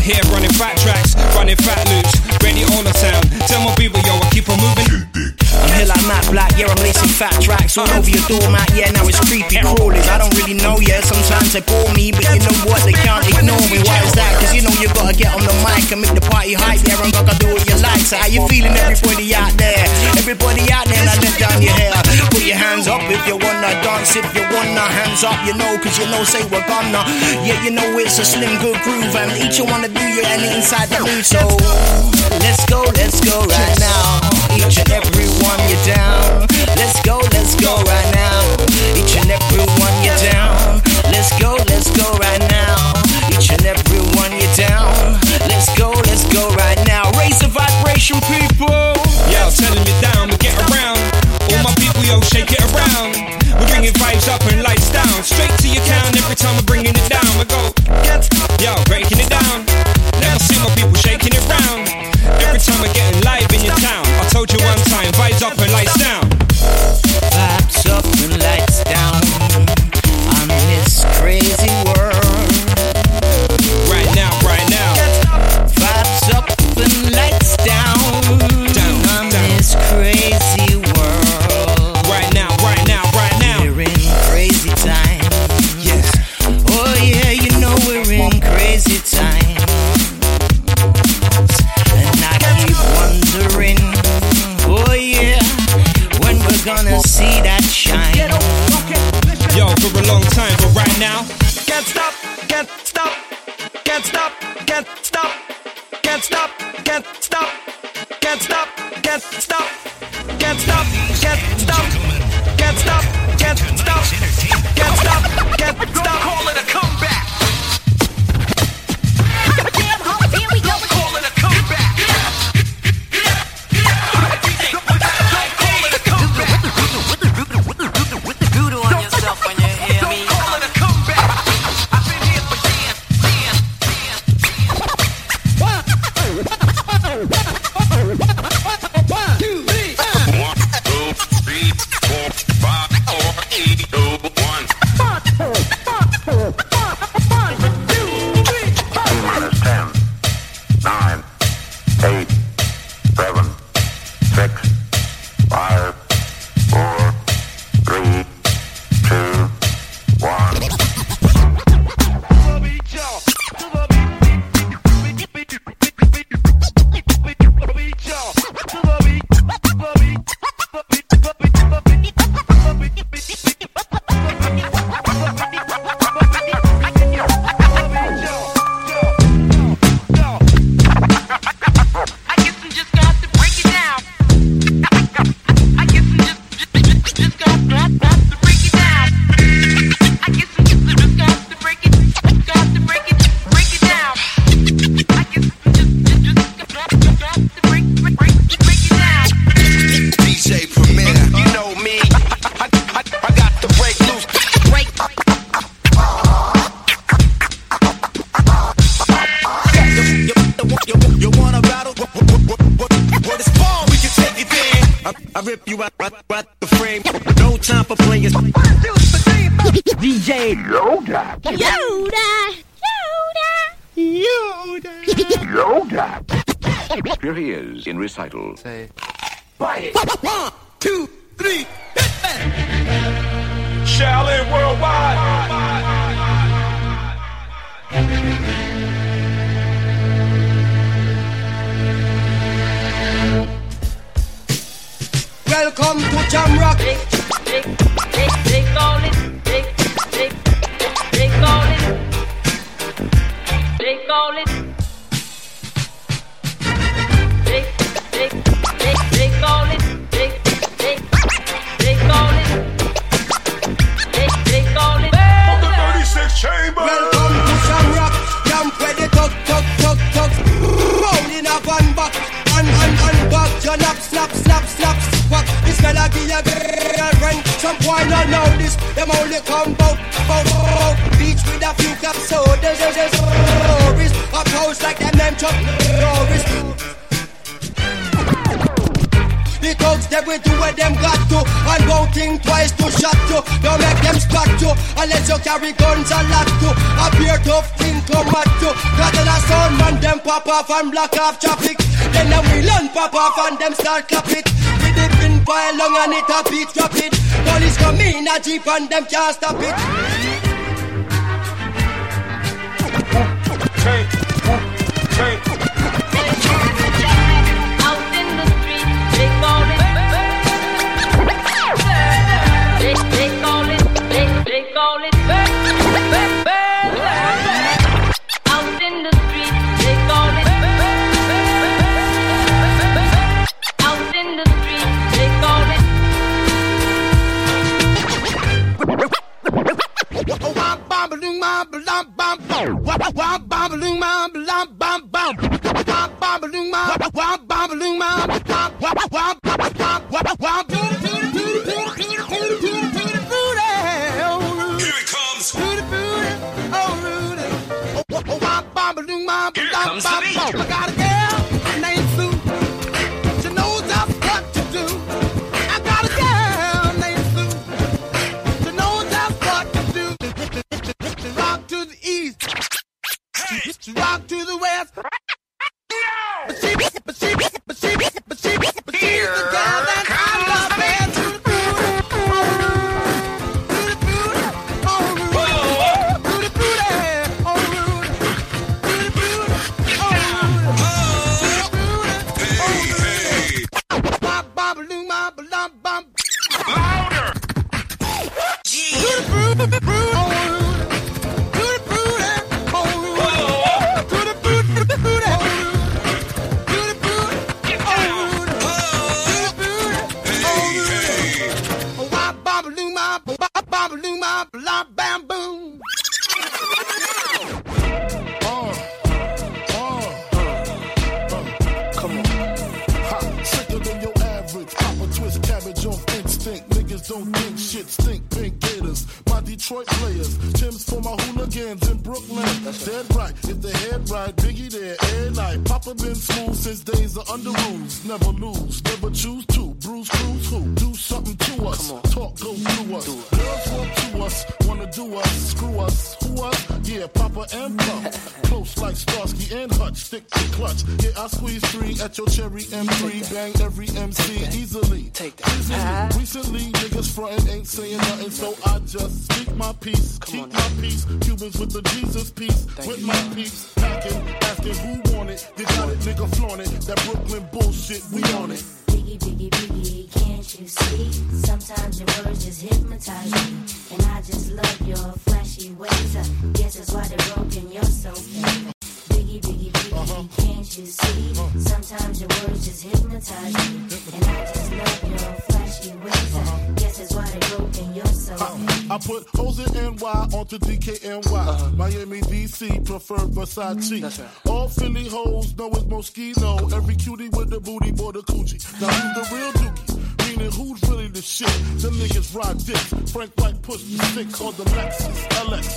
here running fat tracks, running fat loops, ready on the sound. Tell my people, yo, I keep on moving. I'm here like Matt Black, yeah, I'm lacing fat tracks all over your doormat, yeah, now it's creepy crawlers. I don't really know, yeah, sometimes they bore me, but you know what, they can't ignore me. Why is that? Cause you know you gotta get on the mic and make the party hype, yeah, I'm gonna do what you like. So how you feeling, everybody out there? Everybody out there, now let down your hair. Put your hands up if you wanna dance, if you wanna hands up, you know, cause you know, say we're gonna. Yeah, you know it's a slim good groove, and each you wanna do you and inside the mood. So let's go right now. Each and every one you're down. Let's go right now. Each and every one you're down. Let's go right now. Each and every one you're down. Let's go right now. Raise the vibration, people. Yo, telling you down, we get around. All my people, yo, shake it around. We're bringing vibes up and lights down. Straight to your count every time we're bringing it down. We go, yo, breaking it down. Never see my people shaking it round. Every time we're getting live in your town. I told you one time, vibes up and lights down. Vibes up and lights down on this crazy world. Right now. Vibes up and lights down on this crazy world. Right now. We're in crazy time. Yes. Oh yeah, you know we're in crazy time. And I keep wondering, oh yeah, when we're gonna see that shine. Yo, for a long time, but right now, Can't stop, can't stop, can't stop, can't stop, can't stop, can't stop, can't stop, can't stop, can't stop, can't stop, can't stop, can't stop, can't stop, can't stop. Call it a comeback. Damn hoes, here we go. Call it a comeback. Call it a comeback. Doodle on yourself when you hear me. Call it a comeback. I've been here for years. rip you out the frame. No time for players. DJ Yoda. Here he is in recital. Say, bite it. 1, 2, 3, hit that. Shaolin Worldwide. Welcome to Jamrock. They call it. They call it. They call it. They call it. They call it. They call it. From the 36 chamber. Welcome to Jamrock. Jump where the tug. Rolling up one back. And back. Your nap, snap. This melody a rent. Some boy not know this. Them only come bout. Beach with a few cups sodas. Stories up house like them Chuck Norris. The thugs they will do what them got to. And won't think twice to shot you. Don't make them spot you unless you carry guns and lock you. A beer tough thing come at you. Got a sound man them pop off and block off traffic. Then the wheel and pop off and them start clap it. With the pin pile long and it a beat rapid. Police come in a jeep and them can't stop it. Out in the street, they call it. They call it. They call it. Out in the street, they call it. Out in the street, they call it. Oh, I'm bobbling my blam bam bam. I'm bobbling my blam bam bam. I'm bobbling my bobbling my Here it comes. Oh, I'm bobbling my Here blam comes the bam beat. bam. I got a girl named Sue. She knows just what to do. I got a girl named Sue. She knows just what to do. She rock to the east. She rock to the west. But she's the girl that I love best. To the booty, oh Rudy, to the booty, oh Rudy, to the booty, oh Rudy, bop bop loom bop bop bop. Louder. To the booty, oh Rudy, to the booty, oh Rudy, to the booty, oh Rudy. Come on. Ha, sicker than your average. Papa twist cabbage off instinct. Niggas don't think shit stink. Pink gators, my Detroit players. Tim's for my hooligans in Brooklyn. Dead right, if they head right, Biggie there every night. Papa been smooth since days of under rules. Never lose, never choose to. Bruce Cruz who? Do something to us. Talk go through us. Girls want to us, wanna do us, screw us. Who us? Yeah, Papa and Pump. Close like Starsky and Hutch, stick to clutch. Yeah, I squeeze 3 at your cherry M3. Bang every MC easily. Take that. Easily. Recently, niggas frontin' ain't saying nothing, so I just speak my peace, keep my peace. Cubans with the Jesus peace, with my peace. Packing, asking who want it. You got it, nigga, flaunt it. That Brooklyn bullshit, we on it. Biggie, biggie, biggie, can't you see? Sometimes your words just hypnotize me. And I just love your flashy ways. I guess that's why they're broken, you're so fake. Biggie, biggie, biggie, can't you see? Sometimes your words just hypnotize me. And I just love your flashy ways. I guess that's why they're broken, you're so fake. I put hoes in NY onto DKNY. Miami, DC, prefer Versace. That's right. All Philly hoes know it's Moschino. Every cutie with the booty, boy, the coochie. Now who's the real dookie? Meaning who's really the shit? Them niggas ride dicks. Frank White pushed the 6 on the Lexus LX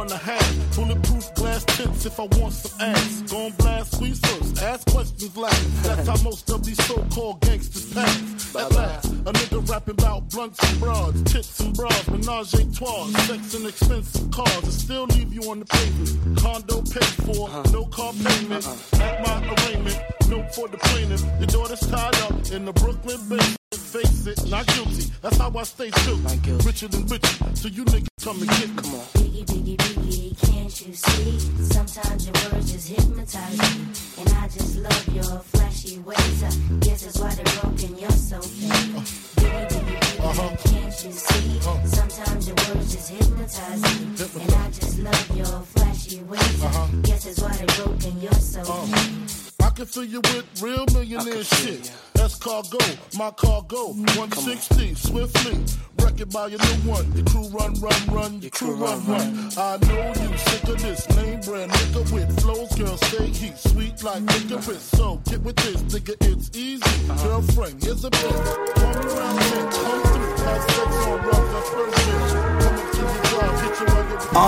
4.5. Bulletproof glass tips if I want some ass. Gon' blast squeeze first, ask questions last. That's how most of these so-called gangsters pass. At last, a nigga rapping about blunts and broads, tits and bras, menage a trois, sex and expensive cars, and still leave you on the pavement. Condo paid for, no car payment. At my arraignment, note for the plaintiff. Your daughter's tied up in the Brooklyn basement. Face it, not guilty. That's how I stay true. Richer than richer, so you niggas come and get me. Come on. Biggie, biggie, biggie, can't you see? Sometimes your words just hypnotize me. And I just love your flashy ways. I guess that's why they're broken, you're so fake. Biggie, biggie, biggie, can't you see? Sometimes your words just hypnotize me. And I just love your flashy ways. I guess that's why they're broken, you're so fake. I can fill you with real millionaire shit. That's cargo, my cargo. 160, swiftly. Wreck it by your new one. Your crew run, your crew run. I know you sick of this name brand nigga with flows. Girl, stay heat, sweet like licorice. So get with this, nigga, it's easy. Girlfriend, here's a bitch. Call me round 10, come through. Have sex on rough, that's first bitch. Coming to the drive, hit your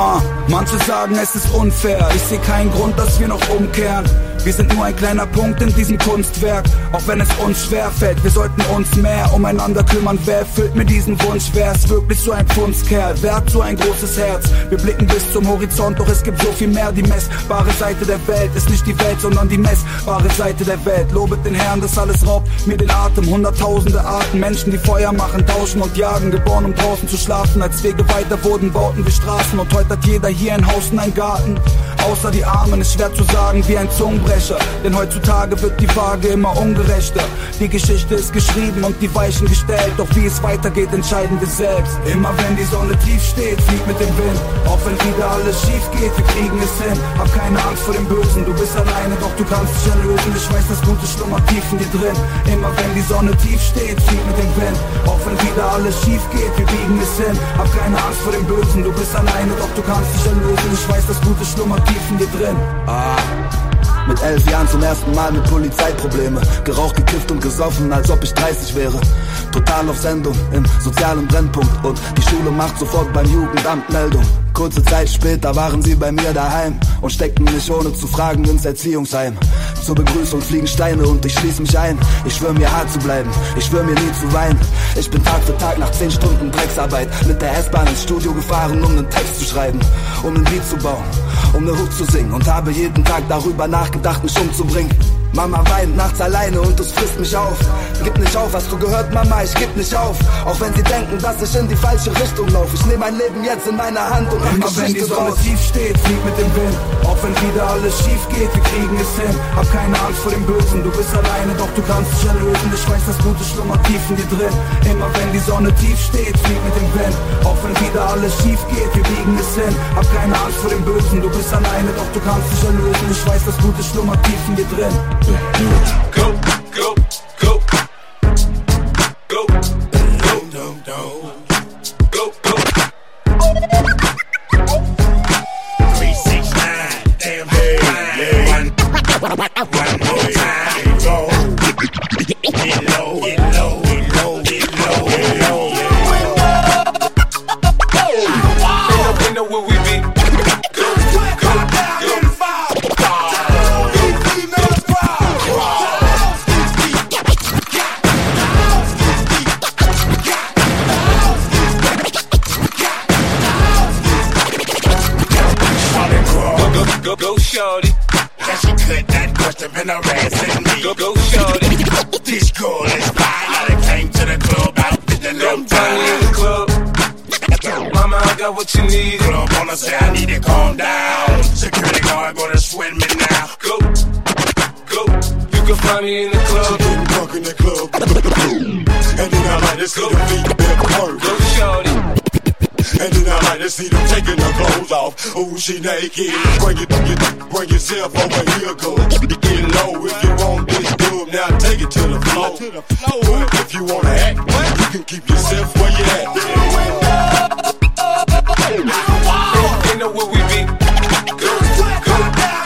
Manche sagen, es ist unfair. Ich sehe keinen Grund, dass wir noch umkehren. Wir sind nur ein kleiner Punkt in diesem Kunstwerk. Auch wenn es uns schwerfällt. Wir sollten uns mehr umeinander kümmern. Wer erfüllt mir diesen Wunsch? Wer ist wirklich so ein Kunstkerl? Wer hat so ein großes Herz? Wir blicken bis zum Horizont, doch es gibt so viel mehr. Die messbare Seite der Welt ist nicht die Welt, sondern die messbare Seite der Welt. Lobet den Herrn, das alles raubt mir den Atem. Hunderttausende Arten, Menschen, die Feuer machen, tauschen und jagen. Geboren, um draußen zu schlafen. Als Wege weiter wurden, bauten wir Straßen. Und heute hat jeder hier ein Haus und einen Garten. Außer die Armen, ist schwer zu sagen wie ein Zungenbrecher. Denn heutzutage wird die Waage immer ungerechter. Die Geschichte ist geschrieben und die Weichen gestellt. Doch wie es weitergeht, entscheiden wir selbst. Immer wenn die Sonne tief steht, flieg mit dem Wind. Auch wenn wieder alles schief geht, wir kriegen es hin. Hab keine Angst vor dem Bösen, du bist alleine, doch du kannst dich erlösen. Ich weiß, das Gute schlummert tief in dir drin. Immer wenn die Sonne tief steht, flieg mit dem Wind. Auch wenn wieder alles schief geht, wir biegen es hin. Hab keine Angst vor dem Bösen, du bist alleine, doch du kannst dich erlösen. Ich weiß, das Gute schlummert tief in dir drin. Mit 11 Jahren zum ersten Mal mit Polizeiprobleme. Geraucht, gekifft und gesoffen, als ob ich 30 wäre. Total auf Sendung, im sozialen Brennpunkt. Und die Schule macht sofort beim Jugendamt Meldung. Kurze Zeit später waren sie bei mir daheim und steckten mich ohne zu fragen ins Erziehungsheim. Zur Begrüßung fliegen Steine und ich schließ mich ein. Ich schwör mir hart zu bleiben, ich schwör mir nie zu weinen. Ich bin Tag für Tag nach 10 Stunden Drecksarbeit mit der S-Bahn ins Studio gefahren, um einen Text zu schreiben, um ein Lied zu bauen, um eine Hook zu singen. Und habe jeden Tag darüber nachgedacht, mich umzubringen. Mama weint nachts alleine und es frisst mich auf. Gib nicht auf, hast du gehört, Mama, ich geb nicht auf. Auch wenn sie denken, dass ich in die falsche Richtung laufe. Ich nehm mein Leben jetzt in meine Hand und immer wenn die Sonne tief steht, flieg mit dem Wind. Auch wenn wieder alles schief geht, wir kriegen es hin. Hab keine Angst vor dem Bösen, du bist alleine, doch du kannst dich erlösen. Ich weiß, das Gute schlummert tief in dir drin. Immer wenn die Sonne tief steht, flieg mit dem Wind. Auch wenn wieder alles schief geht, wir biegen es hin. Hab keine Angst vor dem Bösen, du bist alleine, doch du kannst dich erlösen. Ich weiß, das Gute schlummert tief in dir drin. Go, go, go. Go, go, go, go. Go, go. 369, damn hey, one more time. Go. Get low, get low, get low, get low, get low. They know where we be. Go, go, go. Go, shorty. That she could not question been harassing me. Go, shorty. This girl is fine. I done came to the club out with the little Tiny in the club. Mama, I got what you need. Club wanna say I need to calm down. Security guard gonna sweat me now. Go, go. You can find me in the club. Getting drunk in the club. And then I like to see the feet that work. Go, shorty. And then I like to see them taking their clothes off. Ooh, she naked. Bring yourself over here, girl. Get low if you want this dub. Now take it to the floor. But if you wanna act, you can keep yourself where you at. They know where we be. Go, go, go.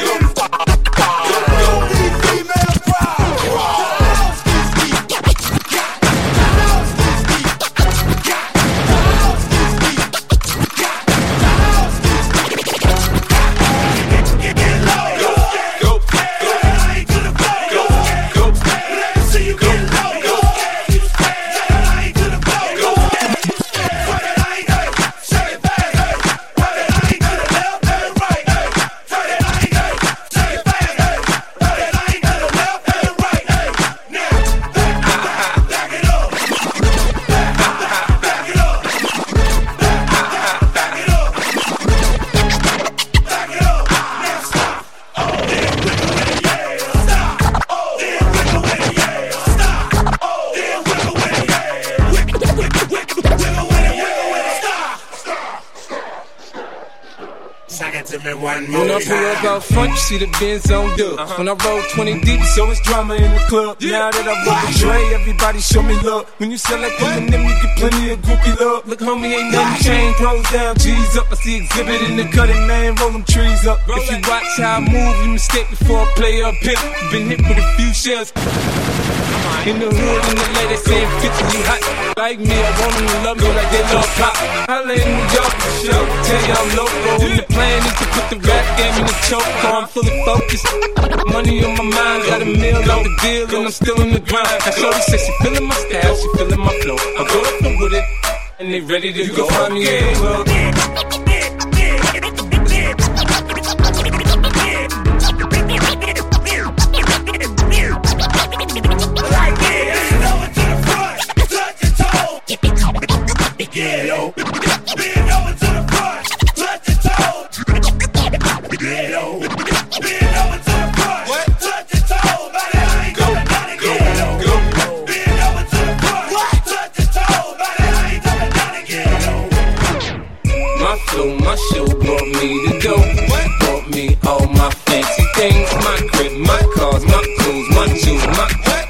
When I pull up out front, you see the Benz on dub. When I roll 20 deep, so it's drama in the club. Now that I roll with Dre, everybody show me love. When you sell like Eminem, you get plenty of groupie love. Look, homie, ain't nothing changed. Rolls down, G's up. I see exhibit in the cutting, man, roll them trees up. If you watch how I move, you mistake before I play up hip. Been hit with a few shells. In the hood, in the lady saying 50, you hot. Like me, I want them to love me like they love pop. Holla in New York for sure. Tell you I'm local. And the plan is to put the rap game in the choke, I'm fully focused. Money on my mind, got a meal on the deal, and I'm still in the grind. Now shorty says she feeling my style, she feeling my flow. I go up and with it, and they ready to go. You can find me anywhere. Yeah, yo. Bend over to the front, touch your toes. Yeah, yo. Bend over to the front, touch your toes. Body, I ain't coming down again, yo. Bend over to the front, touch your toes. Body, I ain't coming down again, yo. My flow, my show brought me to go. Brought me all my fancy things, my crib, my cars, my clothes, my shoes, my.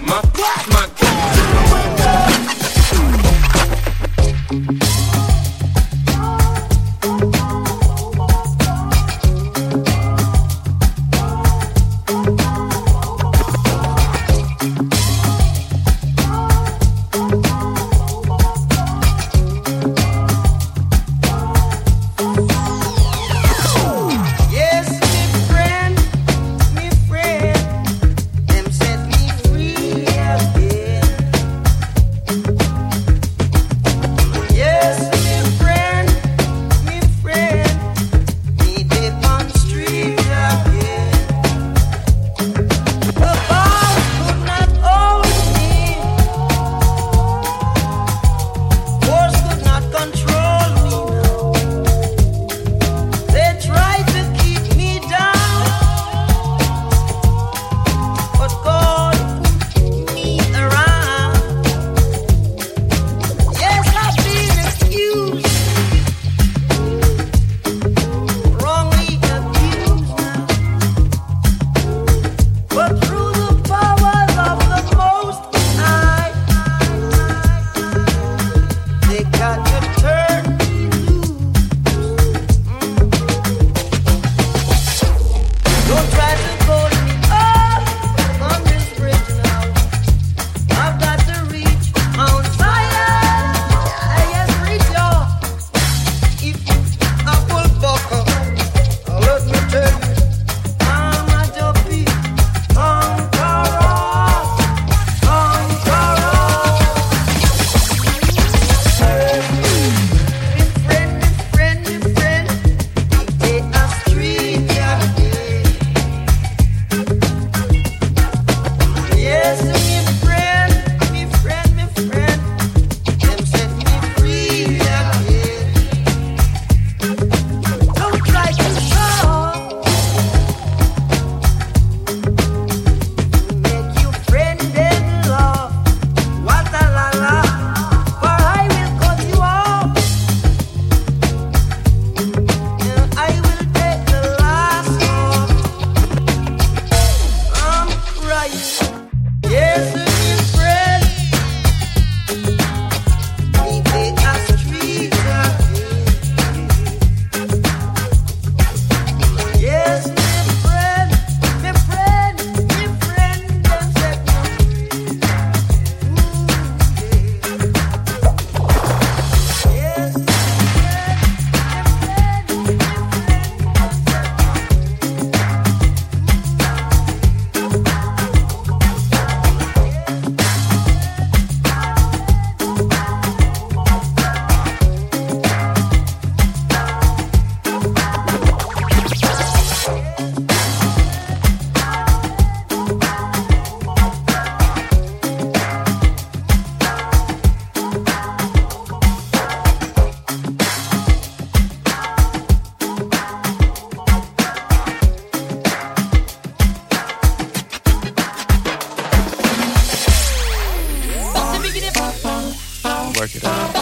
work it out.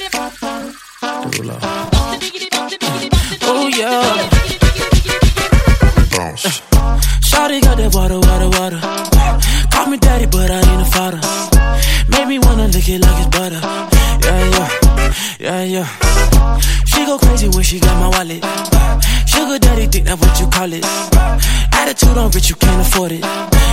Oh yeah. Bounce. Shawty got that water. Call me daddy, but I ain't a father. Made me wanna lick it like it's butter. Yeah. Yeah. She go crazy when she got my wallet. Sugar daddy think that what you call it. Attitude on bitch, you can't afford it.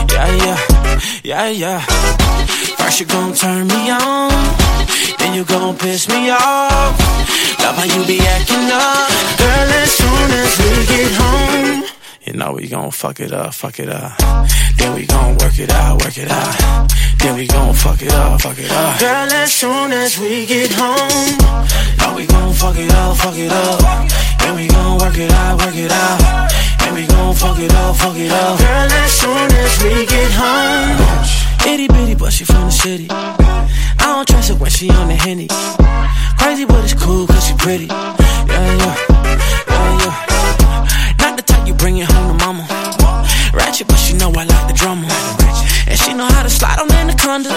Yeah. First you gon' turn me on, then you gon' piss me off. Love how you be acting up. Girl, as soon as we get home, you know we gon' fuck it up. Then we gon' work it out. Then we gon' fuck it up. Girl, as soon as we get home, know we gon' fuck it up. Then we gon' work it out. Then we gon' fuck it up. Girl, as soon as we get home, itty bitty but she from the city. I don't trust her when she on the Henny. Crazy but it's cool cause she pretty. Yeah. Not the type you bring it home to mama. Ratchet but she know I like the drama. And she know how to slide on Anaconda.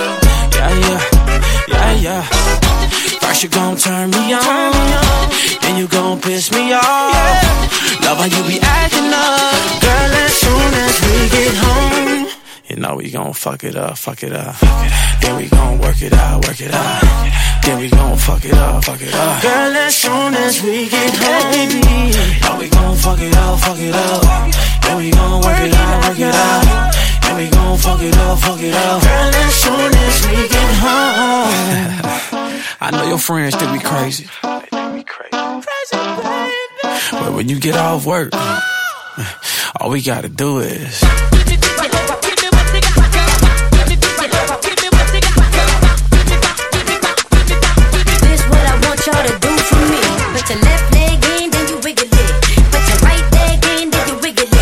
Yeah. First you gon' turn me on, then you gon' piss me off. Love how you be acting up. Girl, as soon as we get home, you know we gon' fuck it up. Then we gon' work it out. Then we gon' fuck it up. Girl, as soon as we get home, you know we gon' fuck it up. Then we gon' work it out. Then we gon' fuck it up. Girl, as soon as we get home. I know your friends think we crazy. But when you get off work, all we gotta do is y'all to do for me. Put your left leg in, then you wiggle it. Put your right leg in, then you wiggle it.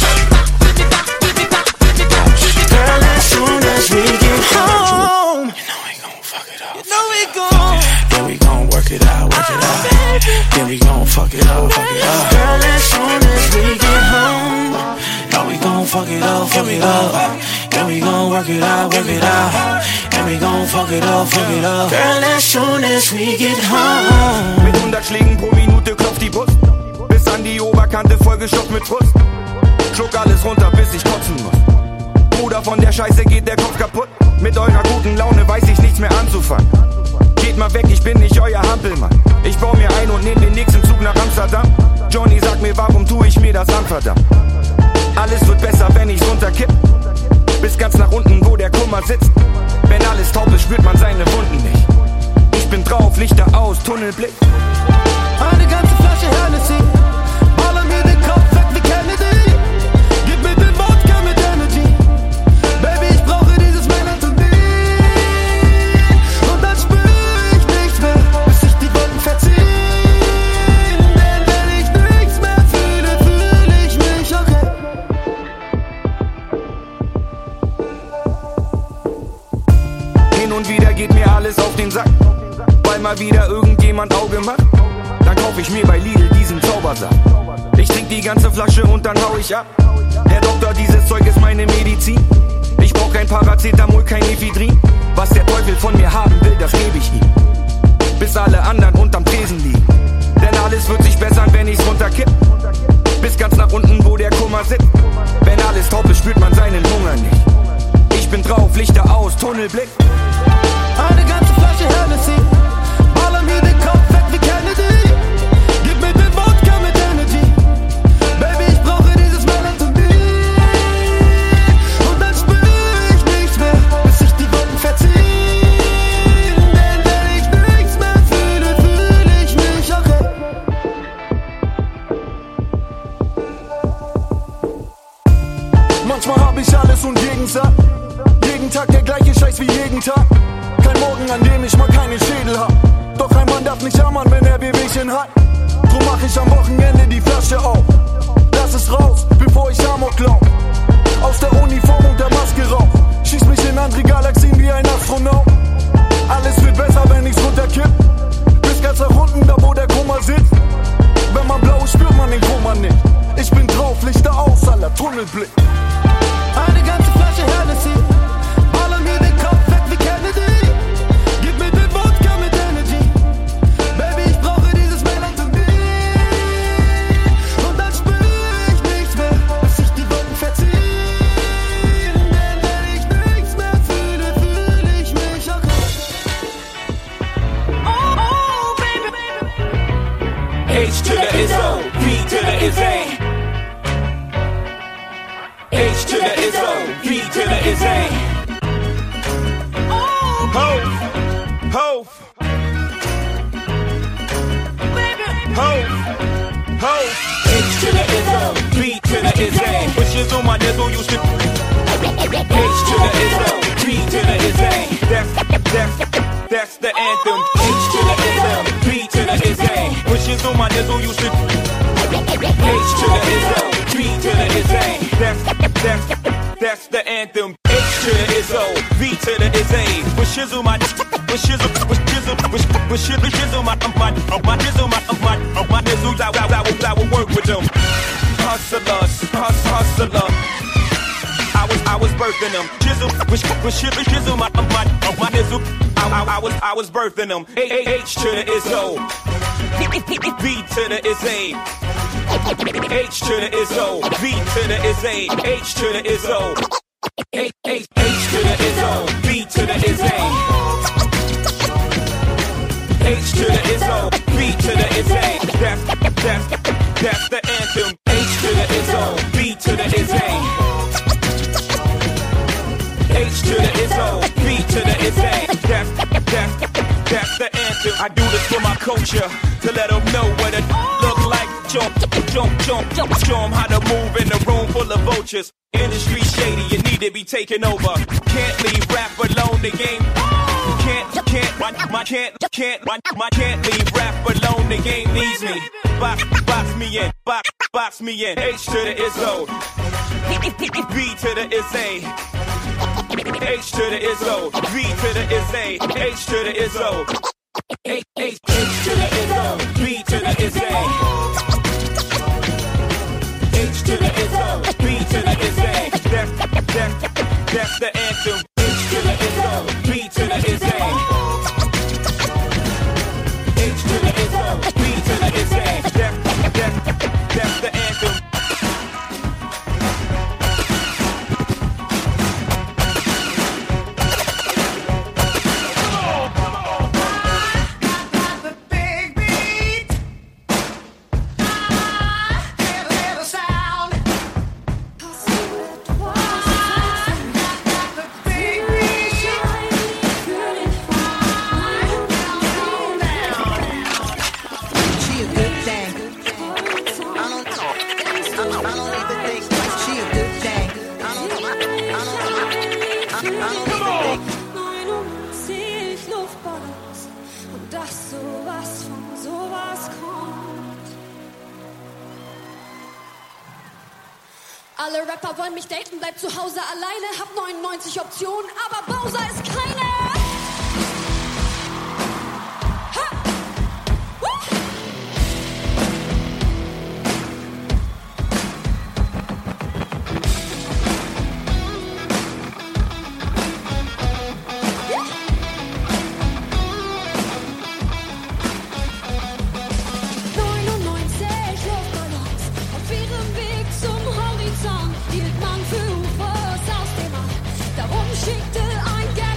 Girl, as soon as we get home, you know we gon' fuck it up. Then we gon' work it out. Then we gon' fuck it up. Girl, as soon as we get home, know we gon' fuck it up. Then we gon' work it out. Then we gon' fuck it up. Girl, as soon as we get home. Mit 100 Schlägen pro Minute klopft die Brust. Bis an die Oberkante vollgestopft mit Frust. Schluck alles runter, bis ich kotzen muss. Bruder, von der Scheiße geht der Kopf kaputt. Mit eurer guten Laune weiß ich nichts mehr anzufangen. Geht mal weg, ich bin nicht euer Hampelmann. Ich bau mir ein und nehm den nächsten Zug nach Amsterdam. Johnny, sag mir, warum tu ich mir das an, verdammt? Alles wird besser, wenn ich's runterkipp. Bis ganz nach unten, wo der Kummer sitzt. Wenn alles taub ist, spürt man seine Wunden nicht. Ich bin drauf, Lichter aus, Tunnelblick. Eine ganze Flasche Hennessy. Baller mir den Kopf weg wie Kennedy. Gib mir den Wodka mit Energy. Baby, ich brauche dieses Melatonin. Und dann spür ich nichts mehr, bis sich die Wolken verziehen. Denn wenn ich nichts mehr fühle, fühle ich mich okay. Hin und wieder geht mir alles auf den Sack, weil mal wieder irgendjemand Auge macht. Dann kauf ich mir bei Lidl diesen Zaubersaft. Ich trink die ganze Flasche und dann hau ich ab. Herr Doktor, dieses Zeug ist meine Medizin. Ich brauch kein Paracetamol, kein Ephedrin. Was der Teufel von mir haben will, das geb ich ihm. Bis alle anderen unterm Tresen liegen. Denn alles wird sich bessern, wenn ich's runterkipp. Bis ganz nach unten, wo der Kummer sitzt. Wenn alles taub ist, spürt man seinen Hunger nicht. Ich bin drauf, Lichter aus, Tunnelblick. Eine ganze Flasche Hennessy. Baller mir den Kopf weg wie Kennedy. Gib mir den Wodka mit Energy. Baby, ich brauche dieses Melatonin. Und dann spür ich nichts mehr, bis sich die Wolken verziehen. Denn wenn ich nichts mehr fühle, fühle ich mich okay. Manchmal hab ich alles und Gegensatz. Jeden Tag der gleiche Scheiß wie jeden Tag. Kein Morgen, an dem ich mal keinen Schädel hab. Doch ein Mann darf nicht jammern, wenn er Wehwehchen hat. Drum mach ich am Wochenende die Flasche auf. Lass es raus, bevor ich Amok lauf. Aus der Uniform und der Maske rauf. Schieß mich in andere Galaxien wie ein Astronaut. Alles wird besser, wenn ich's runterkipp. Bis ganz nach unten, da wo der Kummer sitzt. Wenn man blau ist, spürt man den Kummer nicht. Ich bin drauf, Lichter aus, aller Tunnelblick. Eine ganze Flasche Hennessy. Baller mir den Kopf weg wie Kennedy. Gib mir den Wodka mit Energy. Baby, ich brauche dieses Melatonin. Und dann spür ich nichts mehr, bis sich die Wolken verziehen. to the Izzo, V to the Izzy. Ho, ho, ho, ho. H to the Izzo, V to the Izzy. Wishes on my nizzle used to. H to the Izzo, V to the Izzy. That's the anthem. H to the Izzo, V to the Izzy. Wishes on my nizzle used to. H to the Izzo, V to the Izzy. That's the anthem. H to the Izzo, V to the Izzy. With shizzle my nizzle, I will work with them. Hustlers, hustler. I was birthing them. Jizzle, shizzle my nizzle. I was birthing them. H to the Izzo, V to the Izzy. H to the Izzo, V to the Izzy. H to the Izzo, H to the Izzo, V to the Izzy. H to the Izzo, V to the Izzy. That's the anthem. H to the Izzo, V to the Izzy. H to the Izzo, V to the Izzy. That's the anthem. I do this for my culture, to let them know what it look like. Show 'em how to move in a room full of vultures. Industry shady, you need to be taken over. Can't leave rap alone, the game. Can't leave rap alone, the game needs me. Box me in. H to the Izzo, V to the Izzy. H to the Izzo, V to the Izzy. H to the Izzo, H to the Izzo, V to the Izzy. H to the Izzo, V to the Izzy. That's the anthem. H to the Izzo, V to the Izzy. H to the Izzo, V to the Izzy. That's the anthem. Alle Rapper wollen mich daten, bleib zu Hause alleine, hab 99 Optionen, aber Bowser ist keine. Ha! Woo! Ja! 99 Luftballons auf ihrem Weg zum Horizont hielt man für UFOs aus dem All. Darum schickte ein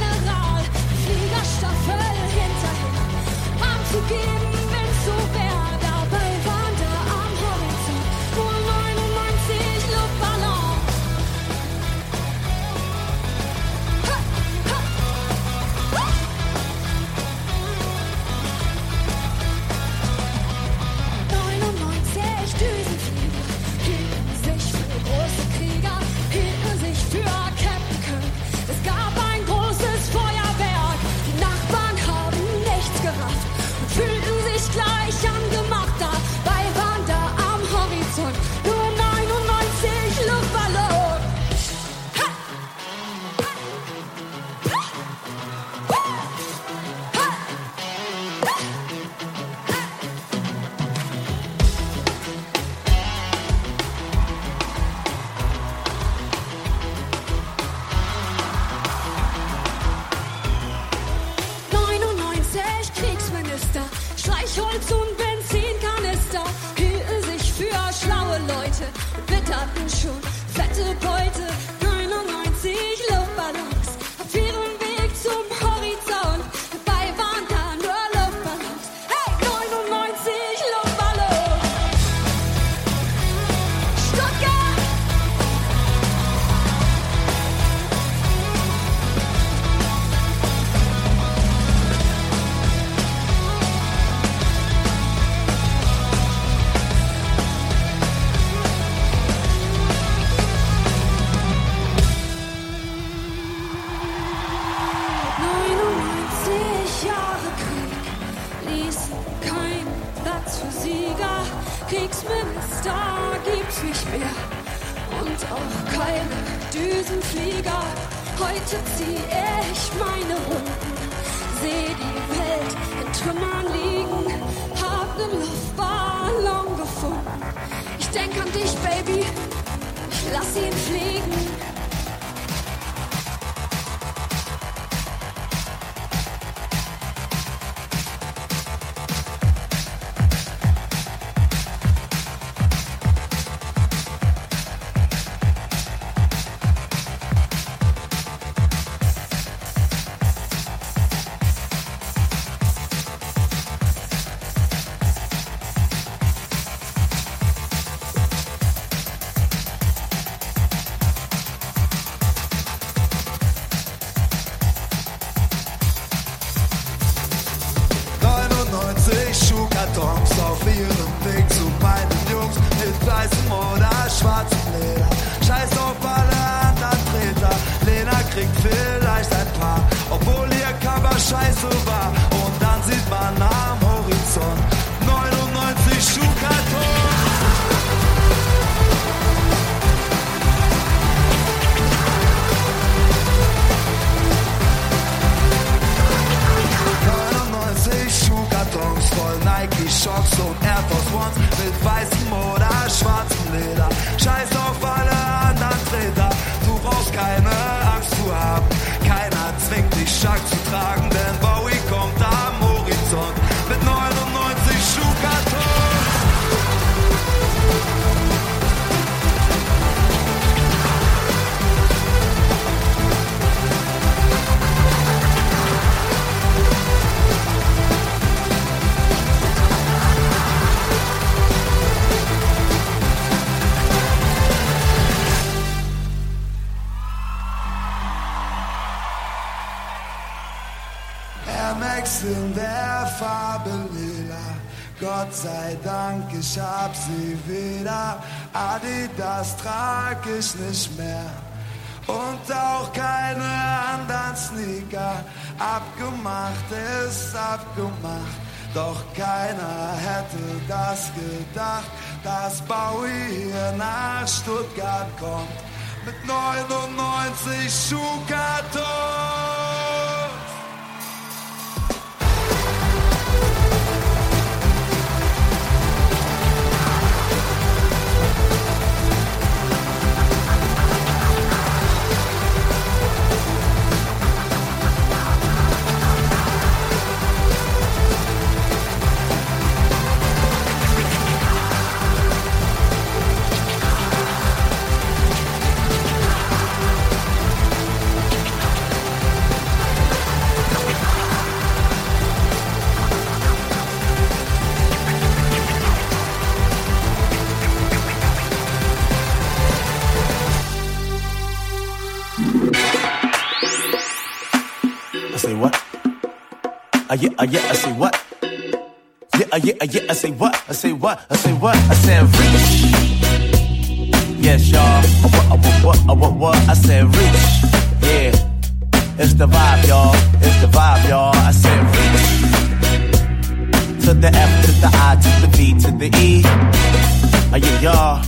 keine Düsenflieger. Heute zieh ich meine Runden, seh die Welt in Trümmern liegen, hab nen Luftballon gefunden. Ich denk an dich, Baby, ich lass ihn fliegen. Auf ihrem Weg zu meinen Jungs mit weißem oder schwarzem Leder. Scheiß auf alle anderen Treter. Lena kriegt vielleicht ein paar, obwohl ihr Cover scheiße war. Und dann sieht man am Horizont 99 Schuhkartons. 99 Schuhkartons voll Nike Shocks und Air Force Ones mit weißem oder schwarzem Leder. Scheiß auf alle anderen Treter, du brauchst keine Angst zu haben. Keiner zwingt dich Schack zu tragen, denn Bowie kommt am Horizont mit 99 Schuhkartons. In der Farbe lila, Gott sei Dank, ich hab sie wieder. Adidas trag ich nicht mehr und auch keine anderen Sneaker. Abgemacht ist abgemacht, doch keiner hätte das gedacht, dass Bowie hier nach Stuttgart kommt mit 99 Schuhkartons. Yeah, I say what? Yeah, I say what? I say what? I say what? I said reach. Yes, y'all. What? I said reach. Yeah, it's the vibe, y'all. It's the vibe, y'all. I said reach. To the F, to the I, to the V, to the E. Yeah, y'all.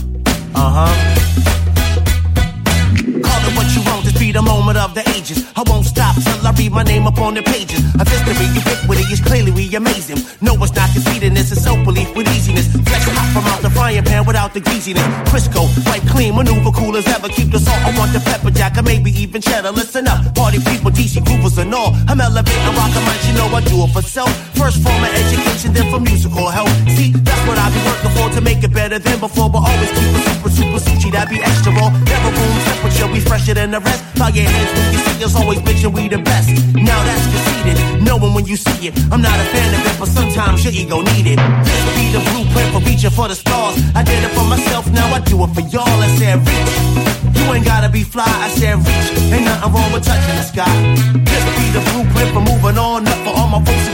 Call it what you want, this be the moment of the ages. I won't stop till I read my name up on the pages. Of history, ubiquity is clearly we amazing. No, it's not conceding this, it's self-belief with easiness. Flex hot from out the frying pan without the greasiness. Crisco, wipe clean, maneuver cool as ever. Keep the salt, I want the pepper jack, or maybe even cheddar. Listen up, party people, DC groovers and all. I'm elevating rock and you know I do it for self. First form of education, then for musical help. See, that's what I be working for to make it better than before. But always keep it super sushi, that be extra raw. Never room temperature, we fresher than the rest. Bow your heads when you see us, always bitchin' we the best. Now that's conceded, knowing when you see it. I'm not a fan of it, but sometimes your ego need it. This be the blueprint for reaching for the stars. I did it for myself, now I do it for y'all. I said reach, you ain't gotta be fly. I said reach, ain't nothing wrong with touching the sky. This be the blueprint for moving on up. For all my folks who got down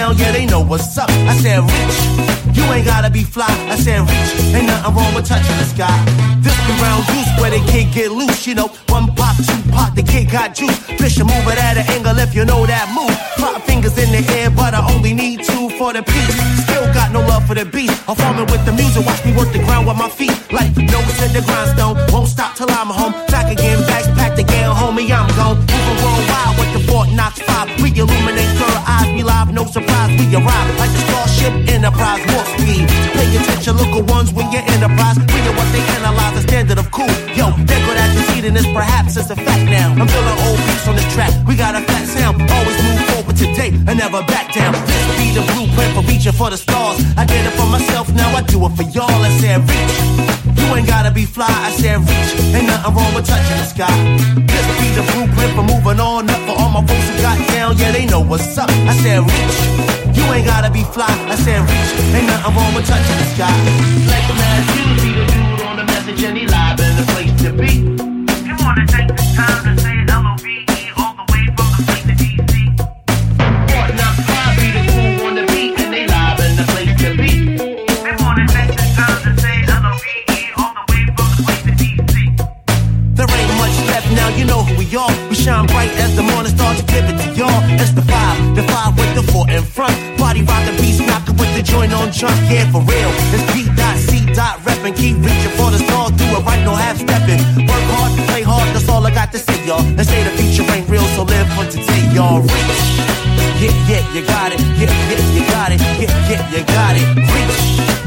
down, yeah, they know what's up. I said, reach, you ain't gotta be fly. I said, reach, ain't nothing wrong with touching the sky. This be round goose where they can't get loose, you know. One pop, two pop, the kid got juice. Fish and move it at an angle if you know that move. 5 fingers in the air, but I only need 2 for the beat. Still got no love for the beat. I'm farming with the music, watch me work the ground with my feet. Like nose in the grindstone, won't stop till I'm home. Back again, bags packed again, homie, I'm gone. Moving worldwide with the Fort Knox 5. We illuminate third eyes, we live, no surprise. We arrive like the Starship Enterprise, warp speed. Pay attention, local ones when you're Enterprise. We know what they analyze, the standard of cool. Yo, they're good at conceding this, perhaps it's a fact now. I'm feeling old beats on this track, we got a fat sound. Always move forward today and never back down. This be the blueprint for reaching for the stars. I did it for myself, now I do it for y'all. I said reach, you ain't gotta be fly. I said reach, ain't nothing wrong with touching the sky. This be the blueprint for moving on up. For all my folks who got down, yeah, they know what's up. I said reach, you ain't gotta be fly. I said reach, ain't nothing wrong with touching the sky. Like the man, you be the dude on the message and he live in the place to be. You wanna take the time to say L-O-V-E all the way from the place to D.C. Fort Knox 5 be the cool on the beat and they live in the place to be. They wanna take the time to say L-O-V-E all the way from the place to D.C. There ain't much left now, you know who we are. We shine bright as the morning star to give it to y'all. It's the 5 with the 4 in front. Body rockin', beast knockin' with the joint on jump. Yeah, for real. It's D.C. Reppin', keep reaching for the stars. Do it right, no half steppin'. Work hard, play hard, that's all I got to say, y'all. They say the future ain't real, so live for today, y'all. Reach. Yeah, you got it. Yeah, you got it. Yeah, you got it. Reach.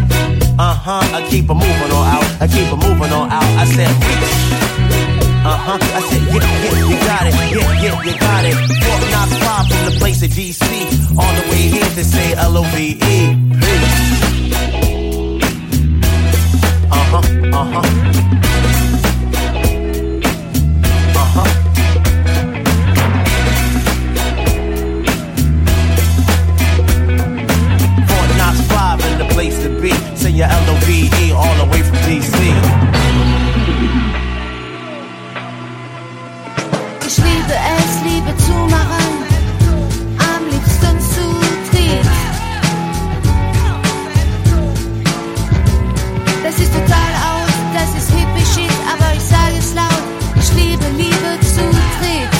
I keep it moving on out. I keep it moving on out. I said reach. I said yeah, you got it. Yeah, you got it. Fort Knox 5 from the place of DC. On the way here to say L-O-V-E. Peace. Fort Knox 5 in the place to be. Say your L-O-V-E all the way from DC. Ich liebe es, Liebe zu machen, am liebsten zu dritt. Das ist total out, das ist hippie shit, aber ich sage es laut, ich liebe Liebe zu dritt.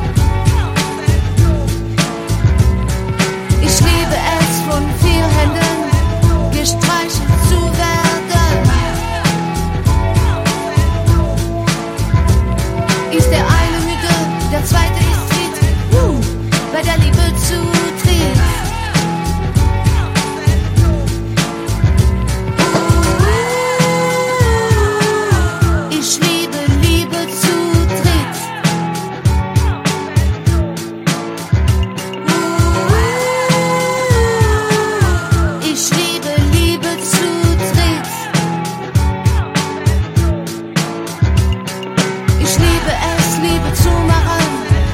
Ich liebe es, von 4 Händen gestreichelt zu werden. Ist der eine müde, der zweite ist fit, bei der Liebe zu dritt. Ich liebe Liebe zu dritt. Ich liebe Liebe zu dritt. Ich liebe es, Liebe zu machen,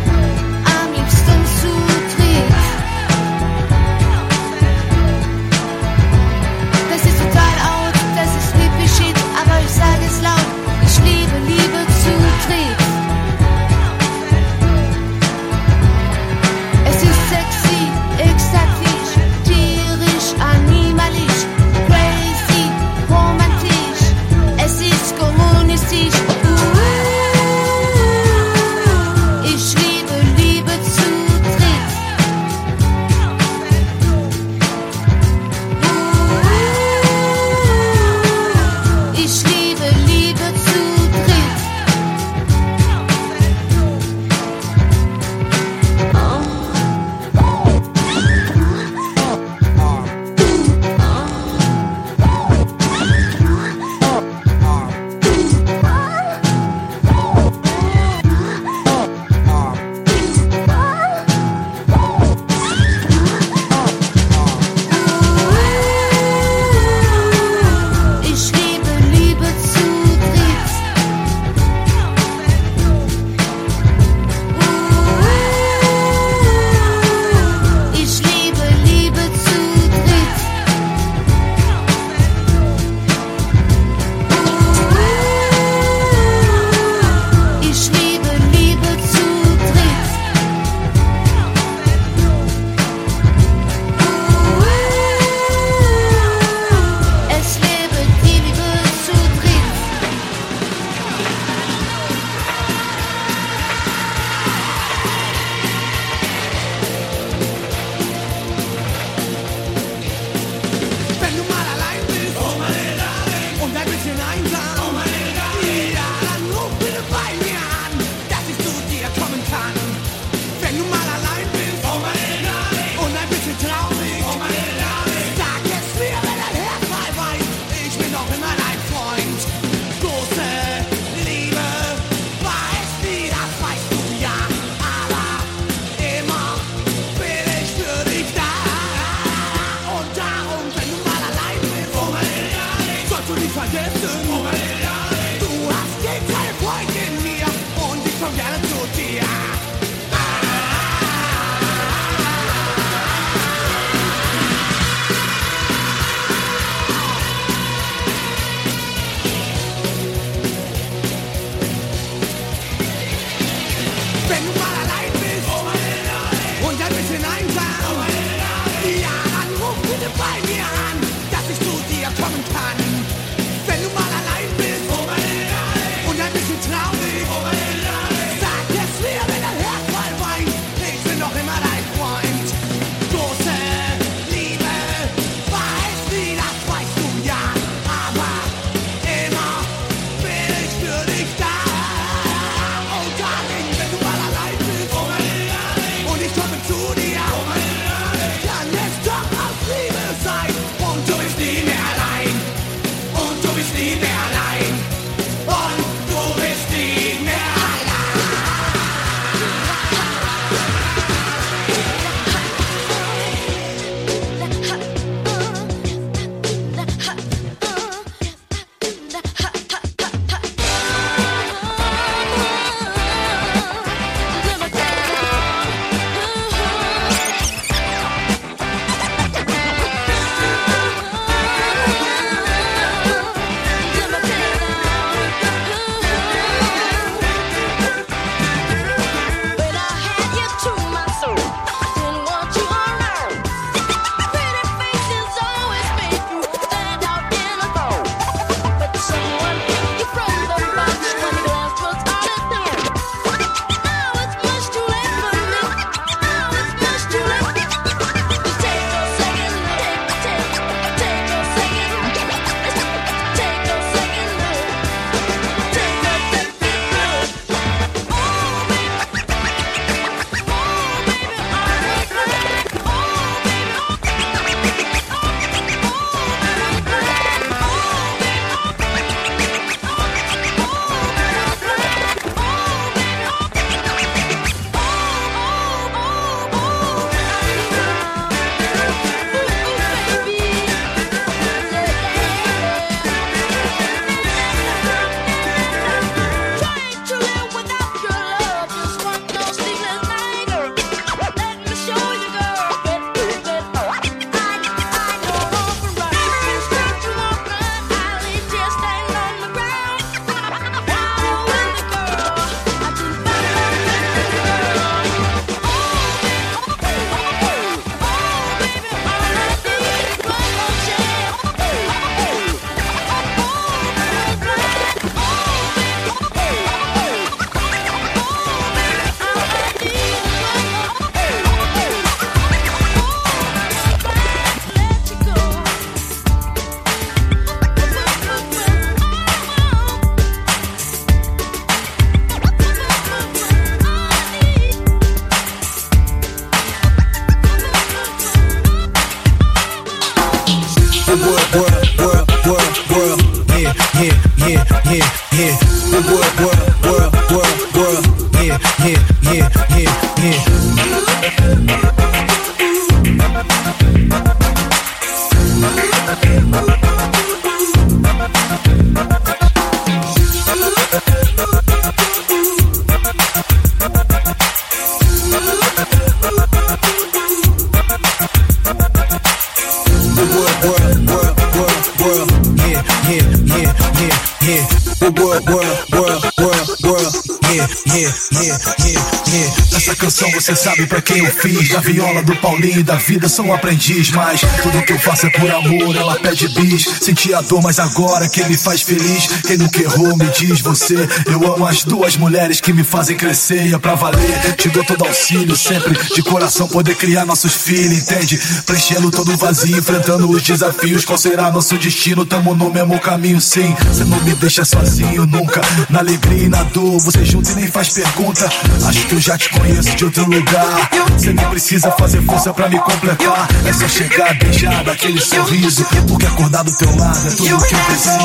Essa canção você sabe pra quem eu fiz. Da viola, do Paulinho e da vida sou um aprendiz. Mas tudo que eu faço é por amor, ela pede bis. Senti a dor, mas agora quem me faz feliz. Quem nunca errou me diz você. Eu amo as duas mulheres que me fazem crescer. E é pra valer, te dou todo auxílio. Sempre de coração poder criar nossos filhos, entende? Preenchendo todo o vazio, enfrentando os desafios. Qual será nosso destino? Tamo no mesmo caminho, sim. Você não me deixa sozinho nunca. Na alegria e na dor, você junto e nem faz pergunta. Acho que eu já te conheço de outro lugar. Você nem precisa fazer força pra me completar. É só chegar, beijar, dar aquele sorriso. Porque acordar do teu lado é tudo que eu preciso.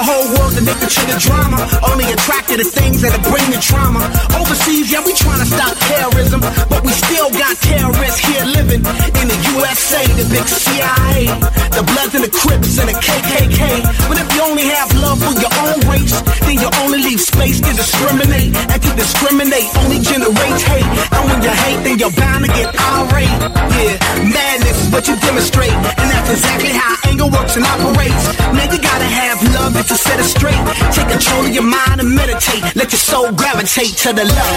whole world addicted to the drama, only attracted to things that'll bring the trauma. Overseas, yeah, we trying to stop terrorism, but we still got terrorists here living in the USA, the big CIA, the Bloods and the Crips and the KKK. But if you only have love for your own race, then you only leave space to discriminate, and to discriminate only generates hate. And when you hate, then you're bound to get irate. Yeah, madness is what you demonstrate, and that's exactly how anger works and operates. Man, you gotta have love to set it straight. Take control of your mind and meditate. Let your soul gravitate to the love.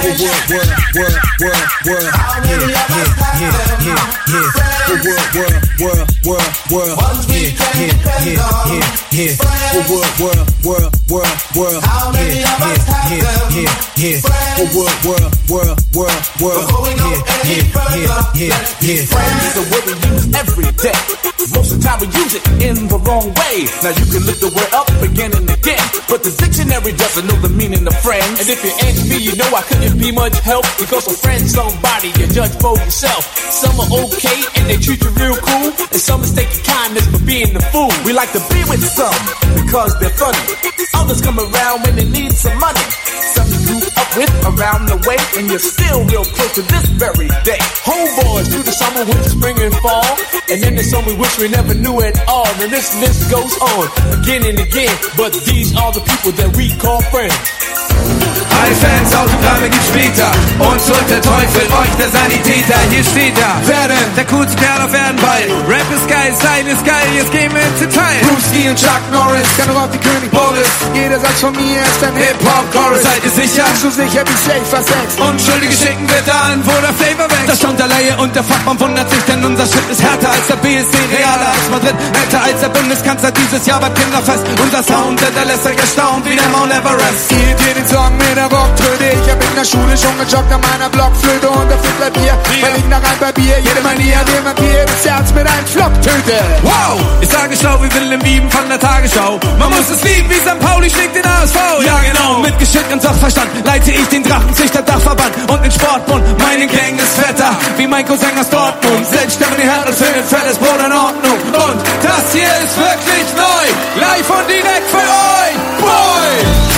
Friends is a word we use every day. Most of the time we use it in the wrong way. Now you can lift the word up again and again, but the dictionary doesn't know the meaning of friends. And if you ask me, you know I couldn't be much help, because a friend's somebody you judge for yourself. Some are okay and they treat you real cool, and some mistake your kindness for being the fool. We like to be with some because they're funny. Others come around when they need some money. Some you grew up with around the way, and you're still real close to this very day. Homeboys through the summer, winter, spring, and fall, and then there's some we wish we never knew at all. And this list goes on again and again, but these are the people that we call friends. Hi Fans, Autogramme gibt's später. Und holt der Teufel euch der Sanitäter. Hier steht da, werde der coolste Kerl auf Erden bald. Rap ist geil, Style ist geil, jetzt gehen wir ins Detail. Bruce Lee und Chuck Norris, kann doch auf die König Boris. Jeder Satz von mir ist ein Hip-Hop-Chorus. Seid ihr sicher? So sicher wie safe versext. Unschuldige schicken wir da an, wo der Flavor wächst. Das Sound der Laie und der Fachmann wundert sich, denn unser Shit ist härter als der BSC, realer als Madrid, älter als der Bundeskanzler dieses Jahr beim Kinderfest. Unser Sound, der lässt euch erstaunt wie der Mount Everest. Spielt ihr den Song mit der Rocktröte? Ich hab in der Schule schon gejoggt an meiner Blockflöte und der Fiddler Bier. Weil ich nach ein Bier, jede Manier, dem Vampir das Herz mit einem Flop töte. Wow! Ich sage schlau wie Willem Wieben von der Tagesschau. Man muss es lieben, wie St. Pauli schlägt den ASV. Ja genau, mit Geschick und Sachverstand leite ich den Drachenzüchter Dachverband und den Sportbund. Meine Gang ist fetter, wie mein Cousin aus Dortmund. Selbst Stefan die Herren für den fettes Brot in Ordnung. Und das hier ist wirklich neu, live und direkt für euch. Boy!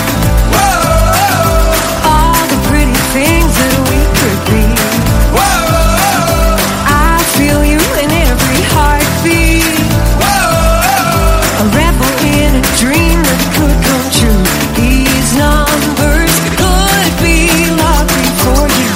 Things that we could be. Whoa, I feel you in every heartbeat. Whoa, a rebel in a dream that could come true. These numbers could be lucky for you.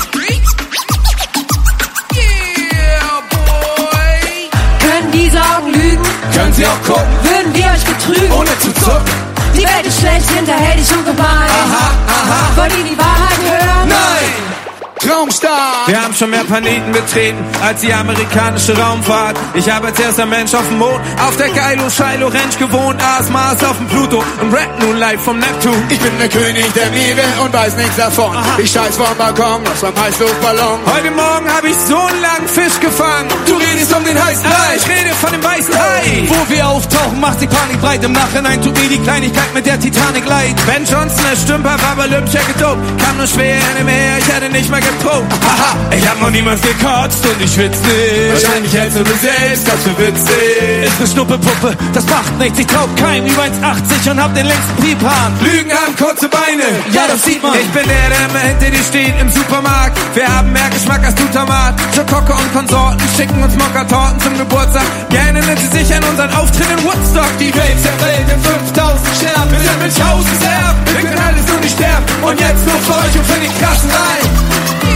Yeah, boy. Können die Sorgen lügen? Können sie auch gucken? Würden wir euch betrügen? Ohne zu zucken. Die Welt ist schlecht, hinterhältig und gemein. Aha, aha. Wollt ihr die Wahrheit hören? Nein! Traumstar! Wir haben schon mehr Planeten betreten als die amerikanische Raumfahrt. Ich habe als erster Mensch auf dem Mond auf der Kylo Ranch gewohnt, aß Mars auf dem Pluto und rap nun live vom Neptun. Ich bin der König der Meere und weiß nichts davon. Aha. Ich scheiß vom Balkon aus meinem Heißluftballon. Heute Morgen habe ich so einen langen Fisch gefangen. Du redest um den heißen Hai. Ich rede von dem weißen Hai. Wo wir auftauchen, macht die Panik breit. Im Nachhinein tut mir die Kleinigkeit mit der Titanic leid. Ben Johnson, der Stümper, war bei Olympia gedopt. Kam nur schwer in dem Meer, ich hätte nicht mal geprobt. Haha, ich hab noch niemals gekotzt und ich schwitz nicht. Wahrscheinlich hältst du mir selbst das für witzig. Ist ne Schnuppelpuppe, das macht nichts. Ich glaub keinem über 1,80 und hab den längsten Piephahn. Lügen haben kurze Beine, ja das sieht man. Ich bin der immer hinter dir steht im Supermarkt. Wir haben mehr Geschmack als du Tomat. Schokocke und Konsorten schicken uns Mokka-Torten zum Geburtstag. Gerne nimmt sie sich an unseren Auftritt in Woodstock. Die Welt zerfällt in 5000 Scherben. Wir sind Münchhausens Erben, wir können alles nur nicht sterben. Und jetzt nur für euch und für die krassen Reihen.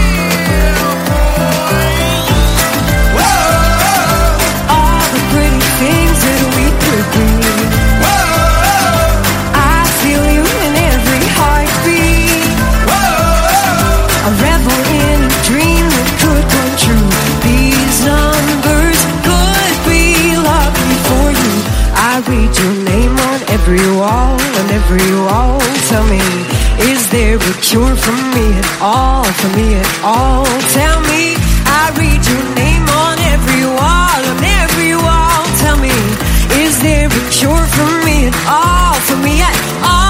Things that we could be. Whoa, I feel you in every heartbeat. Whoa, a rebel in a dream that could come true. These numbers could be lucky for you. I read your name on every wall, on every wall. Tell me, is there a cure for me at all? For me at all? Tell me, I read your name on every wall, on every wall. Tell me, is there a cure for me at all? For me at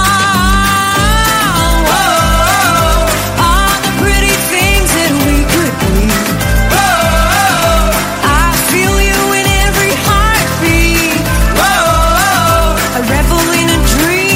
all? Whoa, all the pretty things that we could be. Whoa, I feel you in every heartbeat. Whoa, a rebel in a dream.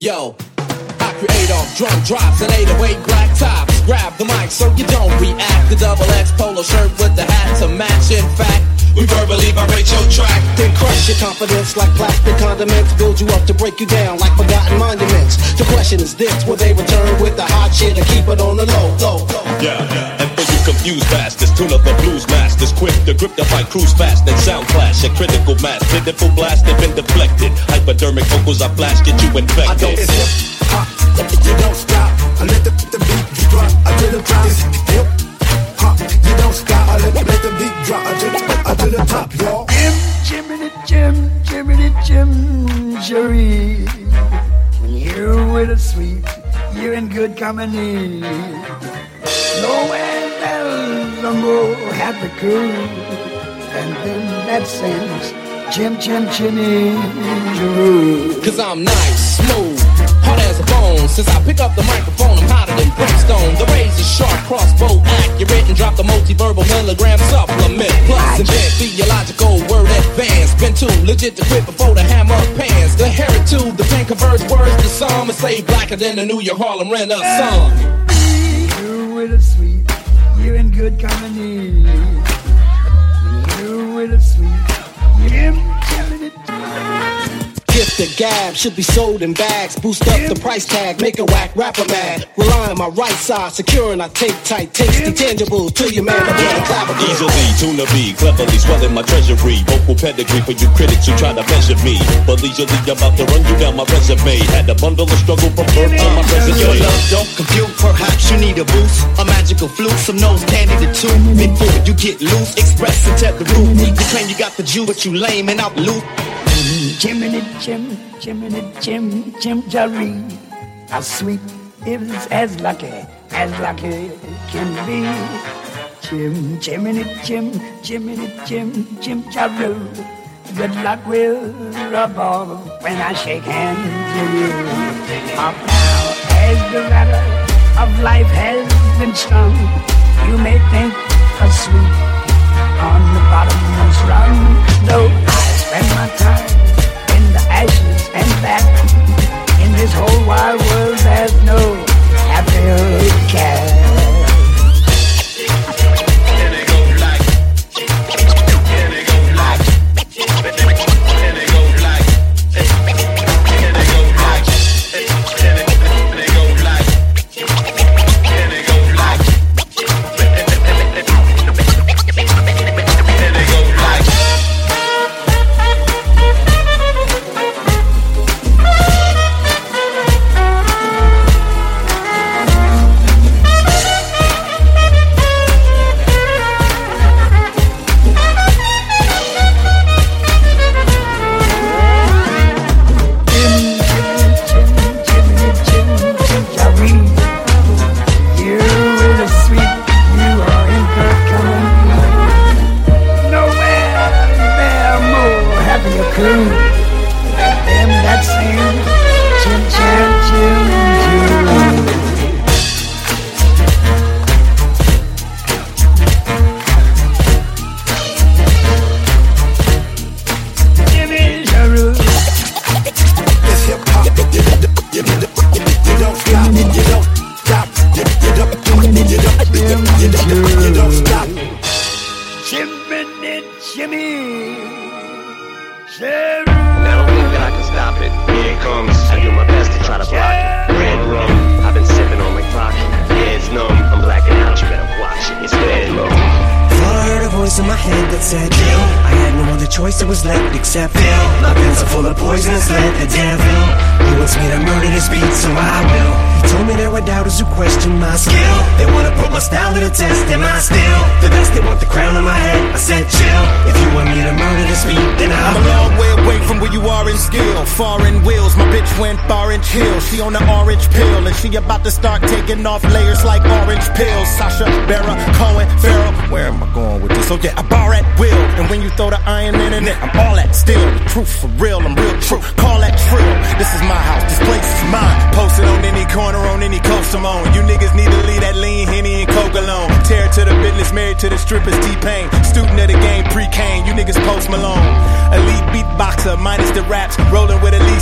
Yo, I create off drum drops and 808 black tops. Grab the mic so you don't react. The double X polo shirt with the hat to match. In fact, we verbally vibrate your track. Then crush your confidence like plastic condiments. Build you up to break you down like forgotten monuments. The question is this, will they return with the hot shit or keep it on the low? Yeah, and for you confused bastards, tune up the blues masters. Quick to grip the fight, cruise fast and sound clash. A critical mass, pitiful blast, they've been deflected. Hypodermic vocals I flash, get you infected. I don't hip hop, you don't stop. I let the beat drop, I to the top. It's hip hop, you don't stop. I let the beat drop, I to the top, y'all. Jiminy Jim, Jerry. When you're with a sweet, you're in good company. Nowhere else a more happy crew than them that sings Jimmy Jeroo. Cause I'm nice, smooth, hard as a bone. Since I pick up the microphone, I'm hotter than brimstone. The razor sharp, crossbow accurate, and drop the multi-verbal milligram supplement. Plus invent theological word advanced. Been too legit to quit before the hammer pans. The heritage, the pen converts words to some and say blacker than the New York Harlem Renaissance. You with a sweet, you're in good company. You with a sweet, Jiminy. Gift the gab should be sold in bags. Boost up the price tag, make a whack rapper mad. Rely on my right side, securing I take tight, tasty, tangible to your man again. Easily, tune a B, cleverly swelling my treasury. Vocal pedigree for you critics who try to measure me. But leisurely about to run you down my resume. Had a bundle of struggle from birth to my present Your day. love don't compute, perhaps you need a boost. A magical flute, some nose candy to two. Before you get loose, express and tell the roof. You claim you got the juice, but you lame and out loose. Jiminy Jim Jerry. How sweet is as lucky can be. Jiminy Jim Jerry. Good luck will rub off when I shake hands with you. Up now as the ladder of life has been strung, you may think of sweet on the bottomless rung. Though I spend my time in the ashes and back, in this whole wide world there's no happier cat. She on the orange pill and she about to start taking off layers like orange pills. Sasha, Barra, Cohen, Farrell. Where am I going with this? Oh yeah, I bar at will. And when you throw the iron in it, I'm all that still. The truth for real, I'm real true. Call that trill. This is my house, this place is mine. Posted on any corner, on any coast I'm on. You niggas need to leave that lean Henny and Coke alone. Tear to the business, married to the strippers, T-Pain. Student of the game, pre-Kane. You niggas Post Malone. Elite beatboxer, minus the raps. Rolling with at least 3 chains.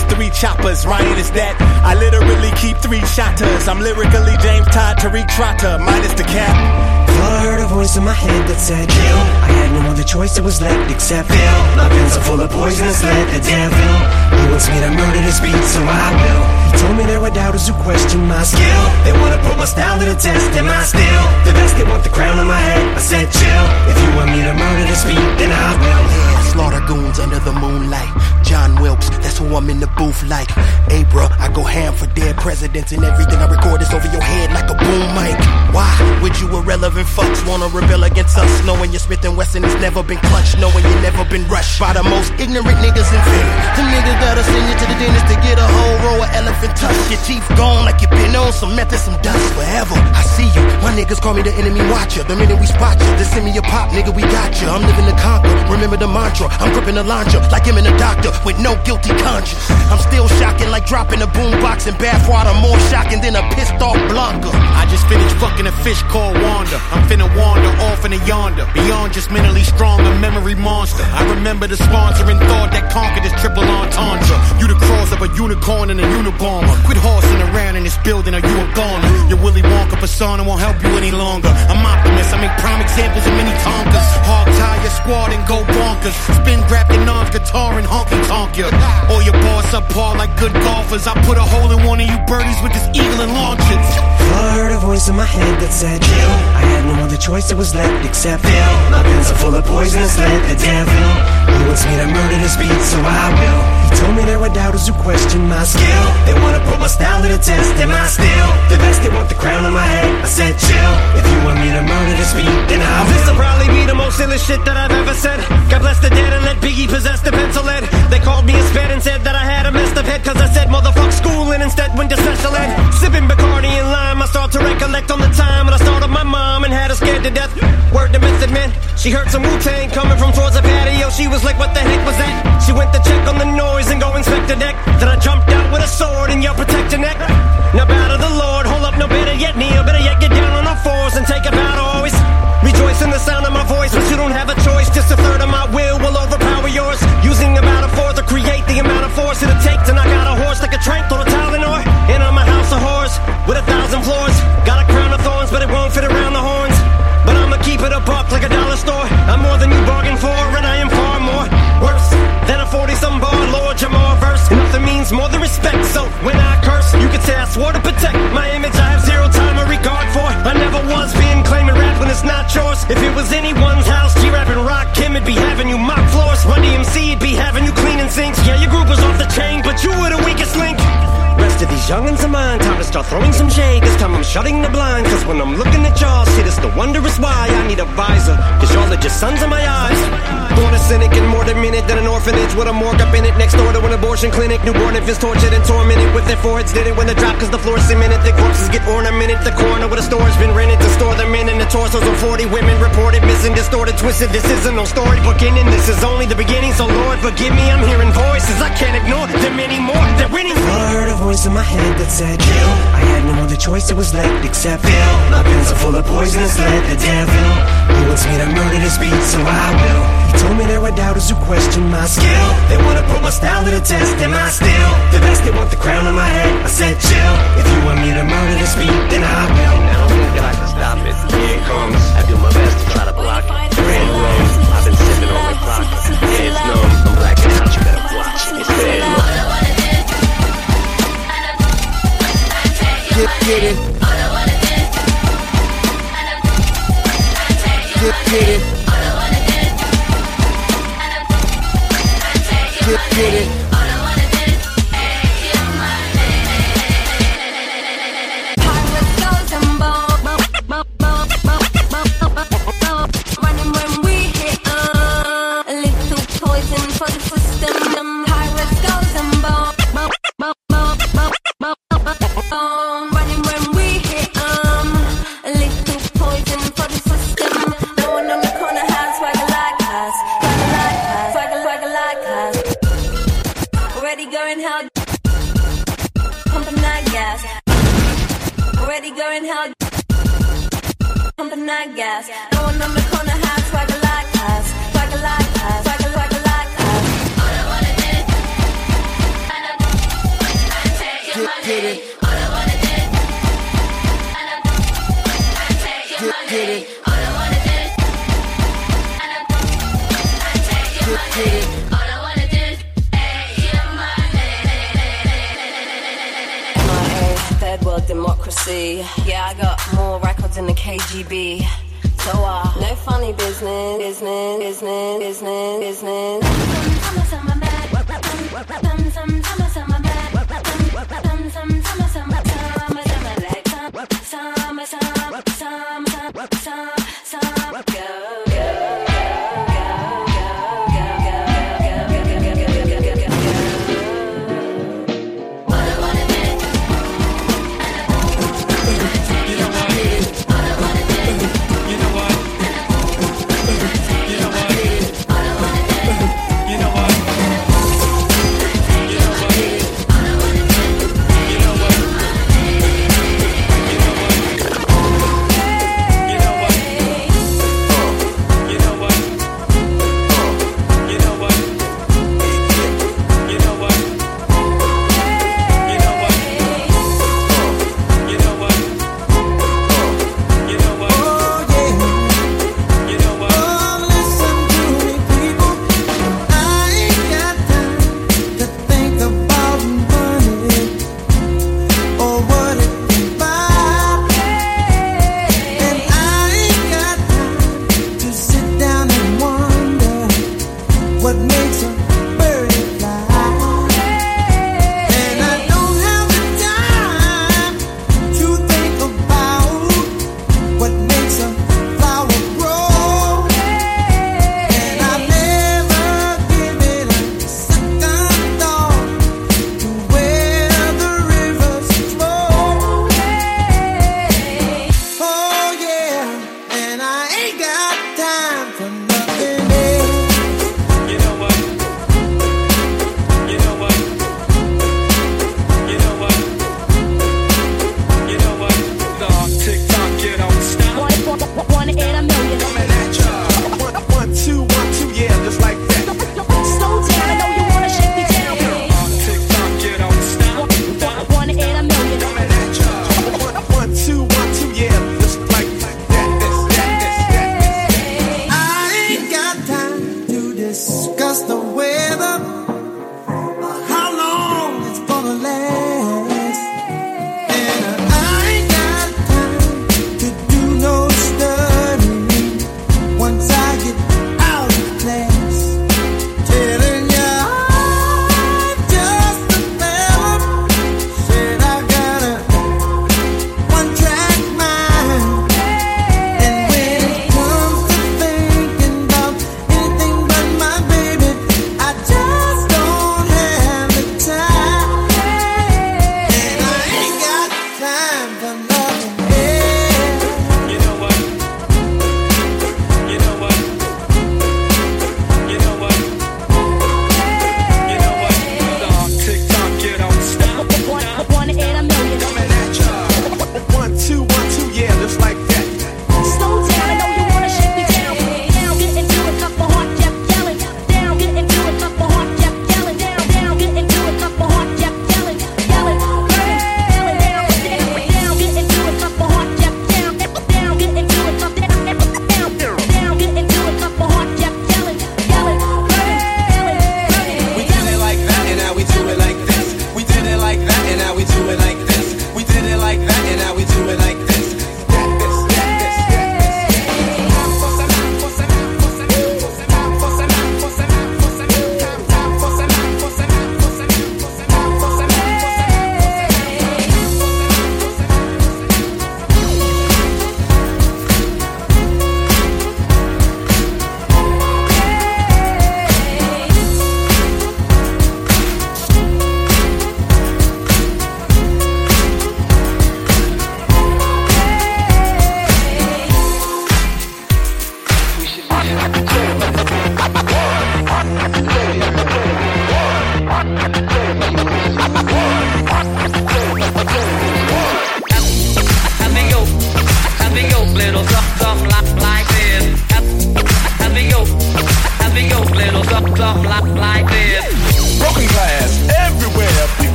choppers. Ryan is that. I literally keep 3 shotters. I'm lyrically James Todd, Tariq Trotter, minus the cap. Thought I heard a voice in my head that said kill. I had no other choice, it was left except fill. My pens are full of poisonous lead, the devil. He wants me to murder this beat, so I will. He told me there were doubters who question my skill. They wanna put my style to the test, am I still the best? They want the crown on my head, I said chill. If you want me to murder this beat, then I will. Slaughter goons under the moonlight. John Wilkes, that's who I'm in the booth like. Hey bruh, I go ham for dead presidents, and everything I record is over your head like a boom mic. Why would you irrelevant fucks wanna rebel against us, knowing your Smith & Wesson has never been clutched, knowing you never been rushed by the most ignorant niggas invented. Them niggas gotta send you to the dentist to get a whole row of elephant tusk. Your teeth gone like you been on some meth and some dust forever. I see you, my niggas call me the enemy watcher. The minute we spot you, they send me a pop, nigga, we got you. I'm living to conquer, remember the mantra. I'm gripping the launcher like him and the doctor with no guilty conscience. I'm still shocking like dropping a boombox in bathwater, more shocking than a pissed off Blanca. I just finished fucking a fish called Wanda. I'm finna wander off into yonder, beyond just mentally strong, a memory monster. I remember the sponsoring thought that conquered this triple entendre. You the cross of a unicorn and a unibomber. Quit horsing around in this building or you a goner. Your Willy Wonka persona won't help you any longer. I'm optimist, I make prime examples of many Tonkas. Hog tie your squad and go bonkers. Spin grab your non-guitar and honky tonk you. Or your boss up par like good golfers. I put a hole in one of you birdies with this eagle and launch it. I heard a voice in my head that said kill. I had no other choice, it was left except fill. My pens are full of poisonous lead, the devil. He wants me to murder this beat, so I will. He told me there were doubters who question my skill. They wanna put my style to the test, am I still the best? They want the crown on my head, I said chill. If you want me to murder this beat, then I will. This'll probably be the most illest shit that I've ever said. God bless the dead and let Biggie possess the pencil lead. They called me a sped and said that I had a messed up head, cause I said motherfuck school and instead went to special ed. Sipping Bacardi and lime, I start to recollect on the time when I started my mom and had her scared to death. Word to Method Man, she heard some Wu-Tang coming from towards the patio. She was like, what the heck was that? She went to check on the noise and go inspect the deck. Then I jumped out with a sword and yelled, protect your neck. Now bow to the Lord, hold up, no better yet kneel. Better yet get down on all fours and take a bow to always rejoice in the sound of my voice. But you don't have a choice, just a third of my will overpower yours. Using about a fourth to create the amount of force it'll take to knock out a horse like a trank or a Tylenol. And I'm a house of horrors with 1,000 floors. Got a crown of thorns, but it won't fit around the horns. But I'ma keep it a buck like a dollar store. I'm more than you bargained for, and I am far more worse than a 40-some bar Lord Jamar verse. And nothing means more than respect, so when I curse, you could say I swore to protect my image. I have zero time or regard for. I never was being claiming rap when it's not yours. If it was anyone's house, G-Rap and Rock Kim would be having you mop floors. Run DMC would be having you cleaning sinks. Yeah, your group was off the chain, but you were the weakest link. Rest of these youngins of mine, time to start throwing some shade. This time I'm shutting the blind, cause when I'm looking at y'all, shit is the wondrous why I need a visor, cause y'all are just sons of my eyes. Born a cynic and more demented than an orphanage with a morgue up in it, next door to an abortion clinic. Newborn infants tortured and tormented with their foreheads did it when they drop, cause the floor's cemented. Their corpses get ornamented, the corner where the store's been rented to store their men, and the torsos of 40 women reported missing, distorted, twisted. This isn't no storybook ending, this is only the beginning, so Lord forgive me. I'm hearing voices I can't ignore, them anymore, they're winning. I heard a voice in my head that said kill. I had no other choice, it was left except fill. My pens are full of poisonous lead, the devil. He wants me to murder this beat, so I will. He told me there were doubters who question my skill. They wanna put my style to the test, am I still the best? They want the crown on my head, I said chill. If you want me to murder this beat, then I will. Now I don't think I can stop it. Here it comes. I do my best to try to block it. Grand road, I've been sipping on my clock. Yeah, it's numb, I'm blacking out, you better watch it. It's bad luck. Get it. Get it. Get it. Gas. No one on the corner has swagger like us, swagger like us, swagger like us. All I wanna do, get it. All I wanna do, and I take your money. Get it. All I wanna do, and I take your money. All I wanna do, take your money. MIA, third world democracy. Yeah, I got more records than the KGB. So no funny business.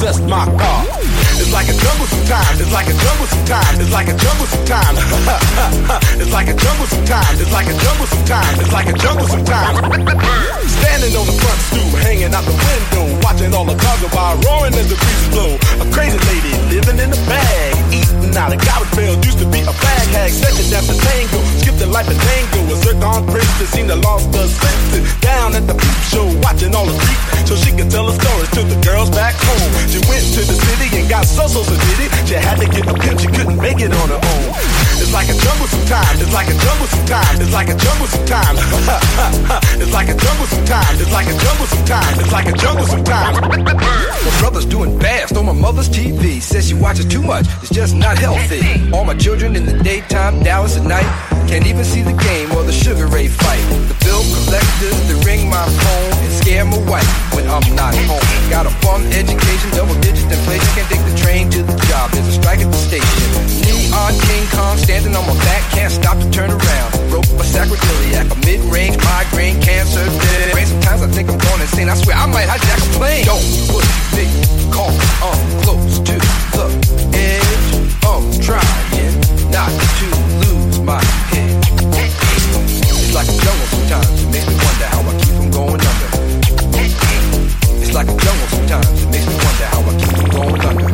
possess my car. It's like a jungle sometimes, it's like a jungle sometimes, it's like a jungle sometimes. It's like a jungle sometimes, it's like a jungle sometimes, it's like a jungle sometimes. Standing on the front stoop, hanging out the window, watching all the cars go by, roaring as the breeze blow. A crazy lady living in a bag, eating out of garbage pails, used to be a bag hag, second after tango, skipped the life of tango, a zircon princess, seen the lost her senses, down at the peep show, watching all the creeps, so she could tell her stories to the girls back home. She went to the city and got so did it. She had to get a pimp, she couldn't make it on her own. It's like a jungle sometimes, it's like a jungle sometimes, it's like a jungle sometimes. It's like a jungle sometimes, it's like a jungle sometimes, it's like a jungle sometimes. My brother's doing fast on my mother's TV. Says she watches too much, it's just not healthy. All my children in the daytime, Dallas at night. Can't even see the game or the Sugar Ray fight. The bill collectors, they ring my phone and scare my wife when I'm not home. Got a bum education, double digit inflation. Can't take the train to the job, there's a strike at the station. Neon King Kong standing on my back, can't stop to turn around. Broke my sacroiliac, a mid-range migraine, cancer, dead. Sometimes I think I'm going insane, I swear I might hijack a plane. Don't push me, call, I'm close to the edge. I'm trying not to lose my head. It's like a jungle sometimes, it makes me wonder how I keep from going under. It's like a jungle sometimes, it makes me wonder how I keep from going under.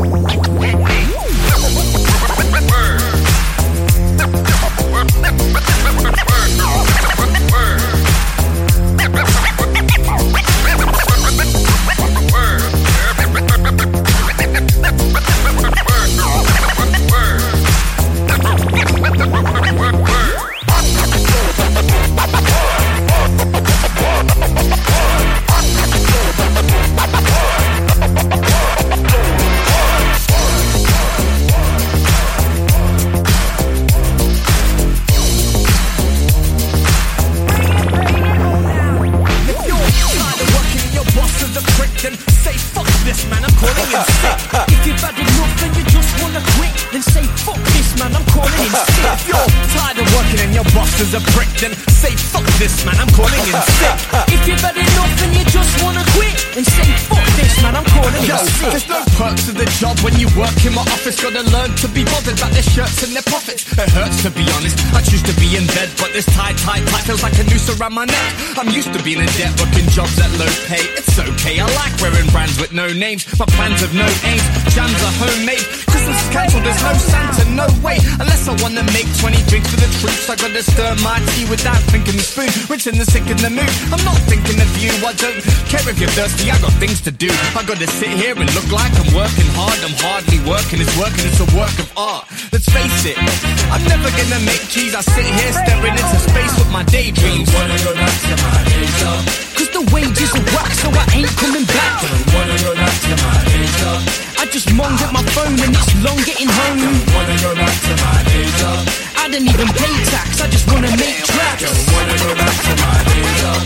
A prick, then say fuck this man, I'm calling in sick. If you've had enough and you just wanna quit, then say fuck this man, I'm calling in sick. There's no perks to the job when you work in my office. Gotta learn to be bothered about their shirts and their profits. It hurts to be honest, I choose to be in bed, but this tight feels like a noose around my neck. I'm used to being in debt, working jobs at low pay. It's okay, I like wearing brands with no names. My plans have no aims, jams are homemade. Christmas is cancelled, there's no Santa, no way. Unless I wanna make 20 drinks for the troops, I gotta stir my tea without thinking the spoon, rinsing the sick in the mood. I'm not thinking of you, I don't care if you're thirsty, I got things to do. I gotta sit here and look like I'm working hard. I'm hardly working, it's a work of art. Let's face it, I'm never gonna make cheese. I sit here staring into space with my daydreams. Don't wanna go back to my days job, cause the wages are whack, so I ain't coming back. Don't wanna go back to my days job, I just moaned at my phone and it's long getting home. Don't wanna go back to my days job, I don't even pay tax, I just wanna make tracks. Don't wanna go back to my days job.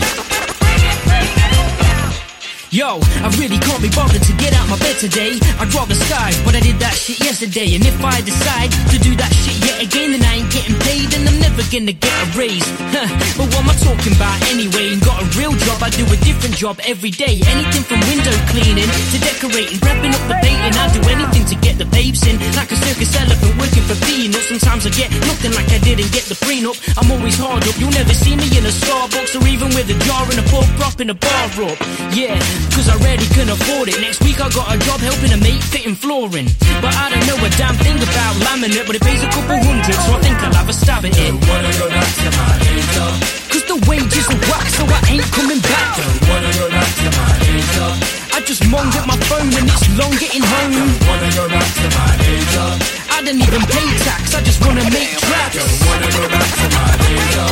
Yo, I really can't be bothered to get out my bed today. I'd rather sky, but I did that shit yesterday. And if I decide to do that shit yet again, then I ain't getting paid and I'm never gonna get a raise. But what am I talking about anyway? Ain't got a real job, I do a different job every day. Anything from window cleaning to decorating, wrapping up the baiting. I do anything to get the babes in, like a circus elephant working for peanuts. Sometimes I get nothing like I didn't get the prenup. I'm always hard up, you'll never see me in a Starbucks or even with a jar and a pork propping a bar up. Yeah, cause I rarely can afford it. Next week I got a job helping a mate fitting flooring. But I don't know a damn thing about laminate, but it pays a couple hundred, so I think I'll have a stab at it. Don't wanna go back to my days job, cause the wages are whack, so I ain't coming back. Don't wanna go back to my days job, I just moaned at my phone and it's long getting home. Don't wanna go back to my days job, I don't even pay tax, I just wanna make tracks. Don't wanna go back to my days job.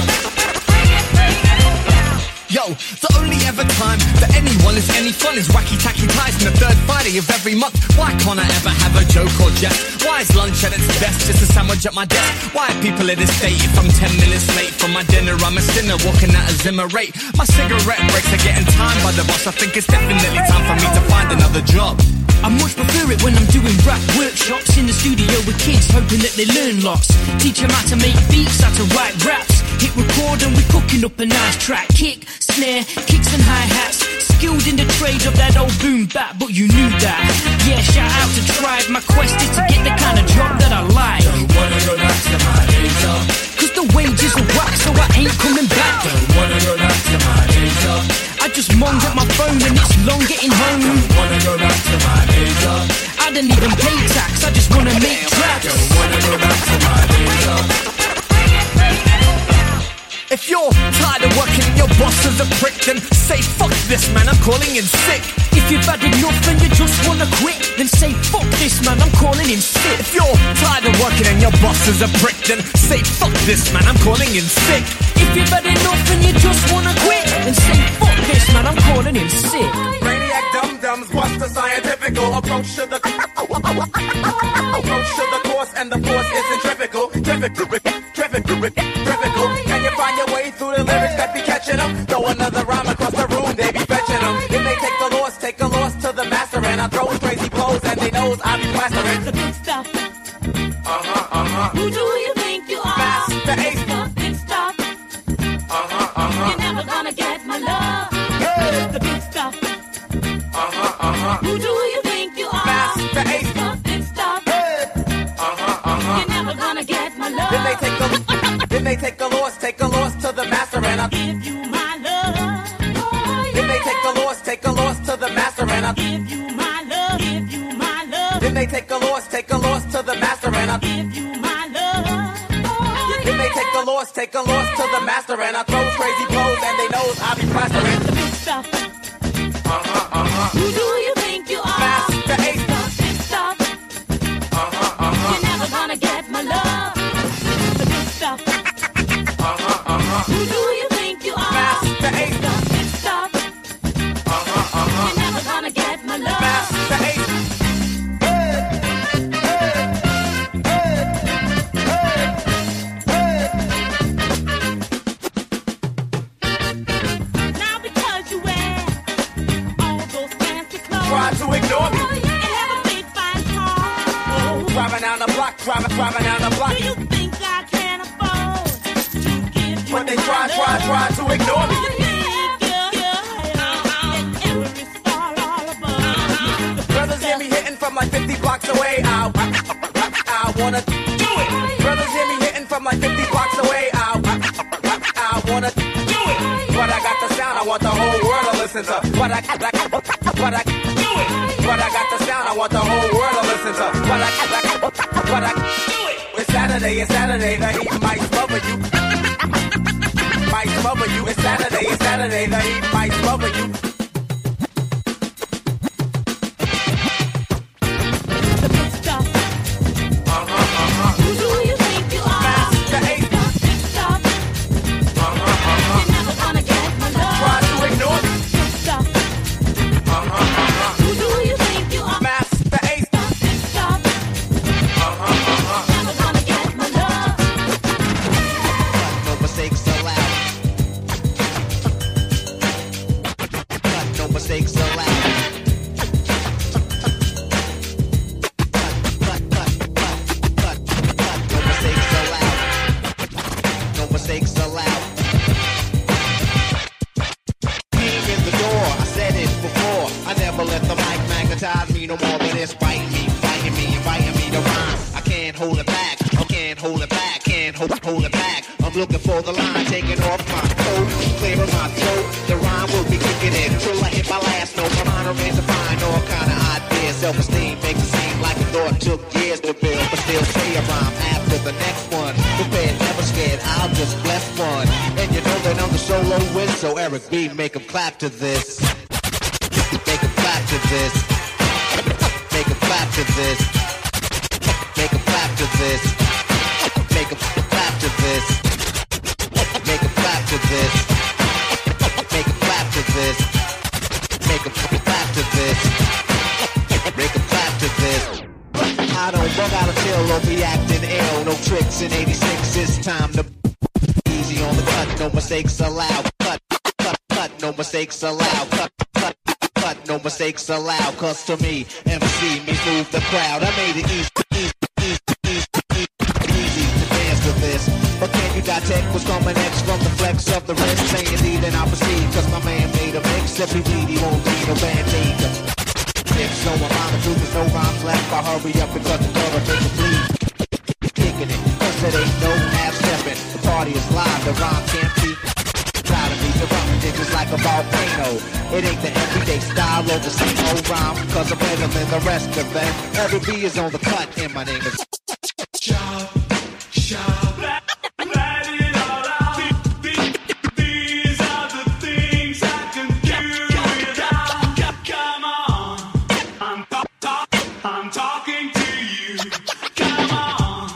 Yo, the only ever time that anyone is any fun is wacky tacky ties on the third Friday of every month. Why can't I ever have a joke or jest? Why is lunch at its best just a sandwich at my desk? Why are people at this state if I'm 10 minutes late from my dinner? I'm a sinner walking at a Zimmer rate. My cigarette breaks are getting timed by the boss. I think it's definitely time for me to find another job. I much prefer it when I'm doing rap workshops in the studio with kids, hoping that they learn lots. Teach them how to make beats, how to write raps. Hit record and we're cooking up a nice track. Kick, snare, kicks and hi-hats. skilled in the trade of that old boom bap, but you knew that. Yeah, shout out to Tribe. My quest is to get the kind of job that I like. Don't wanna go back to my days job. Cause the wages are whack, so I ain't coming back. Don't wanna go back to my days job. I just moaned at my phone and it's long getting home. Don't wanna go back to my days job. I don't even pay tax, I just wanna make tracks. Don't wanna go back to my days job. If you're tired of working and your boss is a prick, then say fuck this man, I'm calling in sick. If you've had enough and you just wanna quit, then say fuck this man, I'm calling in sick. If you're tired of working and your boss is a prick, then say fuck this man, I'm calling in sick. If you've had enough and you just wanna quit, then say fuck this man, I'm calling in sick. Brainiac dum-dums, what's the scientifical approach to the course, and the force is centrifugal. Trivical. Can you find your way through the lyrics that be catching them? Throw another rhyme across the room, they be fetching them. If they take a loss to the master, and I throw crazy blows, and they knows I be plastering. The big stuff. Who do you think you are? Master Ace. The big stuff. You're never gonna get my love. The big stuff. Who do you think you are? Master Ace. The big stuff. You're never gonna get my love. Then they take a loss to the master, and I give you my love. Then they take a loss to the master, and I give you my love. Give you my love. Then they take a loss to the master, and I give you my love. Then they take a loss to the master, and I throw crazy blows, and they knows I be plastering. The big stuff. Who do you think you are? Master Ace. The big stuff. You're never gonna get my love. The big stuff. Who do you think you are? Master Ace. The big stuff. You're never gonna get my love. Master Ace. Now because you wear all those fancy clothes, Try to ignore me. and have a big fine car. Driving down the block, driving down the block. Do you think I can afford to give you But they my try love? to ignore me. Brothers hear me hitting from like 50 blocks away. I wanna do it. Brothers hear me hitting from like 50 blocks away. I wanna do it. But I got the sound, I want the whole world to listen to. But I do it. But I got the sound, I want the whole world to listen to. But I do it. It's Saturday, the heat might smother you. Might smother you. It's Saturday, the heat might smother you. The big stuff. Who do you think you are? Master Ace. The big stuff. You're never gonna get my love. Try to ignore me. Big stuff. Who do you think you are? Master Ace. The big stuff. Never gonna get my love. No mistakes allowed. No mistakes allowed. No mistakes allowed. Came in the door, I said it before. I never let the mic magnetize me no more than it's biting me, inviting me to rhyme. I can't hold it back, can't hold it back. I'm looking for the line, taking off my coat, clearing my throat. The rhyme will be kicking in till I hit my last note. My mind remains to find all kind of ideas. Self-esteem makes it seem like a thought took years to build, but still say a rhyme after the next one. Prepared, never scared, I'll just bless one. And you know that I'm the solo win, so Eric B, make 'em clap to this. Make 'em clap to this. Make 'em clap to this. Make 'em clap to this. Make 'em clap to this. Make 'em clap to this. Make 'em clap to this. Make 'em clap to this. Make 'em clap to this. I don't bug out until I'll be acting ill. No tricks in 86, it's time to easy on the cut. No mistakes allowed. Cut. No mistakes allowed. Cut. No mistakes allowed. Cause to me, MC means move the crowd. I made it easy to dance to this. Or can you detect what's coming next from the flex of the wrist? Saying need and I proceed, cause my man made a mix. If he need, he won't need a band-aid. If so, I'm on the truth, there's no rhymes left. I hurry up because the door will take a bleed. Kicking it, cause it ain't no half-stepping. The party is live, the rhyme can't be. Try to be erupting just like a volcano. It ain't the everyday style or the same old rhyme, cause I'm better than the rest of them. Every B is on the cut, and my name is Shout, shout, let it all out. These are the things I can do without. Come on, I'm talking to you. Come on.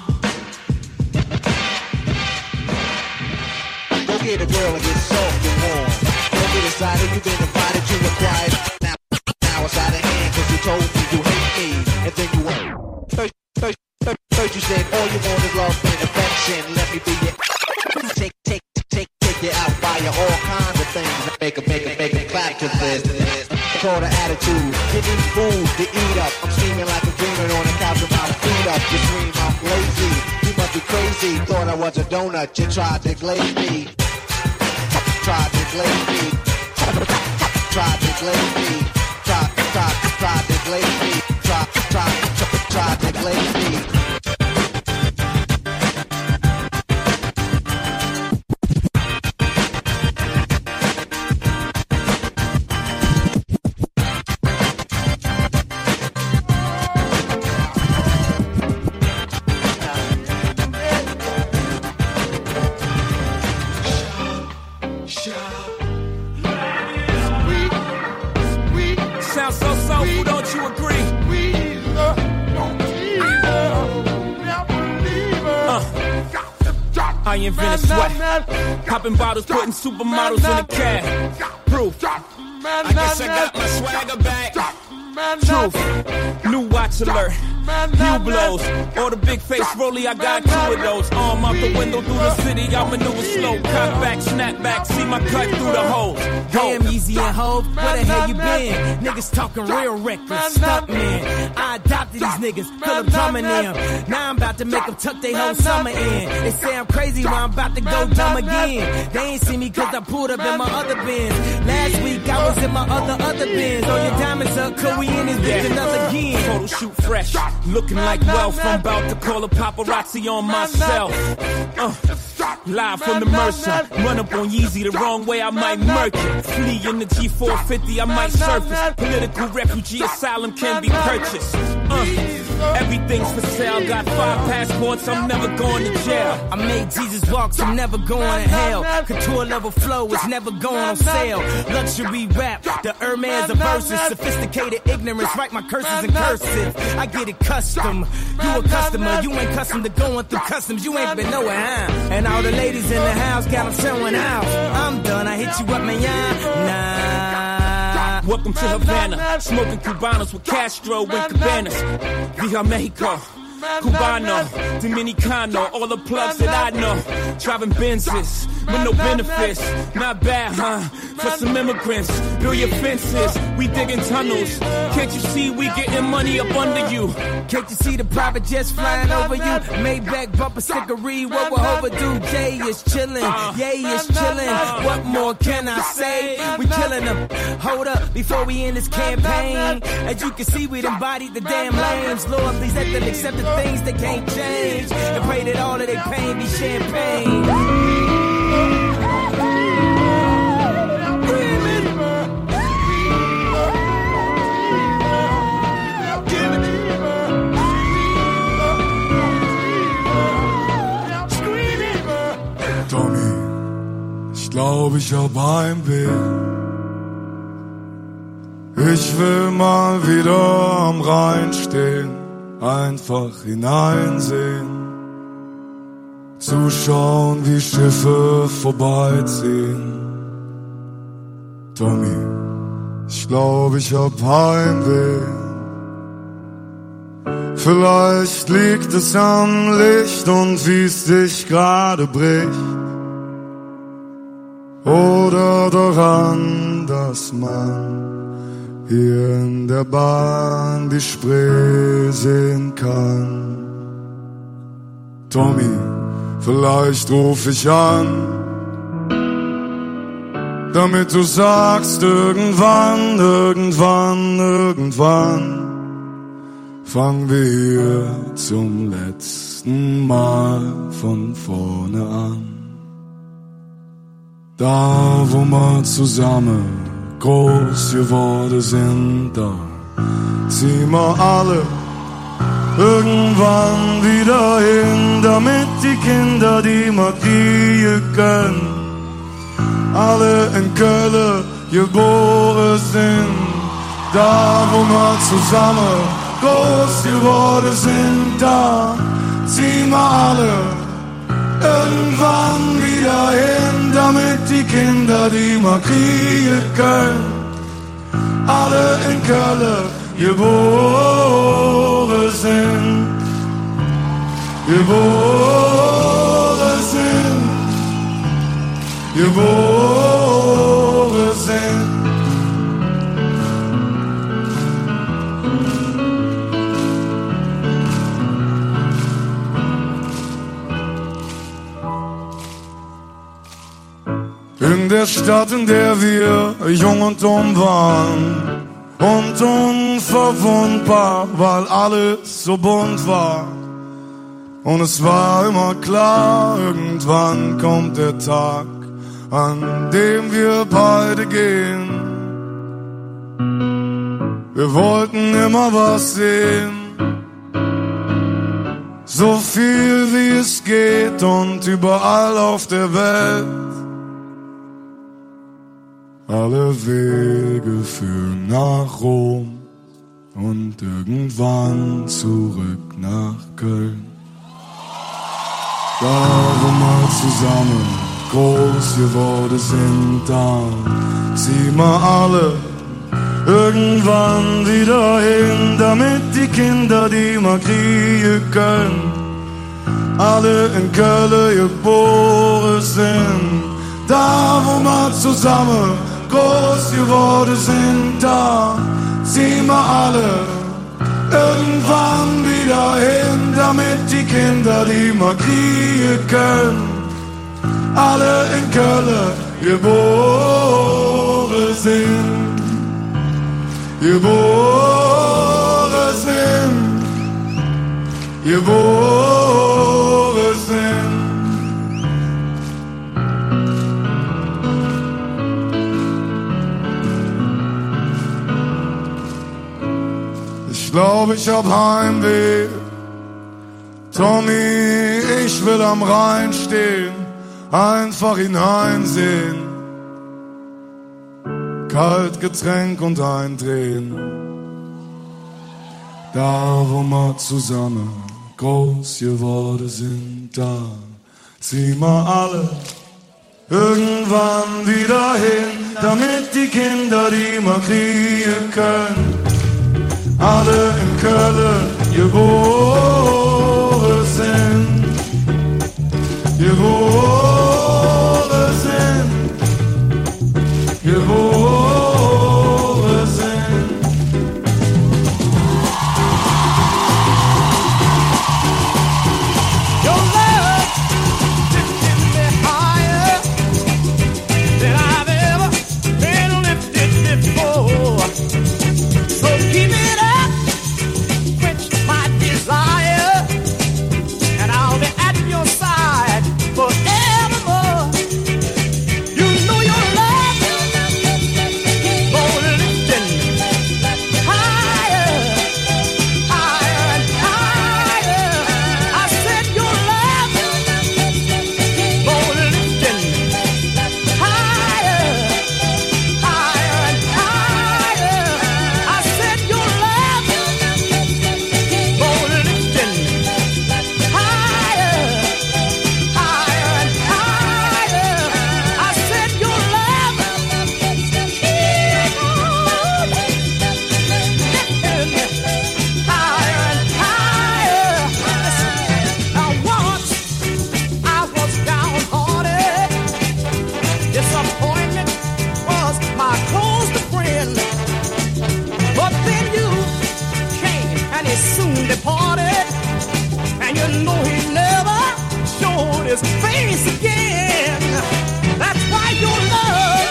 Go get a girl and get soft and warm. Go get excited, you've been invited to a quiet. Now it's out of hand, cause you told me you hate me, and then you won't. First you said all you want is love and affection. Let me be your take you out, buy you all kinds of things. Make a clap to this. Call the attitude. You need food to eat up. I'm steaming like a dreamer on the couch with my feet up. You scream I'm lazy. You must be crazy. Thought I was a donut. You tried to glaze me. Tried to glaze me. Tried to glaze me. Tried to glaze me. Tried to glaze me. Sounds so soulful, don't you agree? I invented sweat, popping bottles, putting supermodels in a cab. Proof. I guess I got my swagger back. Truth. New watch alert. New blows. Or the big face rollie, I got two of those. Arm out the window through the city, I maneuver slow. Cock back, snap back, see my cut through the holes. Damn, Easy and Hov, where the hell you been? Niggas talking real reckless, stunt man. I adopted these niggas, feel them drumming them. Now I'm about to make them tuck they whole summer in. They say I'm crazy, but I'm about to go dumb again. They ain't see me cause I pulled up in my other Benz. Last week I was in my other Benz. Throw your diamonds up, cause we in this bitch another again. Photo shoot fresh, looking like wealth. I'm about to call a paparazzi on myself. Live from the Mercer, run up on Yeezy the wrong way, I might murk it. Flee in the G450, I might surface. Political refugee asylum can be purchased. Everything's for sale, got 5 passports, I'm never going to jail. I made Jesus walk, so I'm never going to hell. Couture level flow is never going on sale. Luxury rap, the Hermes of verses. Sophisticated ignorance, write my curses in cursive. I get it custom, you a customer. You ain't custom to going through customs, you ain't been nowhere, huh? And all the ladies in the house got them showing out. I'm done, I hit you up, man, nah. Welcome to Havana, smoking Cubanos with Castro and Cabanas. Viva Mexico, Cubano, Dominicano, all the plugs that I know. Driving Benzes with no benefits, not bad, huh? For some immigrants, build your fences, we digging tunnels. Can't you see we getting money up under you? Can't you see the private jets flying over you? Maybach bumper stickery, what we're overdue. Jay is chillin', Yay is chillin'. What more can I say? We killing them. Hold up, before we end this campaign. As you can see, we embodied the damn lames. Lord, please let them accept the things they can't change. And pray that all of their pain be champagne. Ich glaub, ich hab Heimweh. Ich will mal wieder am Rhein stehen, einfach hineinsehen, zuschauen, wie Schiffe vorbeiziehen. Tommy, ich glaub, ich hab Heimweh. Vielleicht liegt es am Licht und wie es dich gerade bricht. Oder daran, dass man hier in der Bahn die Spree sehen kann. Tommy, Vielleicht ruf ich an, damit du sagst, irgendwann fangen wir hier zum letzten Mal von vorne an. Da, wo wir zusammen groß geworden sind, da ziehen wir alle irgendwann wieder hin, damit die Kinder, die wir kriegen können, alle in Köln geboren sind. Da, wo wir zusammen groß geworden sind, da ziehen wir alle irgendwann wieder hin, damit die Kinder, die wir kriegen können, alle in Köln geboren sind. Geboren sind. Geboren sind. In der Stadt, in der wir jung und dumm waren und unverwundbar, weil alles so bunt war. Und es war immer klar, irgendwann kommt der Tag, an dem wir beide gehen. Wir wollten immer was sehen, so viel wie es geht und überall auf der Welt. Alle Wege führen nach Rom und irgendwann zurück nach Köln. Da, wo wir zusammen groß geworden sind, da ziehen wir alle irgendwann wieder hin, damit die Kinder, die wir kriegen können, alle in Köln geboren sind. Da, wo wir zusammen groß geworden sind, da ziehen wir alle irgendwann wieder hin, damit die Kinder, die wir kriegen können, alle in Köln geboren sind. Geboren sind. Geboren sind. Ich glaube, ich hab Heimweh. Tommy, ich will am Rhein stehen, einfach hineinsehen. Kalt Getränk und eindrehen. Da, wo wir zusammen groß geworden sind, da ziehen wir alle irgendwann wieder hin, damit die Kinder, die wir kriegen können, alle in Köln geboren sind. Geboren sind. Geboren sind. Your love lifted me higher than I've ever been lifted before. So keep it up, quench my desire, and I'll be at your side forevermore. You know your love gonna lifting higher, higher and higher. I said your love gonna lifting higher, higher and higher. I said your love gonna lifting higher, higher and higher. I said your love lifting higher and higher. Now once I was downhearted, disappointment was my closest friend. But then you came and he soon departed, and you know he never showed his face again. That's why your love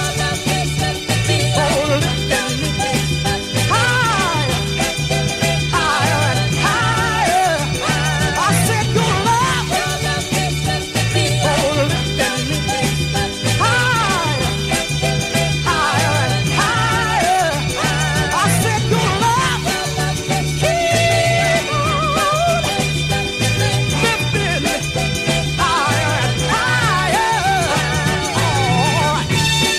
oh, lifting me higher, higher and higher. I said your love oh, lifting me higher, higher and higher. I said your love keep on lifting me higher and higher. All right.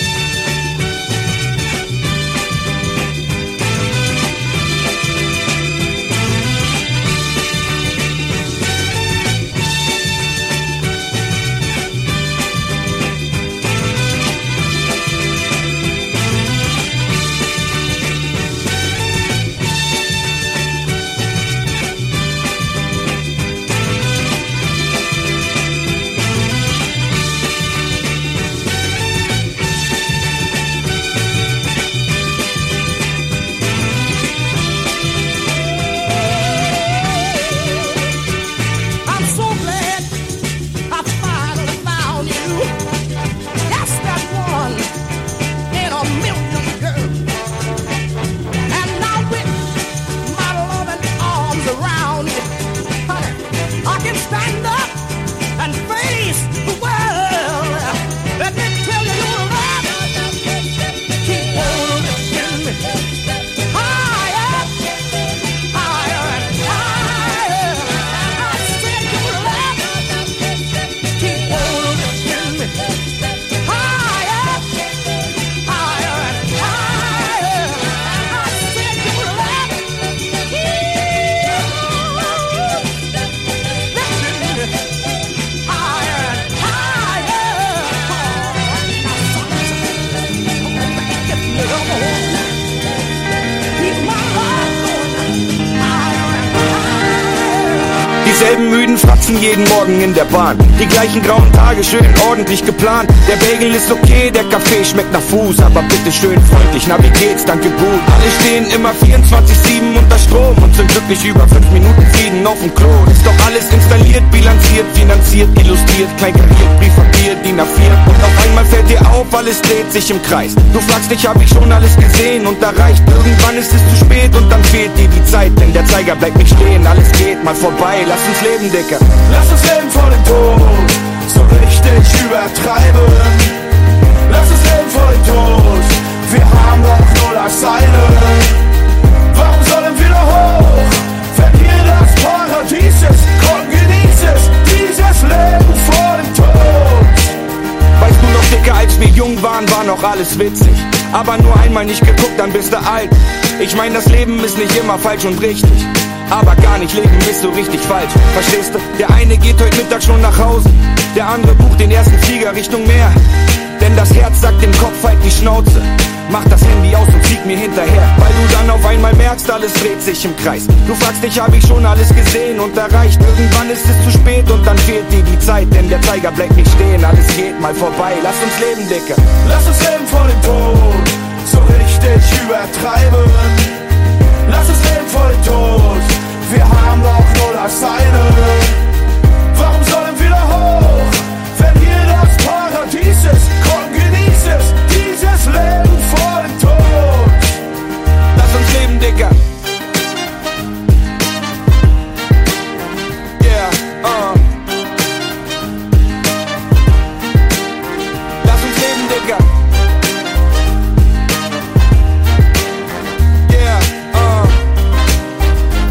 I'm so glad I finally found you. Yes, that one in a million, girl. And now with my loving arms around you, honey, I can stand up and face the world. Let me tell you, your love keep on lifting me higher, higher and higher. I said your love keep on lifting me higher, higher and higher. I said your love keep on lifting me higher and higher. Keep my love going higher and higher. Dieselben müden Fratzen jeden Morgen in der Bahn. Die gleichen grauen Tage, schön ordentlich geplant. Der Bagel ist okay, der Kaffee schmeckt nach Fuß. Aber bitte schön freundlich, na wie geht's, danke gut. Alle stehen immer 24/7 unter Strom und sind glücklich über 5 Minuten Frieden auf dem Klo. Ist doch alles installiert, bilanziert, finanziert, illustriert, kleinkariert, Briefpapier, DIN A4. Und auf einmal fällt dir auf, alles dreht sich im Kreis. Du fragst dich, hab ich schon alles gesehen und erreicht. Irgendwann ist es zu spät und dann fehlt dir die Zeit. Denn der Zeiger bleibt nicht stehen, alles geht mal vorbei. Lass uns leben, Dicker. Lass uns leben vor dem Tod, so richtig übertreiben. Lass uns leben vor dem Tod, wir haben doch nur das eine. Warum sollen wir noch hoch, wenn hier das Paradies ist? Komm, genieß es, dieses Leben vor dem Tod. Weißt du noch, Dicker, als wir jung waren, war noch alles witzig. Aber nur einmal nicht geguckt, dann bist du alt. Ich mein, das Leben ist nicht immer falsch und richtig. Aber gar nicht leben ist so richtig falsch. Verstehst du? Der eine geht heute Mittag schon nach Hause, der andere bucht den ersten Flieger Richtung Meer. Denn das Herz sagt dem Kopf halt die Schnauze. Mach das Handy aus und flieg mir hinterher. Weil du dann auf einmal merkst, alles dreht sich im Kreis. Du fragst dich, hab ich schon alles gesehen und erreicht. Irgendwann ist es zu spät und dann fehlt dir die Zeit. Denn der Zeiger bleibt nicht stehen, alles geht mal vorbei. Lass uns leben, Dicker. Lass uns leben vor dem Tod, so richtig übertreiben. Lass uns leben vor dem Tod, wir haben doch nur das eine. Warum sollen wir da hoch, wenn hier das Paradies ist? Komm, genieß es, dieses Leben vor dem Tod. Lass uns leben, Dicker. Yeah, Lass uns leben, Dicker. Yeah,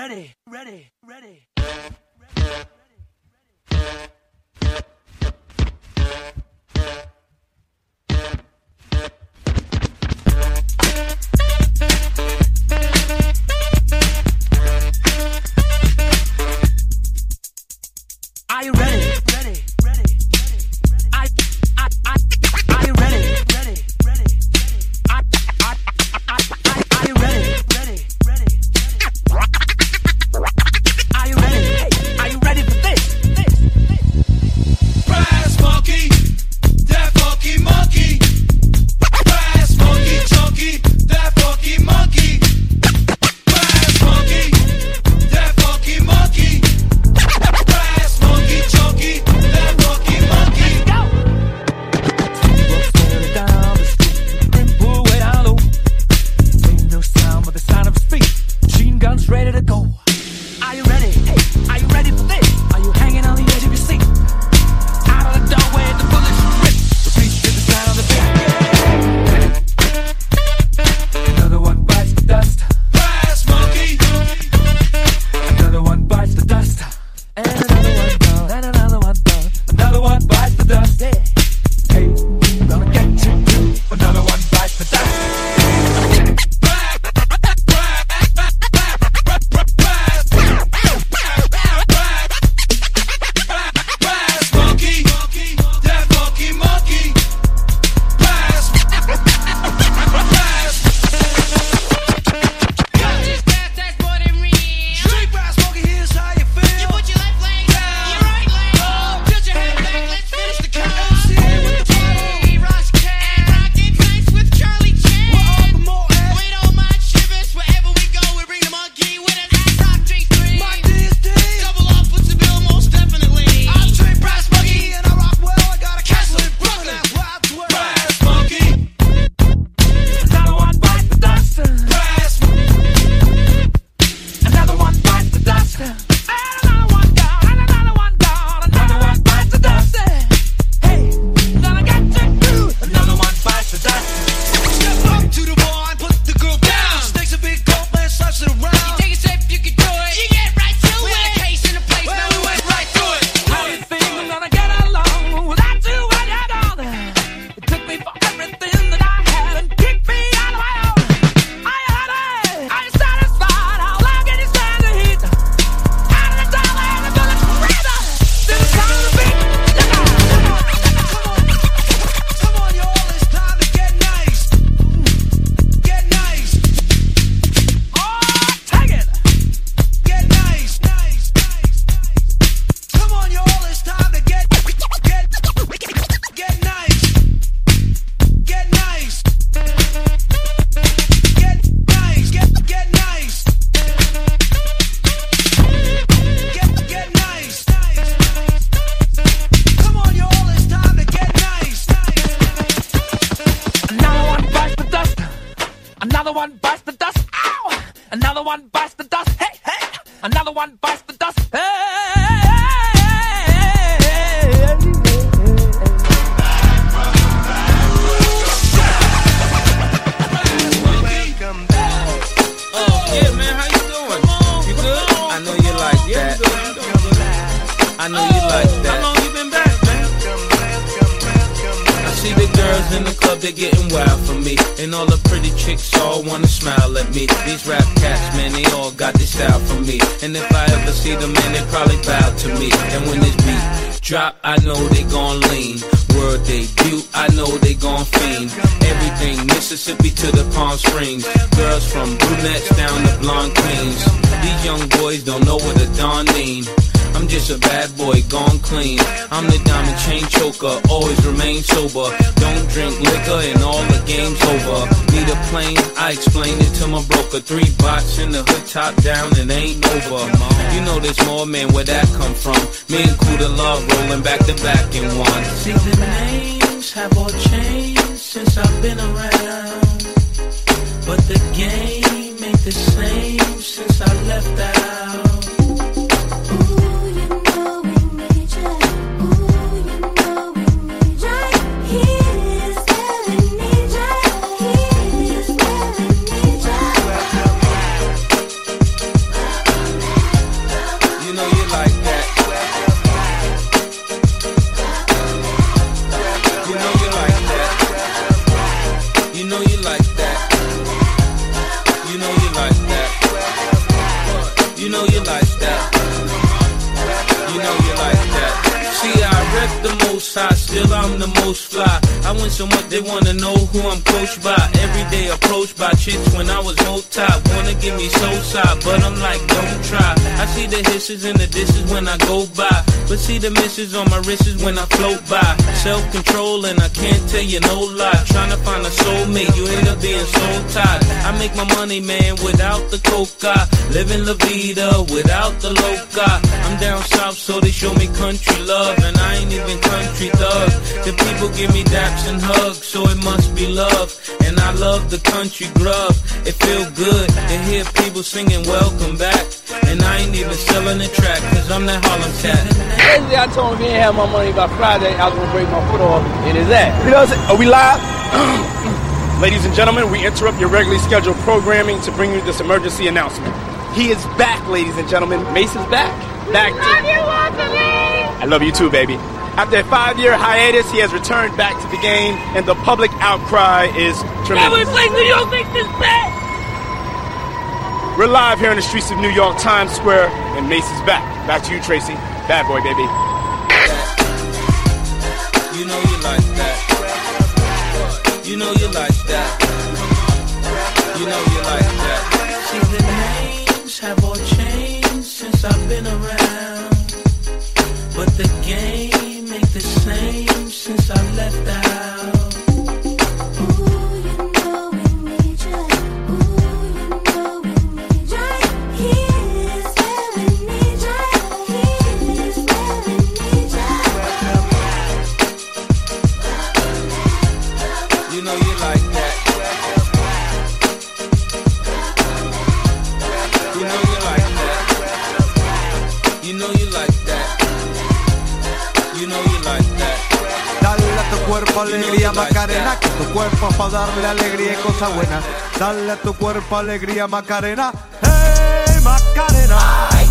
ready, ready, ready. Are you ready? Ready, ready, ready, ready. Are you ready? Ready, ready, ready. Are you ready? Ready, ready, ready. Are you ready? Hey, are you ready for this? Brass monkey, that funky monkey. Brass monkey, chunky, that funky monkey. Brass monkey, that funky monkey. Brass monkey, chunky, that funky monkey. Go! Rolling down the street, then pull way down low. Ain't no sound but the sound of his feet. Machine guns ready to go. Are you ready? Hey, are you ready for this? Are you hanging on the edge of your seat? Out of the doorway, the bullets rip. Repeat to the sound of the beat. Another one bites the dust. Brass monkey, Another one bites the dust. And another one gone. And another one gone. Another one bites the dust. Yeah. Hey, gonna get you too. Another one bites the dust. brass monkey, that funky monkey. Brass. Just that's more than real. Street brass monkey, here's how you feel. You put your left leg down, your right leg up. Tilt your head back, let's finish the count. MCA with the bottle. Hey, Ross Cat, rockin' nice with Charlie Chan. We're up more at We don't mind shivers, wherever we go, we bring the monkey with us. Top drinks three. my DSD. Double off with the bill, most definitely. I'm Street brass monkey and I rock well. I got a castle in Brooklyn. That's where I dwell. Brass monkey, Another one bites the dust. brass. Another one bites the dust. And another one gone. And another one gone. Another one bites the dust. Hey, gonna get you too. Another one bites the dust. Step up to the bar and put the girl down. Stakes a big gold man, slaps it around. Take a sip, you can do it. You get right to it. In a case in a place, Well, now we went right through it. How you think I'm gonna get along without you when you're gone? It took me for everything that I had and kicked me out of my own. Are you ready? Are you satisfied? How long can you stand the heat? Out of the dollar and the bullets breather. To the sound of the beat. Come on, y'all, it's time to get nice. Get nice, Oh, take it. get nice, nice, nice, nice. Come on, y'all, it's time to get nice. Get nice. Get nice, get nice. Get nice, nice. Come on, y'all, it's time to get nice, Another one bites the dust. Another one bites the dust. Ow! Another one bites the dust. Hey, hey! Another one bites the dust. Oh, yeah, man, how you doing? You good? I know you like that. I know you like that. How long you been back, man? I see the girls in the club, they're getting wild for me. And all the pretty chicks all wanna smile at me. These rap cats, man, they all got this style for me. And if I ever see them, man, they probably bow to me. And when this beat drop, I know they gon' lean. World debut, I know they gon' fiend. Everything Mississippi to the Palm Springs. Girls from brunettes down to blonde queens. These young boys don't know what a Don mean. I'm just a bad boy, gone clean. I'm the diamond chain choker, always remain sober. Don't drink liquor and all the game's over. Need a plane, I explained it to my broker. 3 bots in the hood, top down, and ain't over. You know there's more, man, where that come from? Me and Kuda Love rolling back to back in one. See, the names have all changed since I've been around, but the game ain't the same since I left out. most high, still I'm the most fly. I win so much they wanna know who I'm coached by. Every day approached by chicks when I was multi. Wanna give me soul side, but I'm like, don't try. I see the hisses and the disses when I go by, but see the misses on my wrists when I float by. Self-control and I can't tell you no lie. Trying to find a soulmate, you end up being soul tied. I make my money, man, without the coca. Living La Vida without the loca. I'm down south, so they show me country love, and I ain't even country thug. The people give me daps and hugs, so it must be love. And I love the country grub. It feel good to hear people singing welcome back. And I ain't even selling the track, cause I'm that Harlem cat. Basically, I told him if he ain't have my money by Friday, I was gonna break my foot off in his ass. You know what I'm saying? Are we live? Ladies and gentlemen, we interrupt your regularly scheduled programming to bring you this emergency announcement. He is back, ladies and gentlemen. Mace is back. Back to... Love you, Anthony! I love you too, baby. After a 5-year hiatus, he has returned back to the game, and the public outcry is tremendous. Never think New York makes this bad! We're live here in the streets of New York, Times Square, and Mace is back. Back to you, Tracy. Bad boy, baby. You know you like that. You know you like that. You know you like that. See, the names have all changed since I've been around, but the game ain't the same since I left the house. Alegría Macarena, que tu cuerpo pa' darle alegría y cosas buenas. Dale a tu cuerpo alegría Macarena, hey Macarena.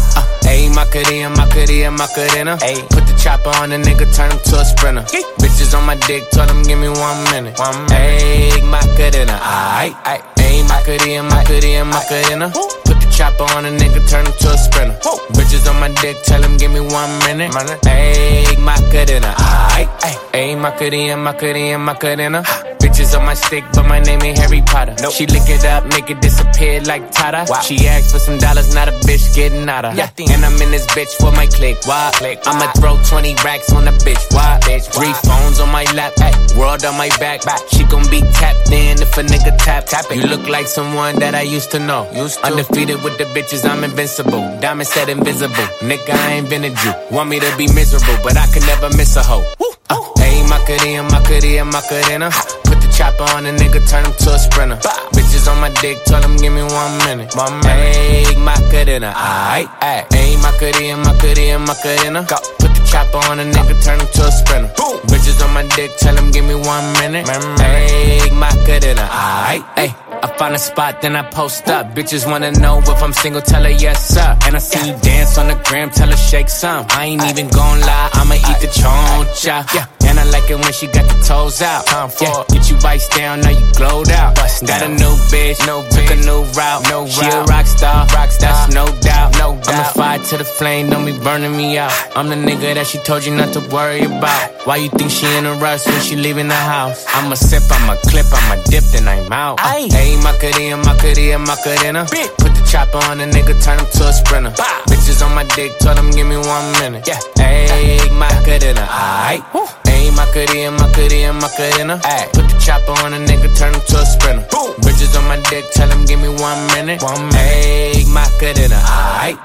Ayy, Macarena, Macarena, Macarena. Ayy, put the chopper on the nigga, turn him to a sprinter. Bitches on my dick, told him give me 1 minute. Ayy, Macarena, ayy, ayy, Macarena, Macarena, Macarena. Put the chopper on a nigga, turn him to a sprinter. Bitches on my dick, tell him give me 1 minute. Ayy, Macarena, ayy, ayy, Macarena, Macarena, Macarena. Bitches on my stick, but my name ain't Harry Potter. Nope. She lick it up, make it disappear like Tata. Wow. She asked for some dollars, not a bitch getting out of. Yeah. And I'm in this bitch for my click. Why? I'ma throw 20 racks on the bitch. Why? 3 phones on my lap, world on my back. She gon' be tapped in if a nigga tap it. You look like someone that I used to know. Undefeated with the bitches, I'm invincible. Diamond said invisible. Nigga, I ain't been a Jew. Want me to be miserable, but I can never miss a hoe. Ayy, Macarena, Macarena, Macarena. Put the chopper on a nigga, turn him to a sprinter. Bitches on my dick, tell him give me 1 minute. Ayy, Macarena, aight, ayy, Macarena, Macarena, Macarena. Put the chopper on a nigga, turn him to a sprinter. Bitches on my dick, tell him give me 1 minute. Ayy, Macarena, aight, ayy. I find a spot, then I post up. Bitches wanna know if I'm single, tell her yes, sir. And I see you dance on the gram, tell her shake some. I ain't even gon' lie, I'ma eat the choncha. And I like it when she got the toes out. Get you vice down, now you glowed out. Got a new bitch, took a new route. She a rock star, that's no doubt. I'm a fire to the flame, don't be burning me out. I'm the nigga that she told you not to worry about. Why you think she in a rush when she leaving the house? I'ma sip, I'ma clip, I'ma dip, then I'm out. Ayy, Macarena, Macarena, Macarena. Put the chopper on a nigga, turn him to a sprinter. Bitches on my dick, told him give me 1 minute. Ayy, Macarena, aight. Ayy, Macarena, Macarena, Macarena. Put the chopper on a nigga, turn him to a sprinter. Bitches on my dick, tell him give me 1 minute. Ayy, Macarena, aight.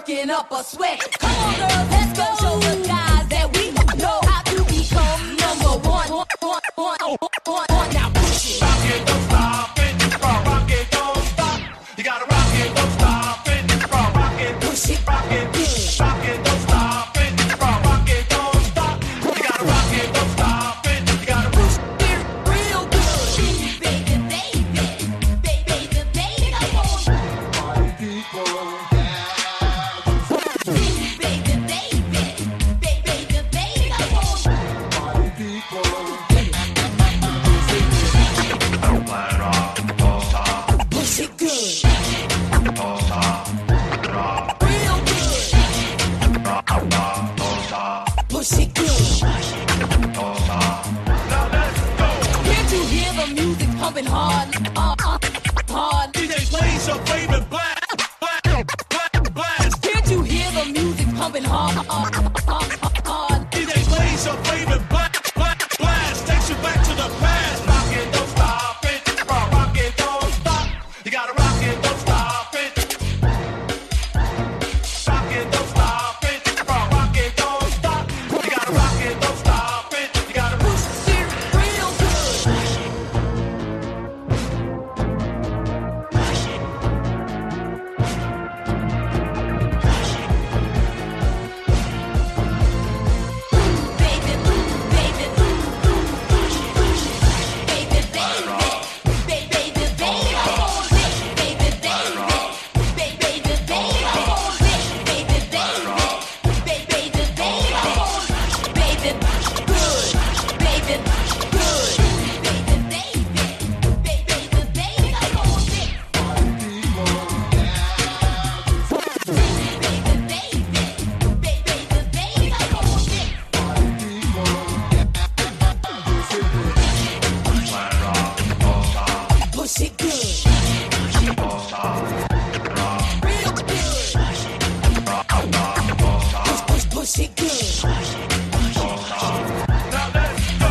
working up a sweat. Come on, girls, let's go show the guys that we know how to become number one. Now push it. Rock it, don't stop it. Rock it, don't stop. You gotta rock it, don't stop it. Rock it, Push it. rock it, rock it, don't stop it. Rock it, don't stop. You gotta rock it, don't stop it. You gotta push it. Real good. Baby, baby, baby, baby, come on. Baby, baby, baby, baby, come on. Push it good. Real good. Push it good. Can't you hear the music pumping hard? Hard. DJ plays your favorite blast. Can't you hear the music pumping hard? DJ plays your favorite blast. Takes you back to the past. Rock it, don't stop it. Rock it, don't stop. You gotta rock it, don't stop it. Rock it, don't stop it. Rock it, don't stop. You gotta rock it, don't stop it. You gotta push it. Real good. Baby, baby, baby, baby, baby, come on, baby, baby, come on, baby, come on, baby, good, baby, good, baby, come on, baby, come on, push it good. Real good. Push it good. Now let's go.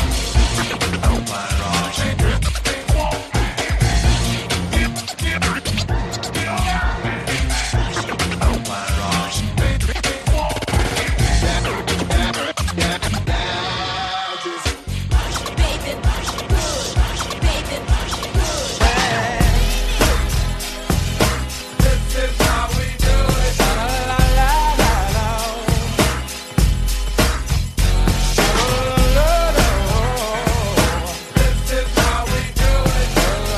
Baby, good. Baby, good. This is how we do it. This is how we do it.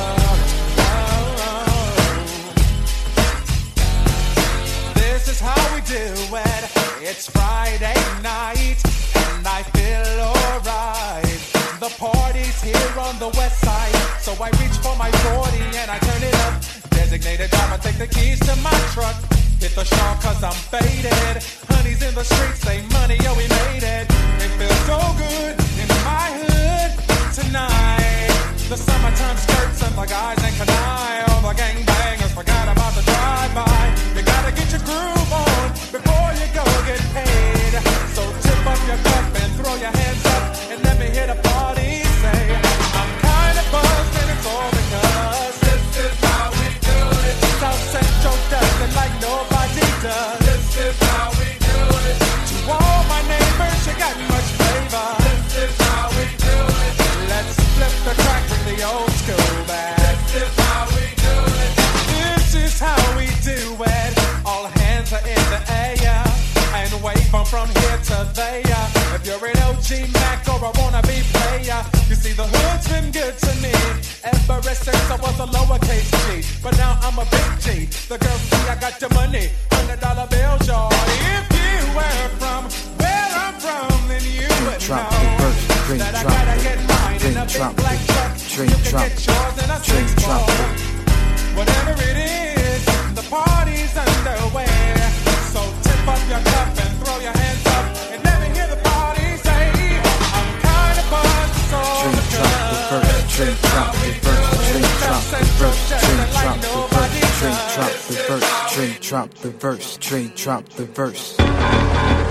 This is how we do it. It's Friday night and I feel alright. The party's here on the west side, so I reach for my 40 and I turn it up. Designated driver, take the keys to my truck. Hit the shop cause I'm faded. Honey's in the streets, say money, yo, we made it. It feels so good in my hood tonight. The summertime skirts and the guys ain't canine. All the gangbangers forgot about the drive-by. You gotta get your groove on before you go get paid. So tip up your cup and throw your hands up and let me hear the party say, I'm kinda buzzed and it's all because This is how we do it. South Central does it like nobody does. This is how we do it. To all my neighbors, you got much flavor. This is how we do it. Let's flip the track, bring the old school back. This is how we do it. This is how we do it. All hands are in the air and wave from here to there. If you're an OG Mac or a wannabe player, you see the hood's been good to me ever since I was a lowercase G. But now I'm a big G. The girls see I got your money, $100 bills, y'all. If you were from where I'm from, then you would Drop know the verse, drink, that I drop gotta it. get mine in a Drink, big black drop truck. it. Drink, You can drop get it. yours in a Drink, drop six-ball. it. Whatever it is, the party's underway. So tip up your cup and throw your hands up and let me hear the party say, I'm kinda buzzed, so Drink, drop the verse, drink, drop the verse, drink, drop the verse, drink, drop the verse, drink, drop the verse, drink, drop the verse, drink, drop the verse.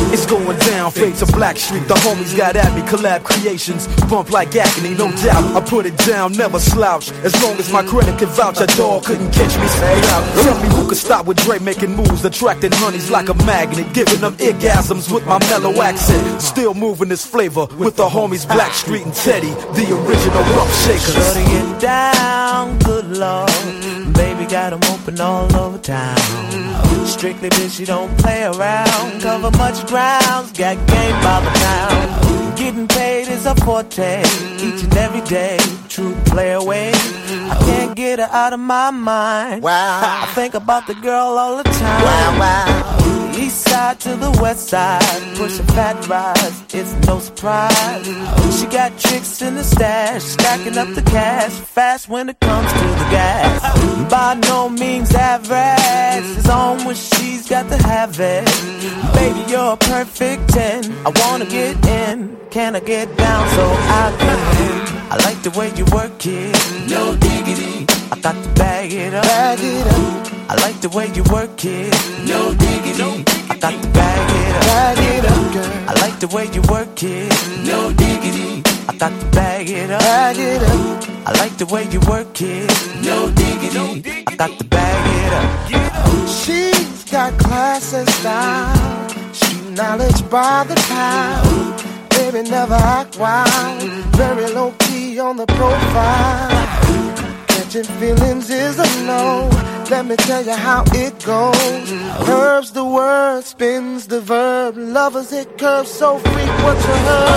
It's going down, fade to Black Street. The homies got at me, collab creations. Bump like agony, no doubt. I put it down, never slouch. As long as my credit can vouch, a dog couldn't catch me straight out. Tell me who could stop with Dre making moves, attracting honeys like a magnet, giving them orgasms with my mellow accent. Still moving this flavor with the homies Black Street and Teddy, the original rough shakers. Shutting it down, good lord. Baby got them open all over town. Strictly bitch, you don't play around. Cover much grounds, got game by the pound. Getting paid is a forte, each and every day. True play away. I can't get her out of my mind. Wow. I think about the girl all the time. Wow, wow. East side to the west side, pushing fat rides, it's no surprise. She got tricks in the stash, stacking up the cash, fast when it comes to the gas. By no means average, it's on when she's got to have it. Baby, you're a perfect 10, I wanna get in, can I get down so I can? I like the way you work it, no diggity, I got to bag it up, bag it up. I like the way you work it, no diggity, I got to bag it up, bag it up, girl. I like the way you work it, no diggity, I got to bag it up, bag it up. I like the way you work it, no diggity, I got to bag it up. She's got class and style, she knowledge by the pound. Baby never act wild, very low key on the profile. Catching feelings is a no. Let me tell you how it goes. Curves the word, spins the verb. Lovers hit curves so frequent you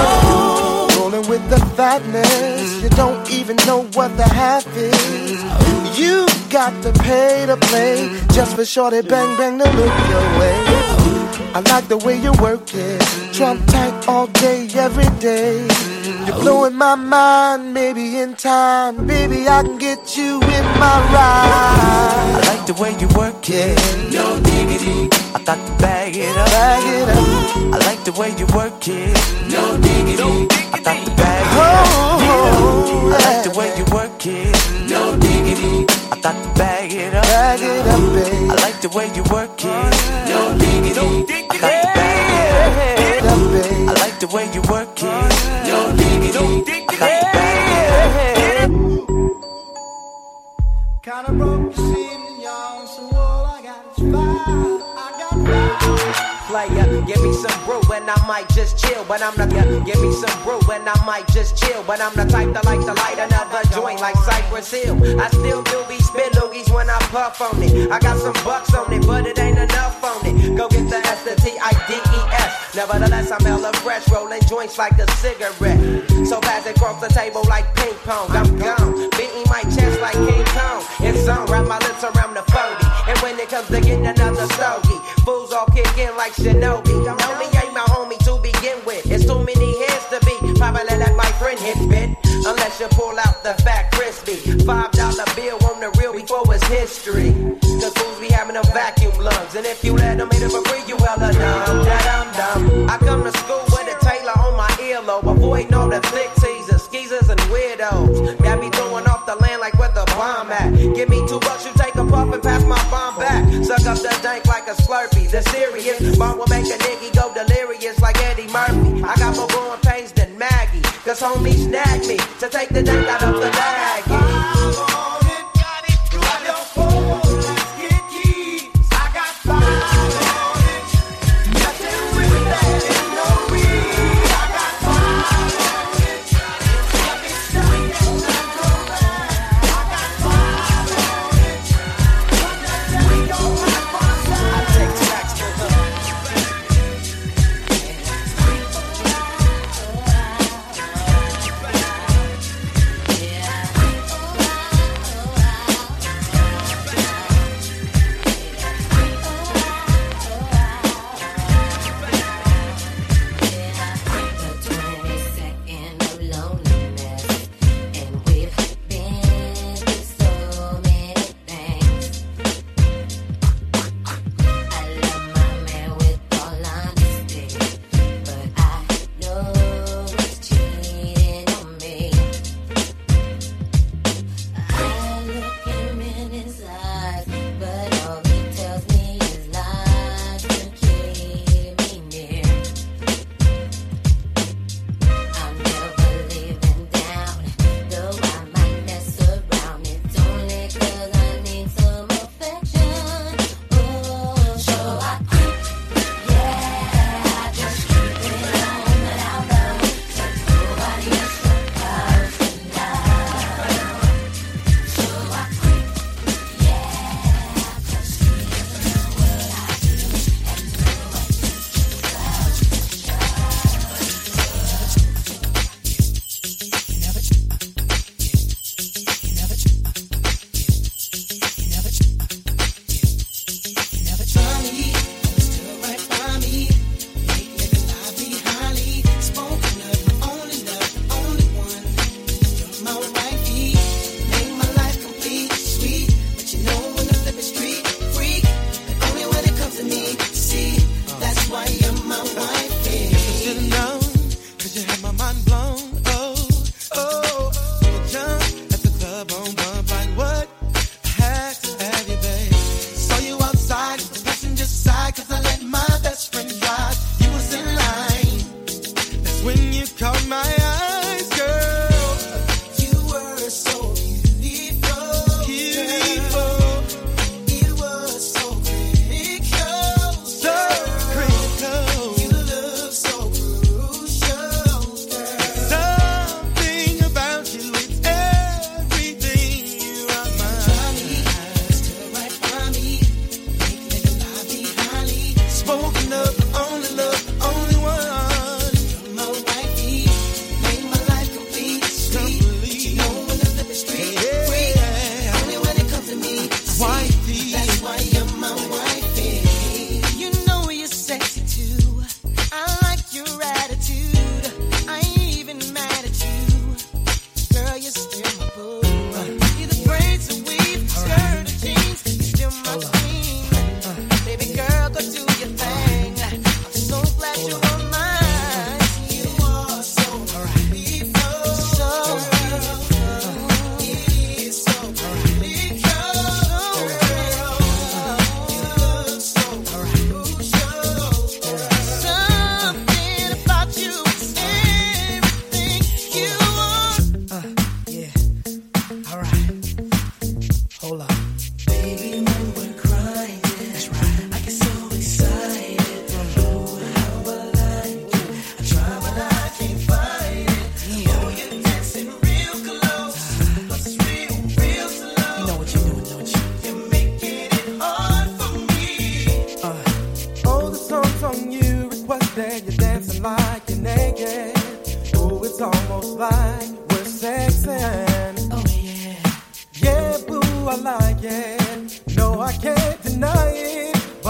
heard. Rolling with the fatness, you don't even know what the half is. You got to pay to play, just for shorty bang bang to look your way. I like the way you work it, Trump tight all day, every day. You're blowing my mind, maybe in time, baby I can get you in my ride. I like the way you work it, no diggity, I got to bag it up, bag it up. I like the way you work it, no diggity, I got to bag it up. I like the way you work it, no diggity, I got to bag it up, bag it up, baby. I like the way you work it, no diggity, I got to bag it up, baby. I like the way you work it, no diggity, I got to bag it up. Kinda broke this evening, y'all, so all I got is fire. I got fire. Player, give me some brew and I might just chill. But I'm the give me some brew and I might just chill. But I'm the type that like to light another joint like Cypress Hill. I still do be spit loogies when I puff on it. I got some bucks on it, but it ain't enough on it. Go get the S-T-I-D-E-S. Nevertheless, I'm hella fresh, rolling joints like a cigarette. So pass it across the table like ping pong. I'm gone, beating my chest like King Kong. It's on, wrap my lips around the 40. And when it comes to getting another stogie, fools all kick in like Shinobi. Know me ain't my homie to begin with. It's too many heads to be. Probably let my friend hit bit. Unless you pull out the fat crispy $5 bill on the real before it's history. Cause fools be having them vacuum lungs. And if you let them hit it for free, you hella dumb, da-dum-dum. I come to school with a Taylor on my earlobe. Avoiding all the flick teasers, skeezers, and weirdos. Got me throwing off the land like where the bomb at. Give me $2, you take a puff and pass my bomb back. Suck up the dank like a Slurpee. The serious bomb will make a nigga go delirious like Eddie Murphy. I got more growing pains than Maggie. Cause homie snagged me to take the dank out of the baggie.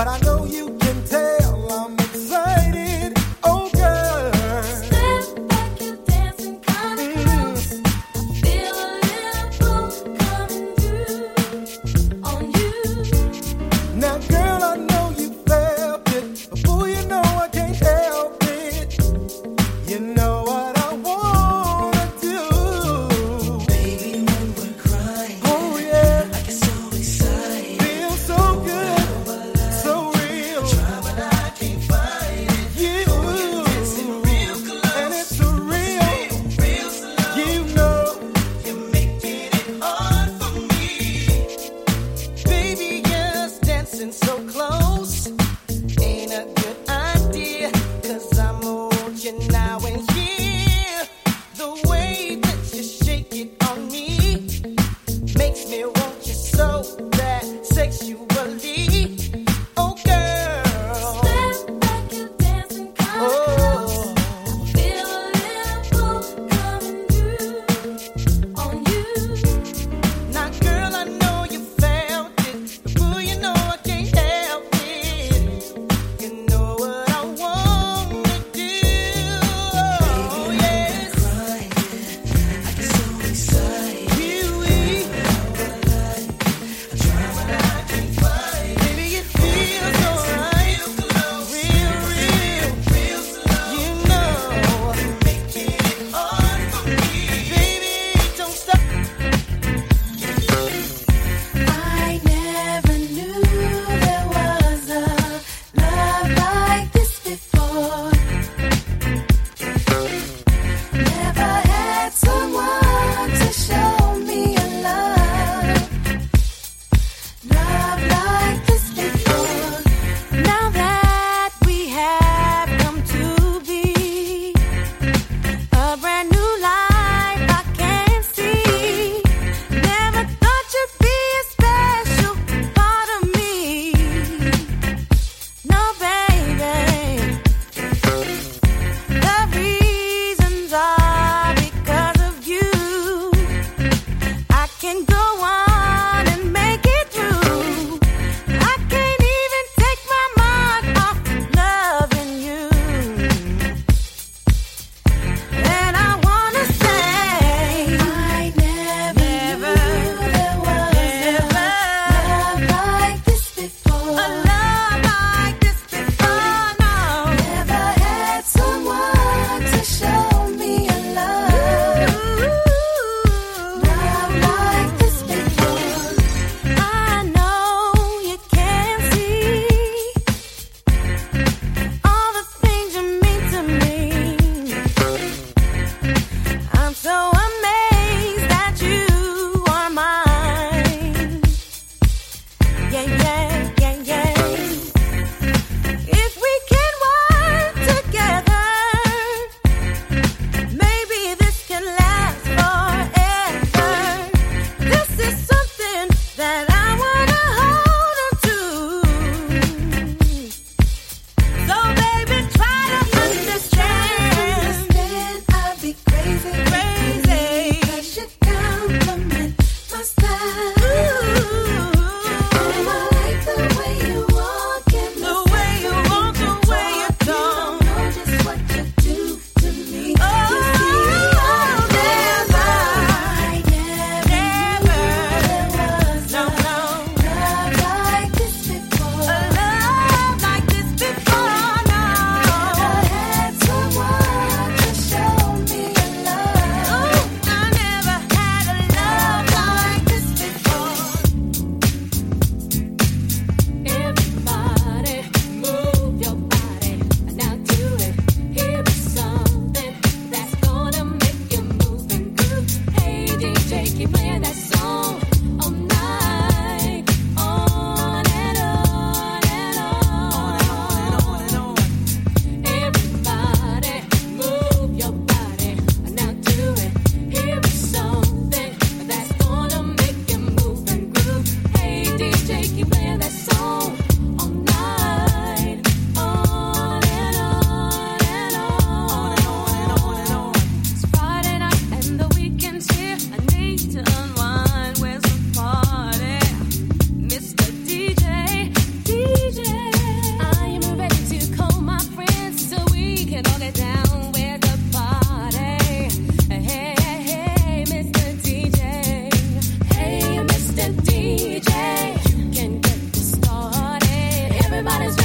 So real.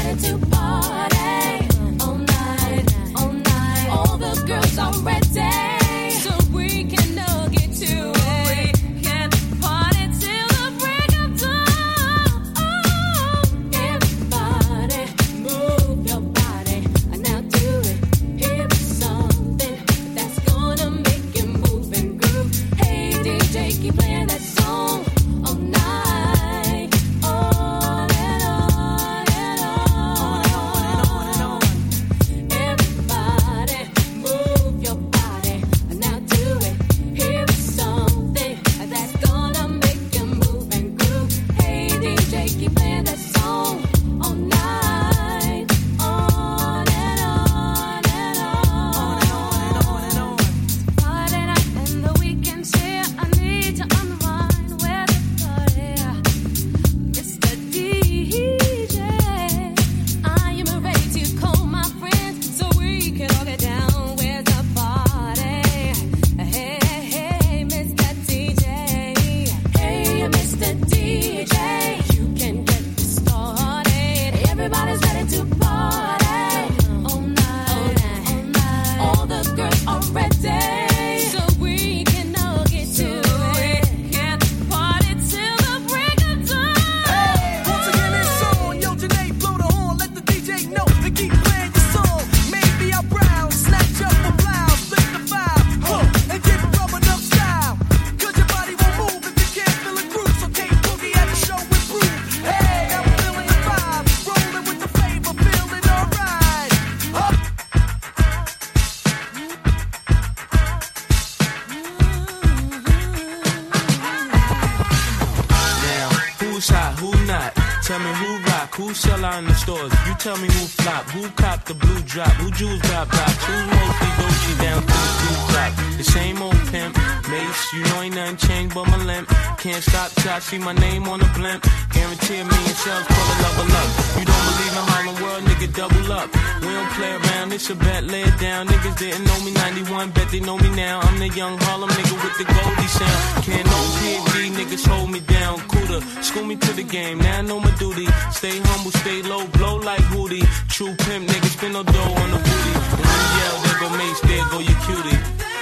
Tell me who rock, who sell out in the stores. You tell me who flop, who cop the blue drop, who jewels got blocks, who's mostly Gucci down to the blue drop. The same old pimp, Mace, you know ain't nothing changed but my limp. Can't stop till I see my name on the blimp. Guarantee a million shells, call it level up. You don't believe in Harlem World, nigga, double up. We don't play around, it's a bet, lay it down. Niggas didn't know me 91, bet they know me now. I'm the young Harlem nigga with the Goldie sound. Can't no PhD, niggas hold me down. Cooler, school me to the game, now I know my duty. Stay humble, stay low, blow like Hootie. True pimp, niggas spin no dough on the booty. And when you yell, there go Mace, there go your cutie.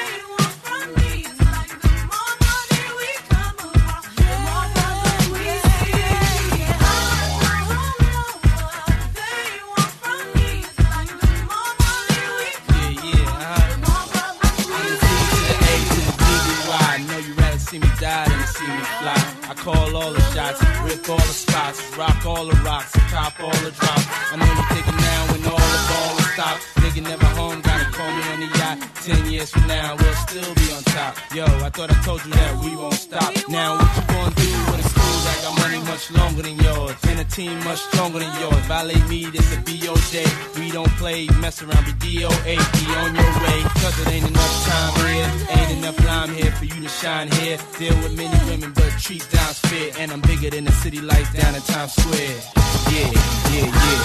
See me die than to see me fly. I call all the shots, rip all the spots, rock all the rocks, cop all the drops. I'm only taking now when all the ball is stopped. Nigga never home, gotta call me on the yacht. 10 years from now, we'll still be on top. Yo, I thought I told you that we won't stop. Now what you gonna do when it's cool? I got money much longer than yours, and a team much stronger than yours. Violate me, this a BOJ. We don't play, mess around, be DOA. Be on your way, cause it ain't enough time here. Ain't enough lime here for you to shine here. Deal with many women, but treat down's fair. And I'm bigger than the city lights down in Times Square. Yeah, yeah, yeah.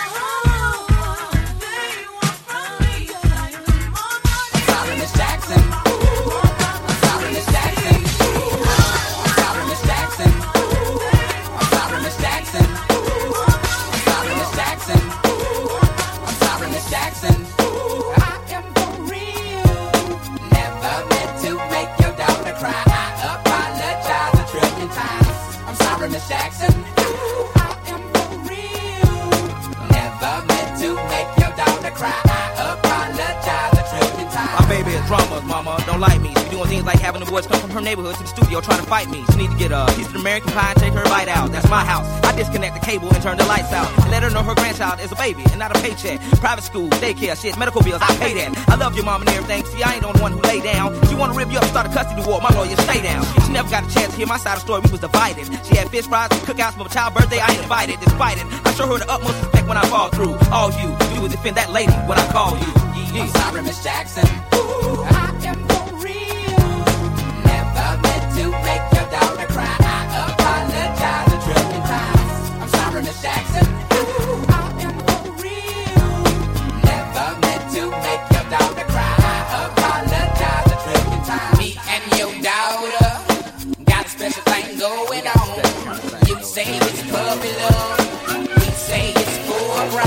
I'm sorry, Miss Jackson. I'm sorry, Miss Jackson. I'm sorry, Miss Jackson. I'm sorry, Miss Jackson. I'm sorry, Miss Jackson. I'm sorry, Miss Jackson. I am for real. Never meant to make your daughter cry. I'm sorry, Miss Jackson. I am for real. Never meant to make your daughter cry. I apologize a trillion times. My baby is drama, mama, don't like me. She doing things like having the boys come from her neighborhood to the studio trying to fight me. She need to get a piece of American pie and take her bite out. That's my house. I disconnect the cable and turn the lights out. And let her know her grandchild is a baby and not a paycheck. Private school, daycare, shit, medical bills, I pay that. I love your mom and everything. See, I ain't the one who lay down. She wanna rip you up and start a custody war. My lawyer, stay down. She never got a chance to hear my side of the story. We was divided. She had fish fries and cookouts for my child's birthday. I ain't invited. Despite it, I show her the utmost respect when I fall through. All you do is defend that lady when I call you. I'm sorry, Miss Jackson. I am for real. Never meant to make your daughter cry. I apologize a trillion times. I'm sorry, Miss Jackson. I am for real. Never meant to make your daughter cry. I apologize a trillion times. Me and your daughter got a special thing going on. You say it's puppy love. We say it's for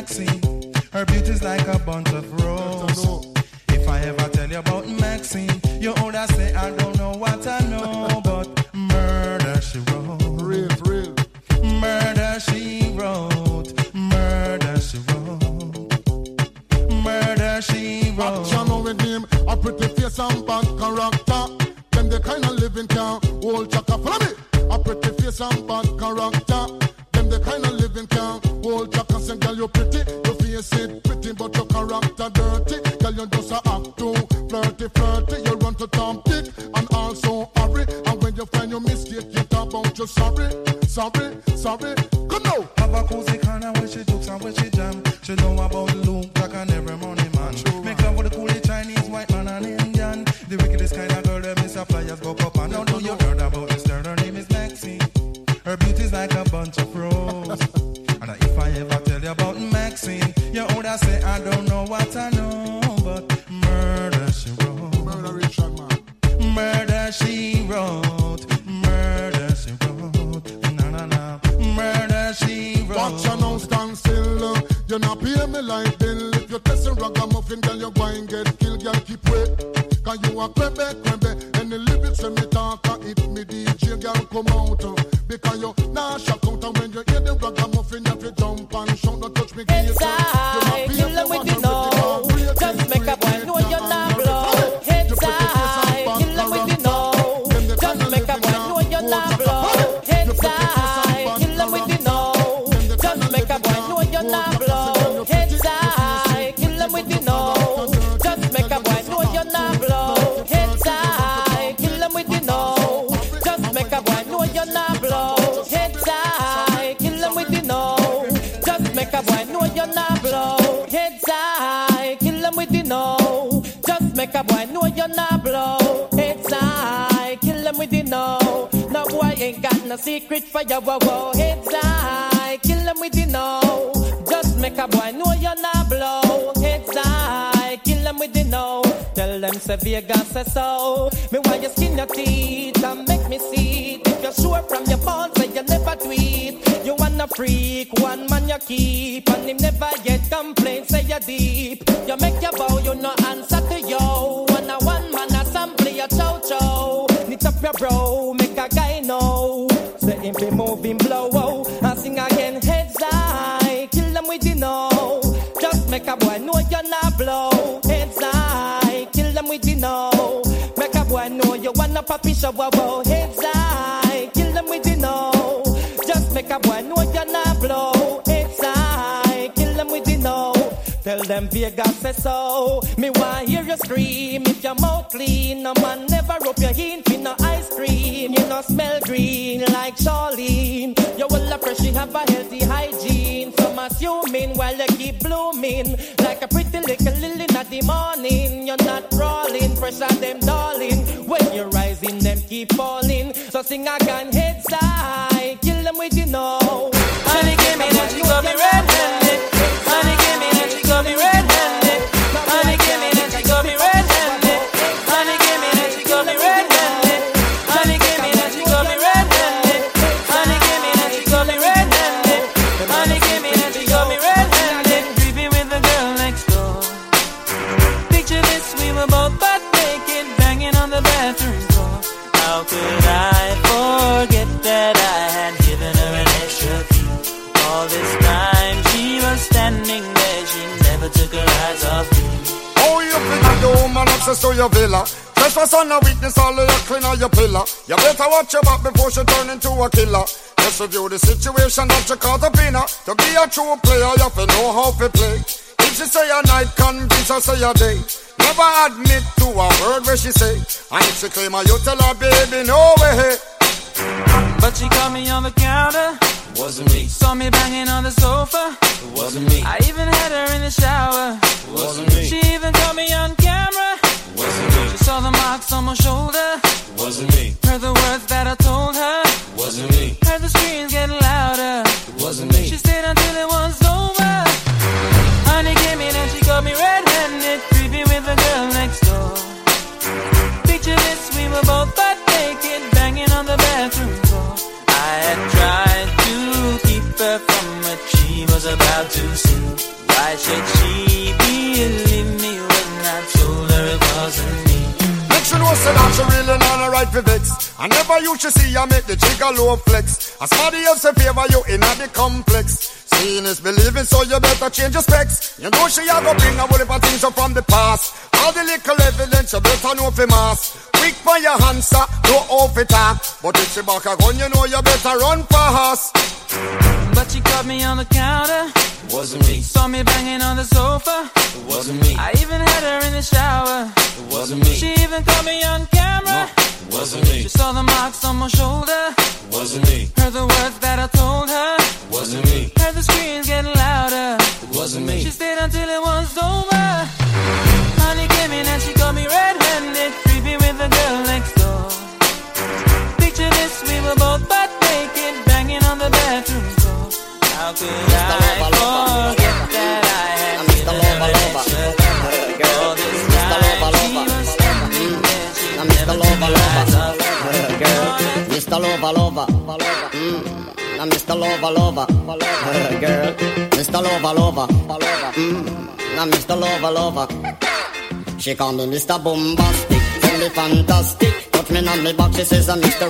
Maxine. Her beauty's like a bunch of roses. If I ever tell you about Maxine, you older say I don't know what I know, but murder she wrote. Real. Murder she wrote. Murder she wrote. Murder she wrote. Action with him, a pretty face and bad character. Them the kind of living can hold chaka. Follow me. A pretty face and bad character. Them the kind of living can hold chaka. Say girl you pretty, your face it pretty, but your character dirty. Girl you just a act too flirty. You run to Tom Dick and also hurry. And when you find your mistake, you talk about you sorry. Come now. Have a cozy corner where she jokes and where she jam. She know about Luke, Jack and every money man. Make love with the coolie Chinese, white man and Indian. The wickedest kind of girl that Mr. Flyers go up and now do you heard about this girl? Her name is Maxine. Her beauty's like a bunch of roses. And if I ever tell you about Maxine, you older say I don't know what I know, but murder she wrote. Murder Richard man. Murder she wrote. Murder she wrote. Na. Murder she wrote. Watch you now stand still. You not pay me like bill. If you test a ragamuffin, girl, you go and get killed. Girl, keep wait. Cause you a crebe. And the lyrics when me talk, if me DJ, girl, come out. Because you nah shock out. And when you hear the ragamuffin, you have to jump and shout. Don't touch me, get it's I kill them with you know. Just make a boy know you're not blow. It's I kill them with you know. Just make a boy know you're not blow. It's I kill them with you know. Just make a boy know you're not blow. It's I kill them with you know. Just make a boy know you're not blow. It's I kill them with you know. Just make a boy know you're not blow. It's I kill them with you know. Just make a boy know you're not blow. It's I kill them with you know. Just make a boy know you're not blow. It's I kill them with you know. No boy ain't got no secret for you. Whoa. It's I kill them with you know. Just make a boy know you're not blow. It's I kill them with you know. Tell them say Vegas say so. Me why you skin your teeth and make me see it. If you're sure from your phone say you never tweet. You wanna freak, one man you keep. And him never get complaints, say you deep. You make your bow, you no answer to yo. One man a sample your chow. Knit up your bro, make a guy know. Say him be moving blow, and sing again. Heads high, kill them with you know. Just make a boy know you're not blow. Heads high, kill them with you know. Make a boy know you wanna puppy show, Heads high, kill them with you know. Just make a boy know you're not blow. It's I kill them with you know. Tell them Vegas say so. Me want hear you scream if your mouth clean. No man never rub your hand for no ice cream. You no smell green like Charlene. You will have fresh, you have a healthy hygiene. Some assuming while you keep blooming like a pretty little lily in the morning. You're not crawling, pressure them darling. When you're rising, them keep falling. So sing again, heads high, kill them with you know. Honey came in and she got me red-handed. Honey came in and she got me red-handed. Honey came in and she got me red-handed. Honey came in and she got me red-handed. Honey came in and she got me red-handed. Honey came in and she got me red-handed. Honey came in and she got me red-handed. Creeping with the girl next door. Picture this, we were both butt naked, banging on the bathroom floor. How could I forget that I had given her an extra key? All this time she was standing there, she never took her eyes off me. Oh, you figure the woman access to your villa. Trespass on a weakness, all of your clean on your pillar. You better watch your back before she turn into a killer. Just review the situation that you caught up in her. To be a true player, you have to know how to play. If she say a night, convince her say a day. Never admit to a word where she say. And if she claim her, you tell her, baby, no way. But she caught me on the counter. Wasn't me. Saw me banging on the sofa. It wasn't me. I even had her in the shower. It wasn't me. She even caught me on camera. It wasn't me. She saw the marks on my shoulder. It wasn't me. Heard the words that I told her. It wasn't me. Heard the screams getting louder. It wasn't me. She stayed until it was over. Honey came in and she got me red-handed, creepy with the girl next door. Picture this, we were both butt naked, banging on the bathroom floor. I had tried to keep her from what she was about to see. Why should she believe me when I told her it wasn't me? Make sure no say that she really not a right for vex. I never used to see her make the jigger low flex. As somebody else in favor you in the complex. Seeing is believing, so you better change your specs. You know she a go bring a whole heap of things up from the past. All the little evidence you better know for mass. Quick for your answer, no off it talk. But if she back a gun, you know you better run fast. But she caught me on the counter. It wasn't me. Saw me banging on the sofa. It wasn't me. I even had her in the shower. It wasn't me. She even caught me on camera. It wasn't me. She saw the marks on my shoulder. It wasn't me. Heard the words that I told her. It wasn't me. Heard the screams getting louder. It wasn't me. She stayed until it was over. Honey came in and she caught me red-handed, creepy with the girl next door. Picture this, we were both butt naked, banging on the bathroom door. How could I forget that I had Mr. All this time she was standing there, she never took her eyes off me. Girl, Mr. Lover, I'm Mr. Lover, girl, Mr. Lover, I'm Mr. Lover. She call me Mr. Bombastic, tell me fantastic. Touch me on me back, she says I'm Mr.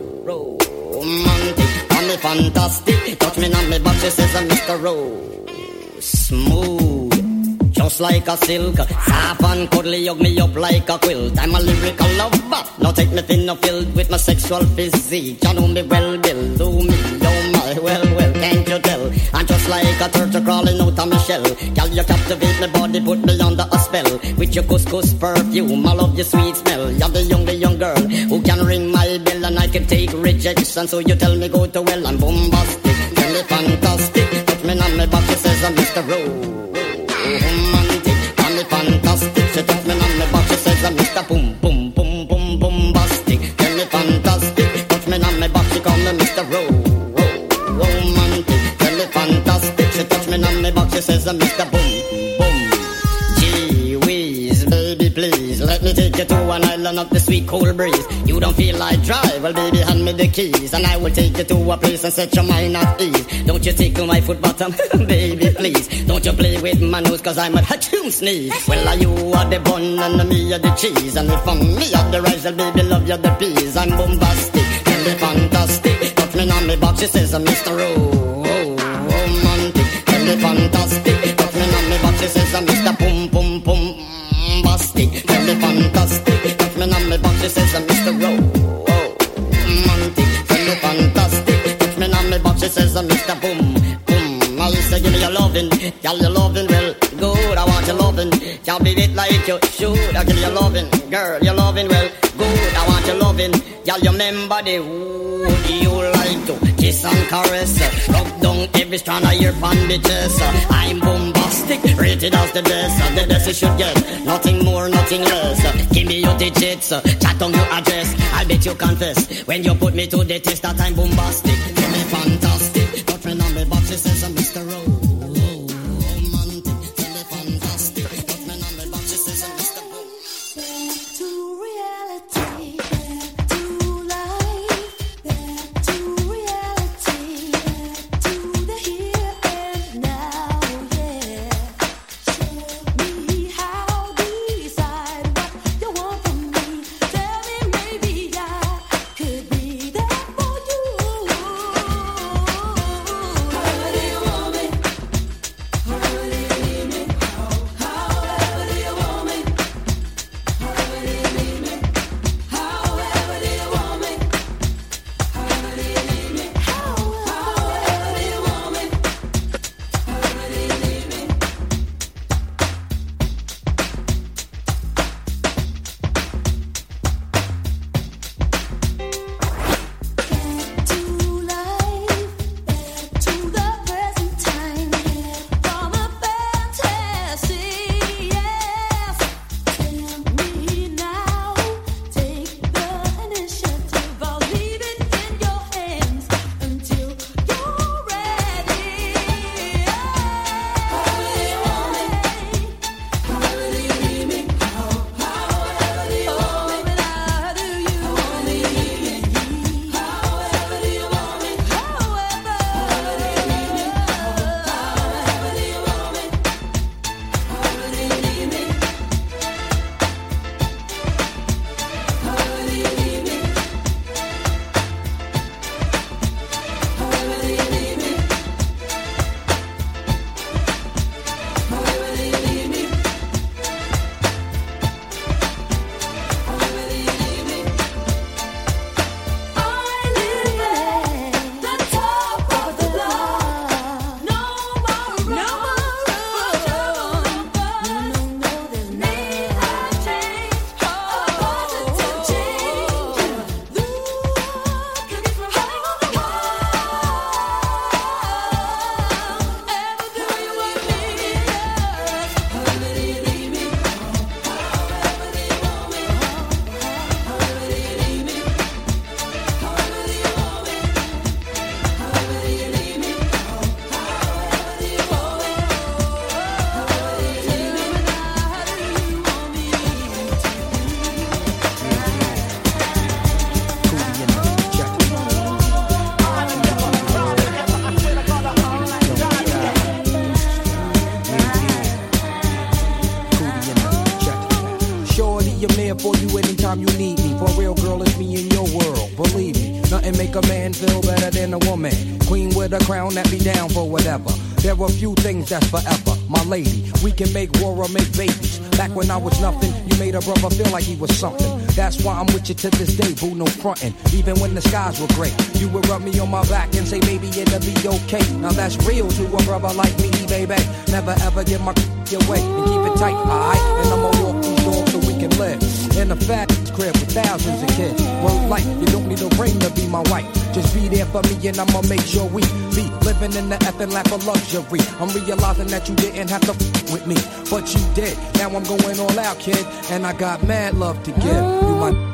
Romantic. Call me fantastic, touch me on me back, she says I'm Mr. Smooth, just like a silk. Soft and cuddly, hug me up like a quilt. I'm a lyrical lover, now take me thin or filled with my sexual physique. You know me well, Bill, do me, oh my, well, can't you tell? I'm just like a turtle crawling out of my shell. Girl, you captivate my body, put me under a spell. With your couscous perfume, I love your sweet smell. You're the young girl who can ring my bell, and I can take rejection. So you tell me go to well, I'm bombastic, tell me fantastic. Touch me on my back, she says I'm Mr. Romantic. Tell me fantastic, she touch me on my back, she says I'm Mr. Bombastic. Tell me fantastic, touch me on my back, she call me Mr. Romantic. Tell me fantastic, she touch me on my back, she says I'm Mr. Gee whiz, baby please, let me take you to an island of the sweet cool breeze. You don't feel like drive, well baby hand me the keys, and I will take you to a place and set your mind at ease. Don't you tickle my foot bottom, baby please. Don't you play with my nose, cause I'm a hatchoon sneeze. Well are you are the bun and me are the cheese, and if I'm me are the rice, well baby love you the peas. I'm bombastic, tell me fantastic. Touch me on me back, she says I'm Mr. Romantic. Tell me fantastic, touch me on me back, she says I'm Mr. Bombastic. Tell me fantastic, touch me on me back, she says I'm Mr. Romantic. Tell me fantastic, touch me on me back, she says I'm Mr. Boom. I used to give me your loving, girl, your loving, well, good, I want your loving. Can't beat it like you should, I give you your loving, girl, your loving, well, good, I want your loving. Girl, you remember the would you like to kiss and caress, rub down every strand of your bandages. I'm bombastic, rated as the best you should get, nothing more, nothing less. Give me your digits, chat on your address, I'll bet you confess, when you put me to the test that I'm bombastic. Tell me fantastic, touch me on the box, she says I'm Mr. Romantic. Tell me fantastic, touch me on the box, she says I'm Mr. Back to reality, back to life, back to reality, back to the here and now, yeah. Show me how, decide what you want from me. Tell me maybe I could be there for you. than a woman. Queen with a crown that be down for whatever. There are few things that's forever, my lady. We can make war or make babies. Back when I was nothing, you made a brother feel like he was something. That's why I'm with you to this day, boo, no frontin'. Even when the skies were gray, you would rub me on my back and say, baby, it'll be okay. Now that's real to a brother like me, baby. Never ever give my away and keep it tight, alright? And I'ma walk these doors so we can live in a fat crib with thousands of kids. Word life, you don't need a ring to be my wife. Just be there for me and I'ma make sure we be living in the effing lap of luxury. I'm realizing that you didn't have to with me, but you did. Now I'm going all out, kid, and I got mad love to give. You my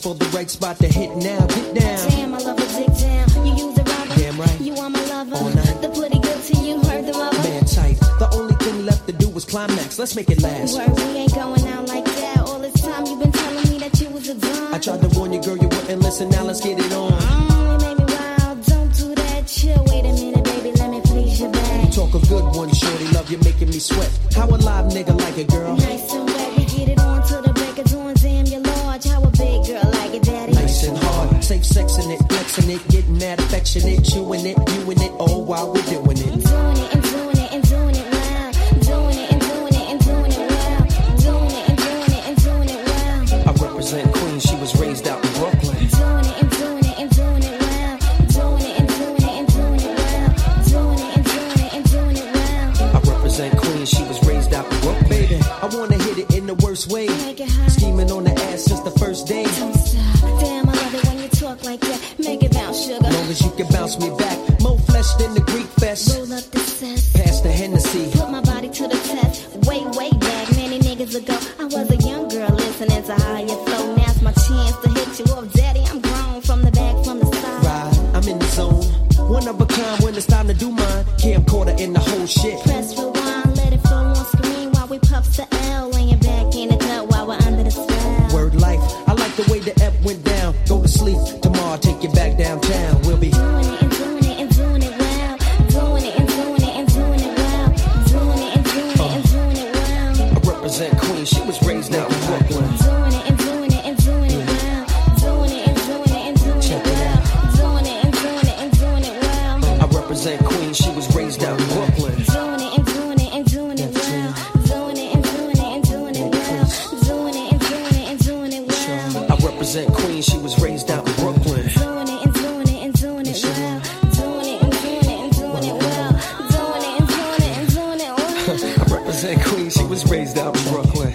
for the right spot to hit now. Get down. Damn, I love a dick down. You use a rubber. Damn right. You are my lover. All night. The pretty good to you, heard the rubber. Man tight. The only thing left to do was climax. Let's make it last. Word, we ain't going out like that. All this time you been telling me that you was a dime. I tried to warn you, girl, you wouldn't listen. Now let's get it on. You made me wild. Don't do that. Chill. Wait a minute, baby. Let me please you back. Talk a good one, shorty. Love you making me sweat. How a live nigga like it, girl? Nice and wet. We get it on to the break of dawn. Damn, you're large. How a big girl like it, daddy. Nice and hard. Safe sexing it, flexing it, getting mad affectionate, chewing it, viewing it, all while we're doing it. I'm doing it and doing it and doing it well. Doing it and doing it and doing it well. Doing it and doing it and doing it well. I represent Queens. She was raised out in Brooklyn. Doing it and doing it and doing it well. Doing it and doing it and doing it well. Doing it and doing it and doing it well. I represent Queens. She was raised out in Brooklyn. Baby, I wanna hit it in the worst way. Make it hot. Scheming on the ass since the first day. Don't stop. Damn, I love it when you talk like that. Make it bounce, sugar. Long as you can bounce me back. More flesh than the Greek fest. Roll up the cess. Pass the Hennessy. Put my body to the test. Way back, many niggas ago. I was a young girl listening to how you flow. Now's my chance to hit you up, daddy. I'm grown from the back, from the side. Ride, I'm in the zone. One of a kind when it's time to do mine. Camcorder in the whole shit. Press rewind, let it flow on screen while we puff the L. Laying back in the cut while we're under the spell. Word life, I like the way the F went down. Go to sleep, tomorrow I'll take you back downtown. We'll be Doing it and doing it and doing it well. Doing it and doing it and doing it well. Doing it and doing it and doing it well. I represent Queens. She was raised out in Brooklyn. Doing it and doing it and doing it well. Doing it and doing it and doing Check it it well. Doing it and doing it and doing it well. I represent Queens. She was raised out in Brooklyn. Doing it and doing it and doing it well. Doing it and doing it and doing it well. Doing it and doing it and doing it well. I represent Queens. She was raised out in Brooklyn. Doing it and doing it and doing it well. Doing it and doing it and doing it well. Doing it and doing it and doing it well. I represent Queens. She was raised out in Brooklyn.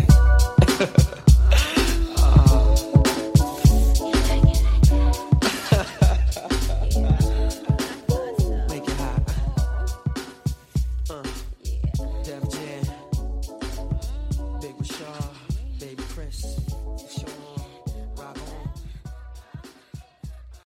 Make it hot. Def Jam, Big Rashad, Baby Chris, Sean